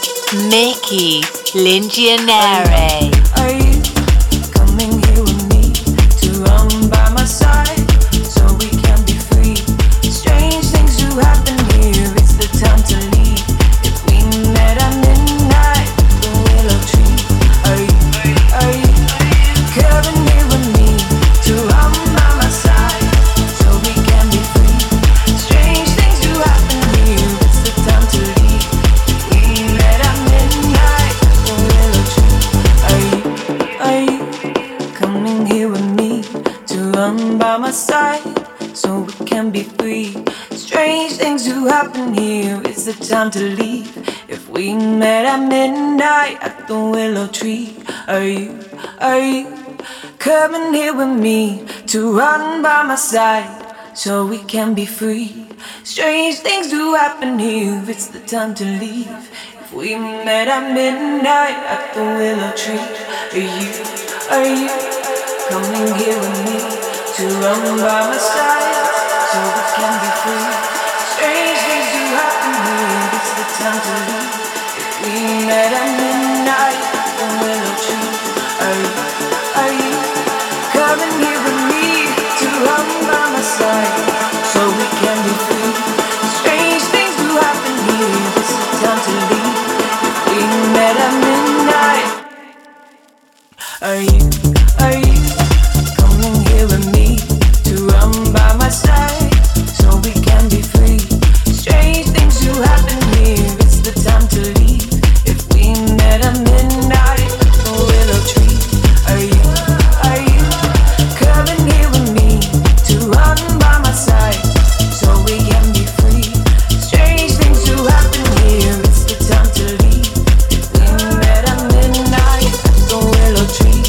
Mickey Lingianere. Are you coming here with me to run by my side so we can be free? Strange things do happen here, it's the time to leave. If we met at midnight, the willow tree. Are you, are you do happen here, it's the time to leave. If we met at midnight at the willow tree, are you, are you coming here with me to run by my side so we can be free? Strange things do happen here, it's the time to leave. If we met at midnight at the willow tree, are you, are you coming here with me to run by my side so we can be free? Strange things do happen here, it's the time to leave. If we met at midnight at the willow tree, are you, are you coming here with me to run by my side so we can be free? Strange things do happen here, it's the time to leave. If we met at midnight, are you, are you coming here with me to run by my side so we can be free? Strange things do happen here, it's the time to leave. If we met at midnight at the willow tree, are you, are you coming here with me to run by my side so we can be free? Strange things do happen here, it's the time to leave. If we met at midnight at the willow tree.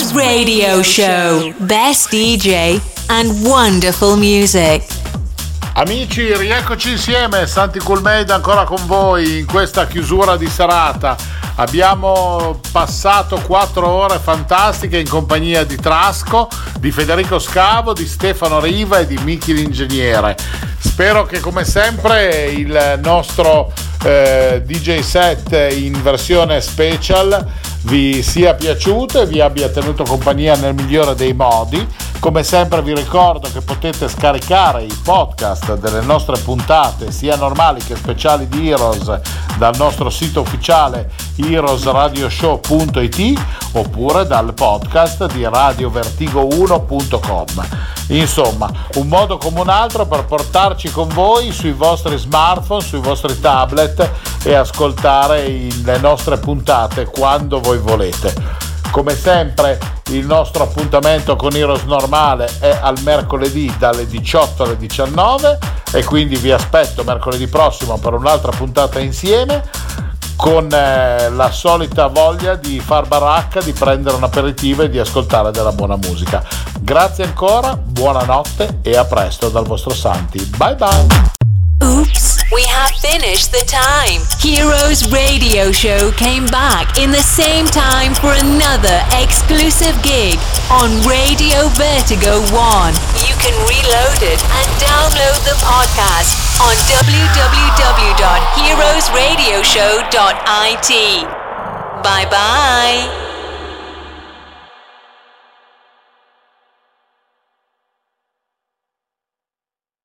Radio Show, best D J and wonderful music. Amici, rieccoci insieme, Santi Cool Made ancora con voi in questa chiusura di serata. Abbiamo passato quattro ore fantastiche in compagnia di Trasco, di Federico Scavo, di Stefano Riva e di Miki l'ingegnere. Spero che come sempre il nostro eh, D J set in versione special vi sia piaciuto e vi abbia tenuto compagnia nel migliore dei modi. Come sempre vi ricordo che potete scaricare i podcast delle nostre puntate, sia normali che speciali di Heroes, dal nostro sito ufficiale heroes radio show punto it oppure dal podcast di radio vertigo uno punto com. Insomma, un modo come un altro per portarci con voi sui vostri smartphone, sui vostri tablet e ascoltare le nostre puntate quando voi volete. Come sempre il nostro appuntamento con Heroes normale è al mercoledì dalle diciotto alle diciannove e quindi vi aspetto mercoledì prossimo per un'altra puntata insieme con eh, la solita voglia di far baracca, di prendere un aperitivo e di ascoltare della buona musica. Grazie ancora, buonanotte e a presto dal vostro Santi. Bye bye! Oops, we have finished the time. Heroes Radio Show came back in the same time for another exclusive gig on Radio Vertigo one. You can reload it and download the podcast on w w w dot heroes radio show dot i t. Bye bye.